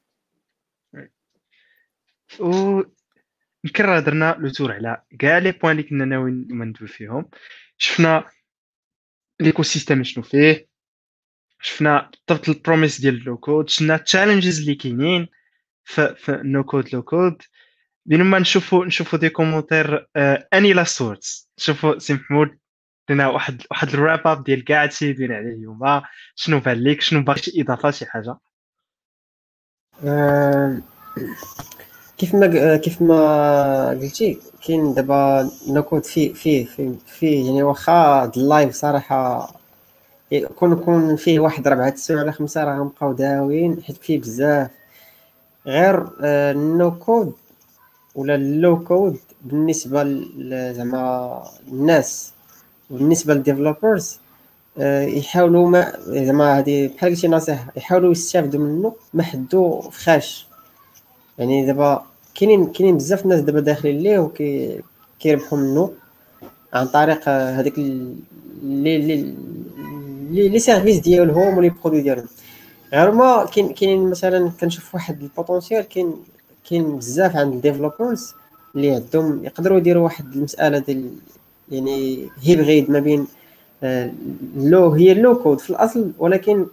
يمكن درنا لو تور على كاع لي بوين اللي كنا ناويين ندوي فيهم شفنا ليكو سيستيم شنو فيه شفنا بالضبط البروميس ديال اللو كود شفنا التشالنجز اللي كاينين في نو كود لو كود بينما نشوفوا دي كومونتير اني لا سورتس نشوفوا سي محمود لنا واحد الراب اب ديال كاع هادشي اللي دايرين عليه اليوم شنو بان لك شنو باغي شي اضافه شي حاجه كيف ما قلتي كاين دابا نوكود فيه يعني واخا اللايف صراحه يكون فيه واحد 4 سوايع ولا 5 راه غنبقاو داويين حيت فيه بزاف غير النوكود ولا اللو كود بالنسبه زعما الناس وبالنسبه للديفلوبرز يحاولوا ما زعما هذه بحال قلتي نصيحه يحاولوا يستافدوا منه ما حدو فخاش يعني دابا كاينين بزاف الناس دابا داخلين ليه وكيربحوا منه عن طريق هذيك لي سيرفيس ديالهم ولي برودوي ديالهم غير ما كاين مثلا كنشوف واحد البوتونسيال كاين بزاف عند الديفلوبرز اللي عندهم يقدروا يديروا واحد المساله ديال يعني هيبريد ما بين هي اللو كود في الاصل ولكن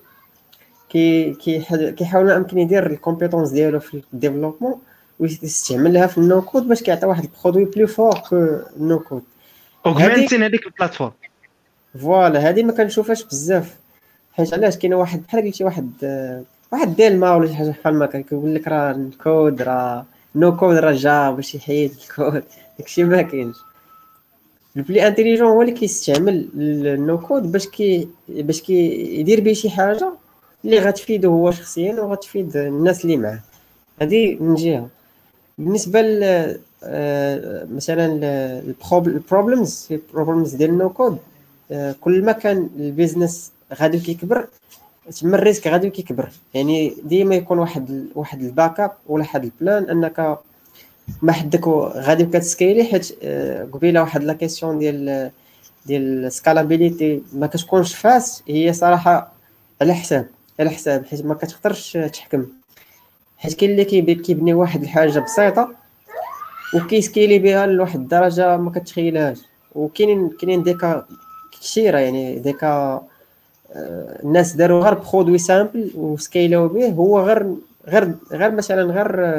كيحاول يمكن يدير الكومبيتونس ديالو في الديفلوبمون ويستعملها في النو كود باش كيعطي واحد البرودوي بلو فور كو النو كود اوغمنتين هذيك البلاتفورم فوالا هذه ما كنشوفهاش بزاف حيت علاش كاين واحد بحال قلتي واحد ديال ما ولا شي حاجه بحال ما كيقول لك راه الكود راه نو كود راه جا باش يحيد الكود داكشي ما كاينش البلي انتيليجون هو اللي كيستعمل النو كود باش يدير به شي حاجه اللي غتفيده هو شخصيا وغتفيد الناس اللي معاه هذه من جهه بالنسبه مثلا البروبلمز ديال النو كود كل ما كان البيزنس غادي كيكبر تما الريسك غادي كيكبر يعني ديما يكون واحد الباك اب ولا واحد البلان انك ما حدك غادي كتسكيلي حيت قبيله واحد لا كيسيون ديال سكالابيليتي ما كتكونش فاس هي صراحه على حساب حيت ما كتقدرش تحكم حيت كاين اللي كيبني واحد الحاجه بسيطه وكيسكيلي بها لواحد الدرجه ما كتخيلهاش وكاينين ديكا كثيره يعني ديكا الناس داروا غير برودوي سامبل وسكيلاو به هو غير مثلا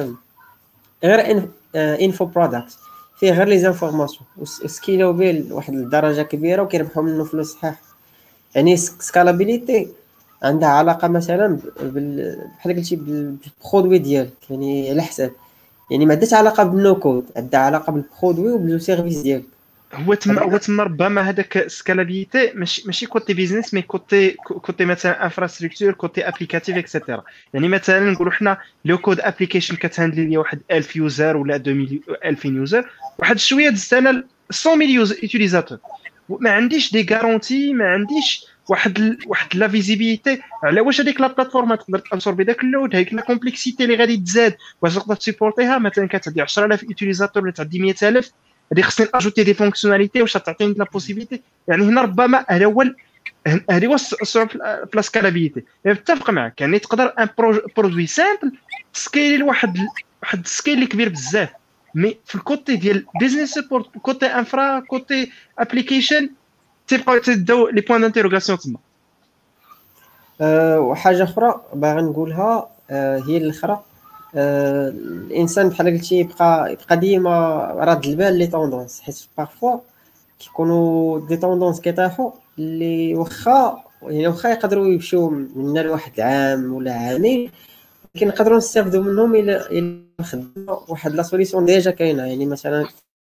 غير انفو برودكت فيه غير لي زانفورماسيون وسكيلاو به لواحد الدرجه كبيره وكيربحوا منه فلوس صحيح يعني سكالابيليتي عندها علاقه مثلا بحال قلتي بالبرودوي ديالك يعني على حساب يعني ما عندهاش علاقه بالنو كود عندها علاقه بالبرودوي وبالسيرفيس ديالك هو تما ربما هذاك سكالابيليتي ماشي كوتي بيزنس مي كوتي مثلا انفراستركتور كوتي ابليكاتيف اكسيتيرا يعني مثلا نقولوا حنا لو كود ابليكيشن كتهاندلي لي واحد 1000 يوزر ولا 2000 يوزر واحد شويه دزت انا 100000 يوتيليزاتور ما عنديش دي غارونتي ما عنديش واحد لا فيزيبيليتي على واش هذيك لا بلاتفورم تقدر تابسوربي داك اللود هذيك لا كومبلكسيتي اللي غادي تزاد واش تقدر تسيبورتيها مثلا كتعدي 10000 يوتيليزاتور ولا تعدي 100000 هذه خصني اجوتي دي فونكسيوناليتي واش تعطيني لا بوسيبيليتي يعني هنا ربما هذا هو هذه هو الصعوبه في لا سكالابيليتي متفق معك يعني تقدر ان برودوي سامبل سكيلي لواحد السكيل اللي كبير بزاف مي في الكوتي ديال بيزنس سبورت كوتي انفرا كوتي ابليكيشن تيبقاو تداو لي بوين دانتيروغاسيون تما وحاجه اخرى باغي نقولها هي الاخرى. الانسان بحال قلتي يبقى ديما راد البال لي طوندونس، حيت بارفوا كيكونوا دي طوندونس كيطيحوا اللي واخا يقدروا يمشيو منا لواحد العام ولا عامين، لكن نقدروا نستافدوا منهم الى خدمنا واحد لا سوليسيون ديجا كاينه. يعني مثلا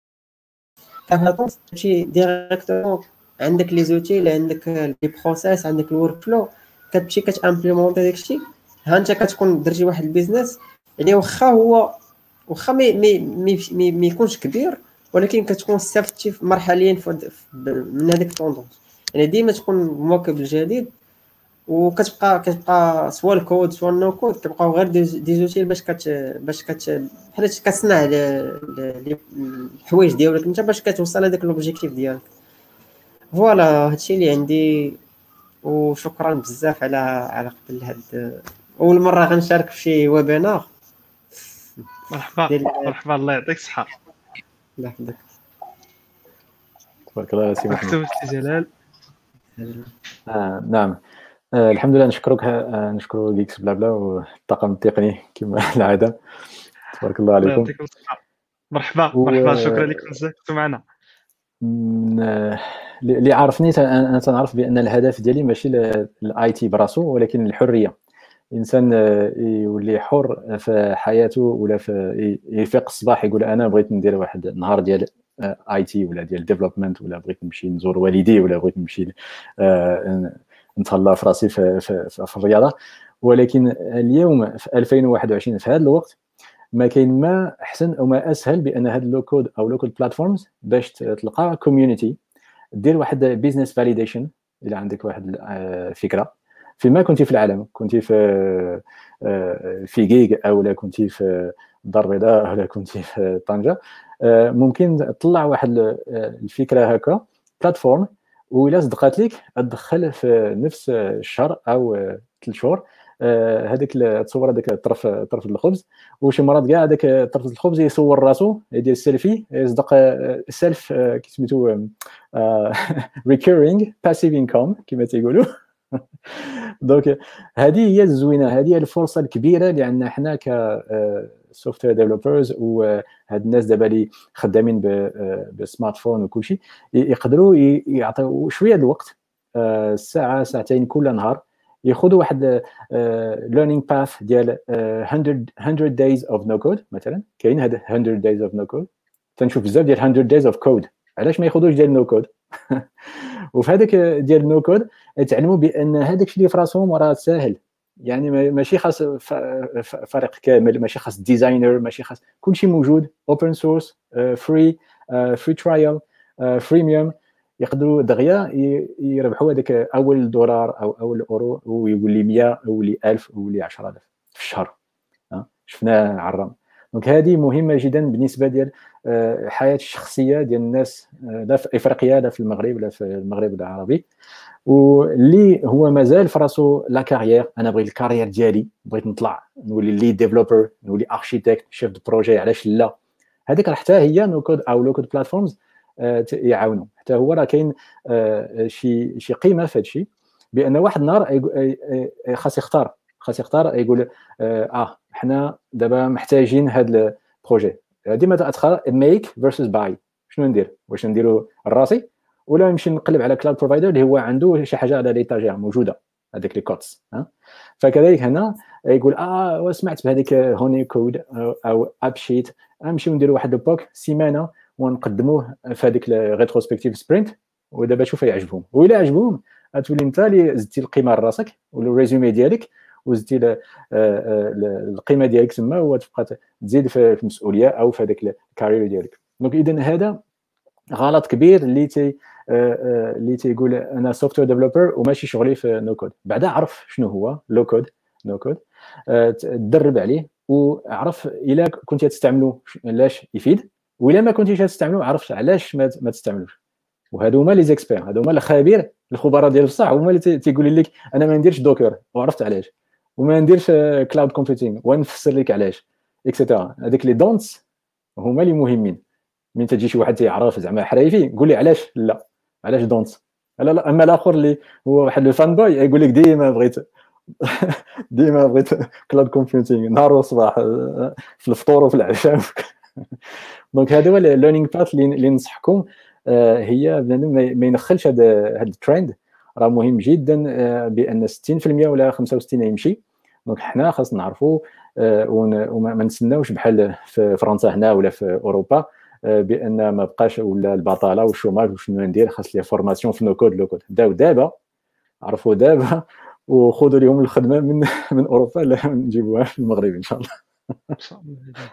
تمشي ديريكتومون عندك لي زوتي اللي عندك لي بروسيس، عندك الورك فلو، كتمشي كتامبليمونتي داكشي. ها انت كتكون درتي واحد البيزنس يعني واخا ما يكونش كبير، ولكن كتكون استفدتي مرحليا من هذيك الطوندونس. يعني ديما تكون مواكب الجديد، كتبقى سوا الكود سوا النو كود كيبقاو غير دي زوتيل باش بحال كتصنع الحوايج ديالك انت باش كتوصل لهذاك لوبجيكتيف ديالك. فوالا هادشي اللي عندي، وشكرا بزاف على قبل هاد اول مره غنشارك في شي ويبينار. مرحبا الله يعطيك الصحه. الله يحفظك. تبارك الله سي محمد. مكتوب سي جلال. نعم. الحمد لله نشكروا جيكس بلا بلا والطاقم التقني كما العاده. تبارك الله عليكم. يعطيكم الصحه. مرحبا شكرا لكم بزاف كنتوا معنا. اللي عارفني انا تنعرف بان الهدف ديالي ماشي الاي تي براسو، ولكن الحريه. الانسان يولي حر في حياته، ولا في يفيق الصباح يقول انا بغيت ندير واحد النهار ديال اي تي ولا ديال ديفلوبمنت، ولا بغيت نمشي نزور والدي، ولا بغيت نمشي نتهلا في راسي في الرياضه. ولكن اليوم في 2021 في هذا الوقت ما كاين ما احسن او ما اسهل بان هاد لو كود او لو كود بلاتفورمز باش تلقى كوميونيتي، دير واحد بيزنس فاليديشن. الا عندك واحد فكره فيما كنتي في العالم، كنتي في جيج او لا كنتي في الدار البيضاء ولا كنتي في طنجه، ممكن تطلع واحد الفكره هكا بلاتفورم، وإلا صدقات لك تدخل في نفس الشهر او 3 شهور هذيك تصور هذاك طرف الخبز، وشي مرات كاع هذاك طرف الخبز يصور راسو يدير السيلفي، يصدق سيلف كيسميتو ريكورينغ باسيف انكم كما تيقولوا. دونك هذه هي الزوينه، هذه هي الفرصه الكبيره اللي عندنا حنا ك سوفتوير ديفلوبرز، وهاد الناس دابا اللي خدامين بالسمارت فون وكل شيء، يقدروا يعطيو شويه الوقت، ساعه ساعتين كل نهار، ياخذوا واحد ليرنينغ باث ديال 100 days of no code. مثلا كاين هذا 100 days of no code، تنشوف بزاف ديال 100 days of code، علاش ما ياخذوش ديال نو كود؟ وفي هذاك ديال نو كود تعلموا بان هذاك الشيء اللي في راسهم راه ساهل. يعني ماشي خاص فريق كامل، ماشي خاص ديزاينر، ماشي خاص، كل شيء موجود اوبن سورس، فري ترايل، فريميوم، يقدروا دغيا يربحوا هذاك اول دولار او اول اورو، ويقول لي 100 او لي 1000 او لي 10000 في الشهر. شفناه عرام. دونك هذه مهمه جدا بالنسبه ديال الحياه الشخصيه ديال الناس، لا في افريقيا لا في المغرب لا في المغرب العربي، واللي هو مازال في راسو لا كارير. انا بغيت الكارير ديالي، بغيت نطلع نولي ليد ديفلوبر، نولي اركيتكت، شيف دو بروجي، علاش لا؟ هذيك حتى هي نو كود او لو كود بلاتفورمز يعاونوا. حتى هو راه كاين شي قيمه في هذا الشيء، بان واحد النهار خاص يختار يقول حنا دابا محتاجين هذا البروجي. ديما تدخل ميك فيرسز باي، شنو ندير؟ واش نديرو راسي ولا نمشي نقلب على كلاود بروفايدر اللي هو عنده شي حاجه على ليتاجير موجوده، هذيك لي كوتس. فكذلك هنا يقول وسمعت بهذيك هوني كود او اب شيت، نمشيو نديروا واحد البوك سيمانه ونقدموه في هذيك الريتروسبكتيف سبرنت، ودابا شوف يعجبهم. وإلا عجبهم تولي انت اللي زدتي القيمه لراسك والريزومي ديالك، وزدتي القيمه ديالك تما، وتبقى تزيد في المسؤوليه او في هذاك الكارير ديالك. دونك اذا هذا غلط كبير اللي تيقول انا سوفتوير ديفلوبر وماشي شغلي في نو كود. بعدا عرف شنو هو لو كود، نو كود، تدرب عليه وعرف الا كنتي تستعملو علاش يفيد، والا ما كنتيش تستعملو عرفت علاش ما تستعملوش. وهادو هما لي زيكسبير، هادو هما الخبراء ديال بصح، هما اللي تيقول لك انا ما نديرش دوكر وعرفت علاش، وما نديرش كلاود كومبيوتينغ ونفسر لك علاش اكسيتيرا. هذيك لي دونتس هما اللي مهمين. من تجي شي واحد تيعرف زعما حرايفي قول لي علاش دونتس لا. اما الاخر اللي هو واحد الفان بوي يقول لك ديما بغيت ديما بغيت كلاود كومبيوتينغ نهار وصباح في الفطور وفي العشاء. دونك هذا هو الليرنينغ باث اللي ننصحكم. هي بنادم ما ينخلش هذا الترند، راه مهم جدا بان 60% ولا 65 يمشي. دونك حنا خاصنا نعرفوا وما نتسناوش بحال في فرنسا هنا ولا في اوروبا بان ما بقاش ولا البطاله والشوماج وشنو ندير، خاص لي فورماسيون في نو كود لو كود. بداو دابا، عرفوا دابا وخذوا لهم الخدمه من اوروبا، لا نجيبوها في المغرب ان شاء الله. ان شاء الله.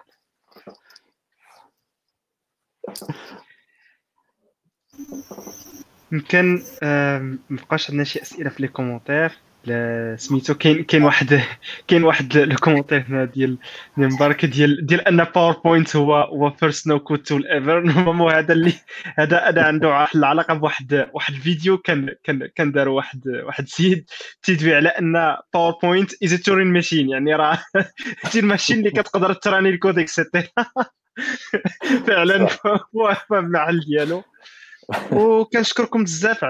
يمكن مابقاش عندنا شي اسئله في لي كومونتير. سميتو كاين واحد لو كومونتير هنا ديال مبارك ديال ان باوربوينت هو فيرست نو كود تول ايفر. نورمالمون هذا عنده العلاقه بواحد الفيديو كان دار واحد سيد تيدوي على ان باوربوينت از تورين ماشين، يعني راه شي الماشين اللي كتقدر تراني الكود اكسيتيرا. فعلا هو المحل ديالو. وكنشكركم بزاف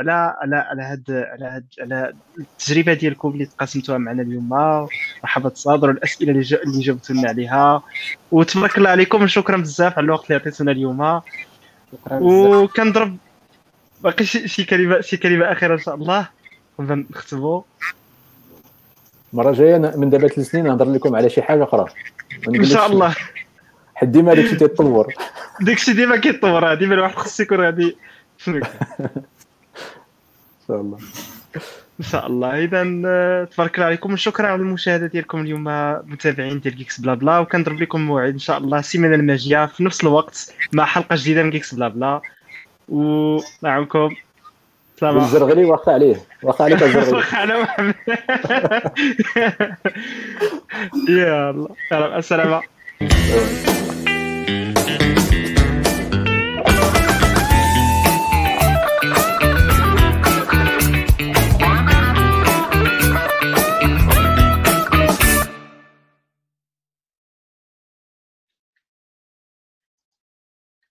على التجربه ديالكم اللي تقاسمتوها معنا اليوم. مرحبا تصادروا الاسئله اللي جاوبتوا لنا عليها، وتبارك الله عليكم. شكرا بزاف على الوقت اللي عطيتونا اليوم. وكنضرب باقي شي كلمه اخيره ان شاء الله قبل نختموا. المره الجايه من دابا 3 سنين نهضر لكم على شي حاجه اخرى ان شاء الله. حد ديما داكشي تيتطور، داكشي ديما كيتطور، ديما الواحد خصو يكون غادي ان شاء الله. ان شاء الله. اذا تبارك الله عليكم، وشكرا على المشاهده ديالكم اليوم متابعين ديال جيكس بلا بلا. وكنضرب لكم موعد ان شاء الله السيمانه الماجيه في نفس الوقت مع حلقه جديده من جيكس بلا بلا. ومعكم سلام. الزرغلي واخا عليك الزرغلي. واخا انا محمد. يلا السلام.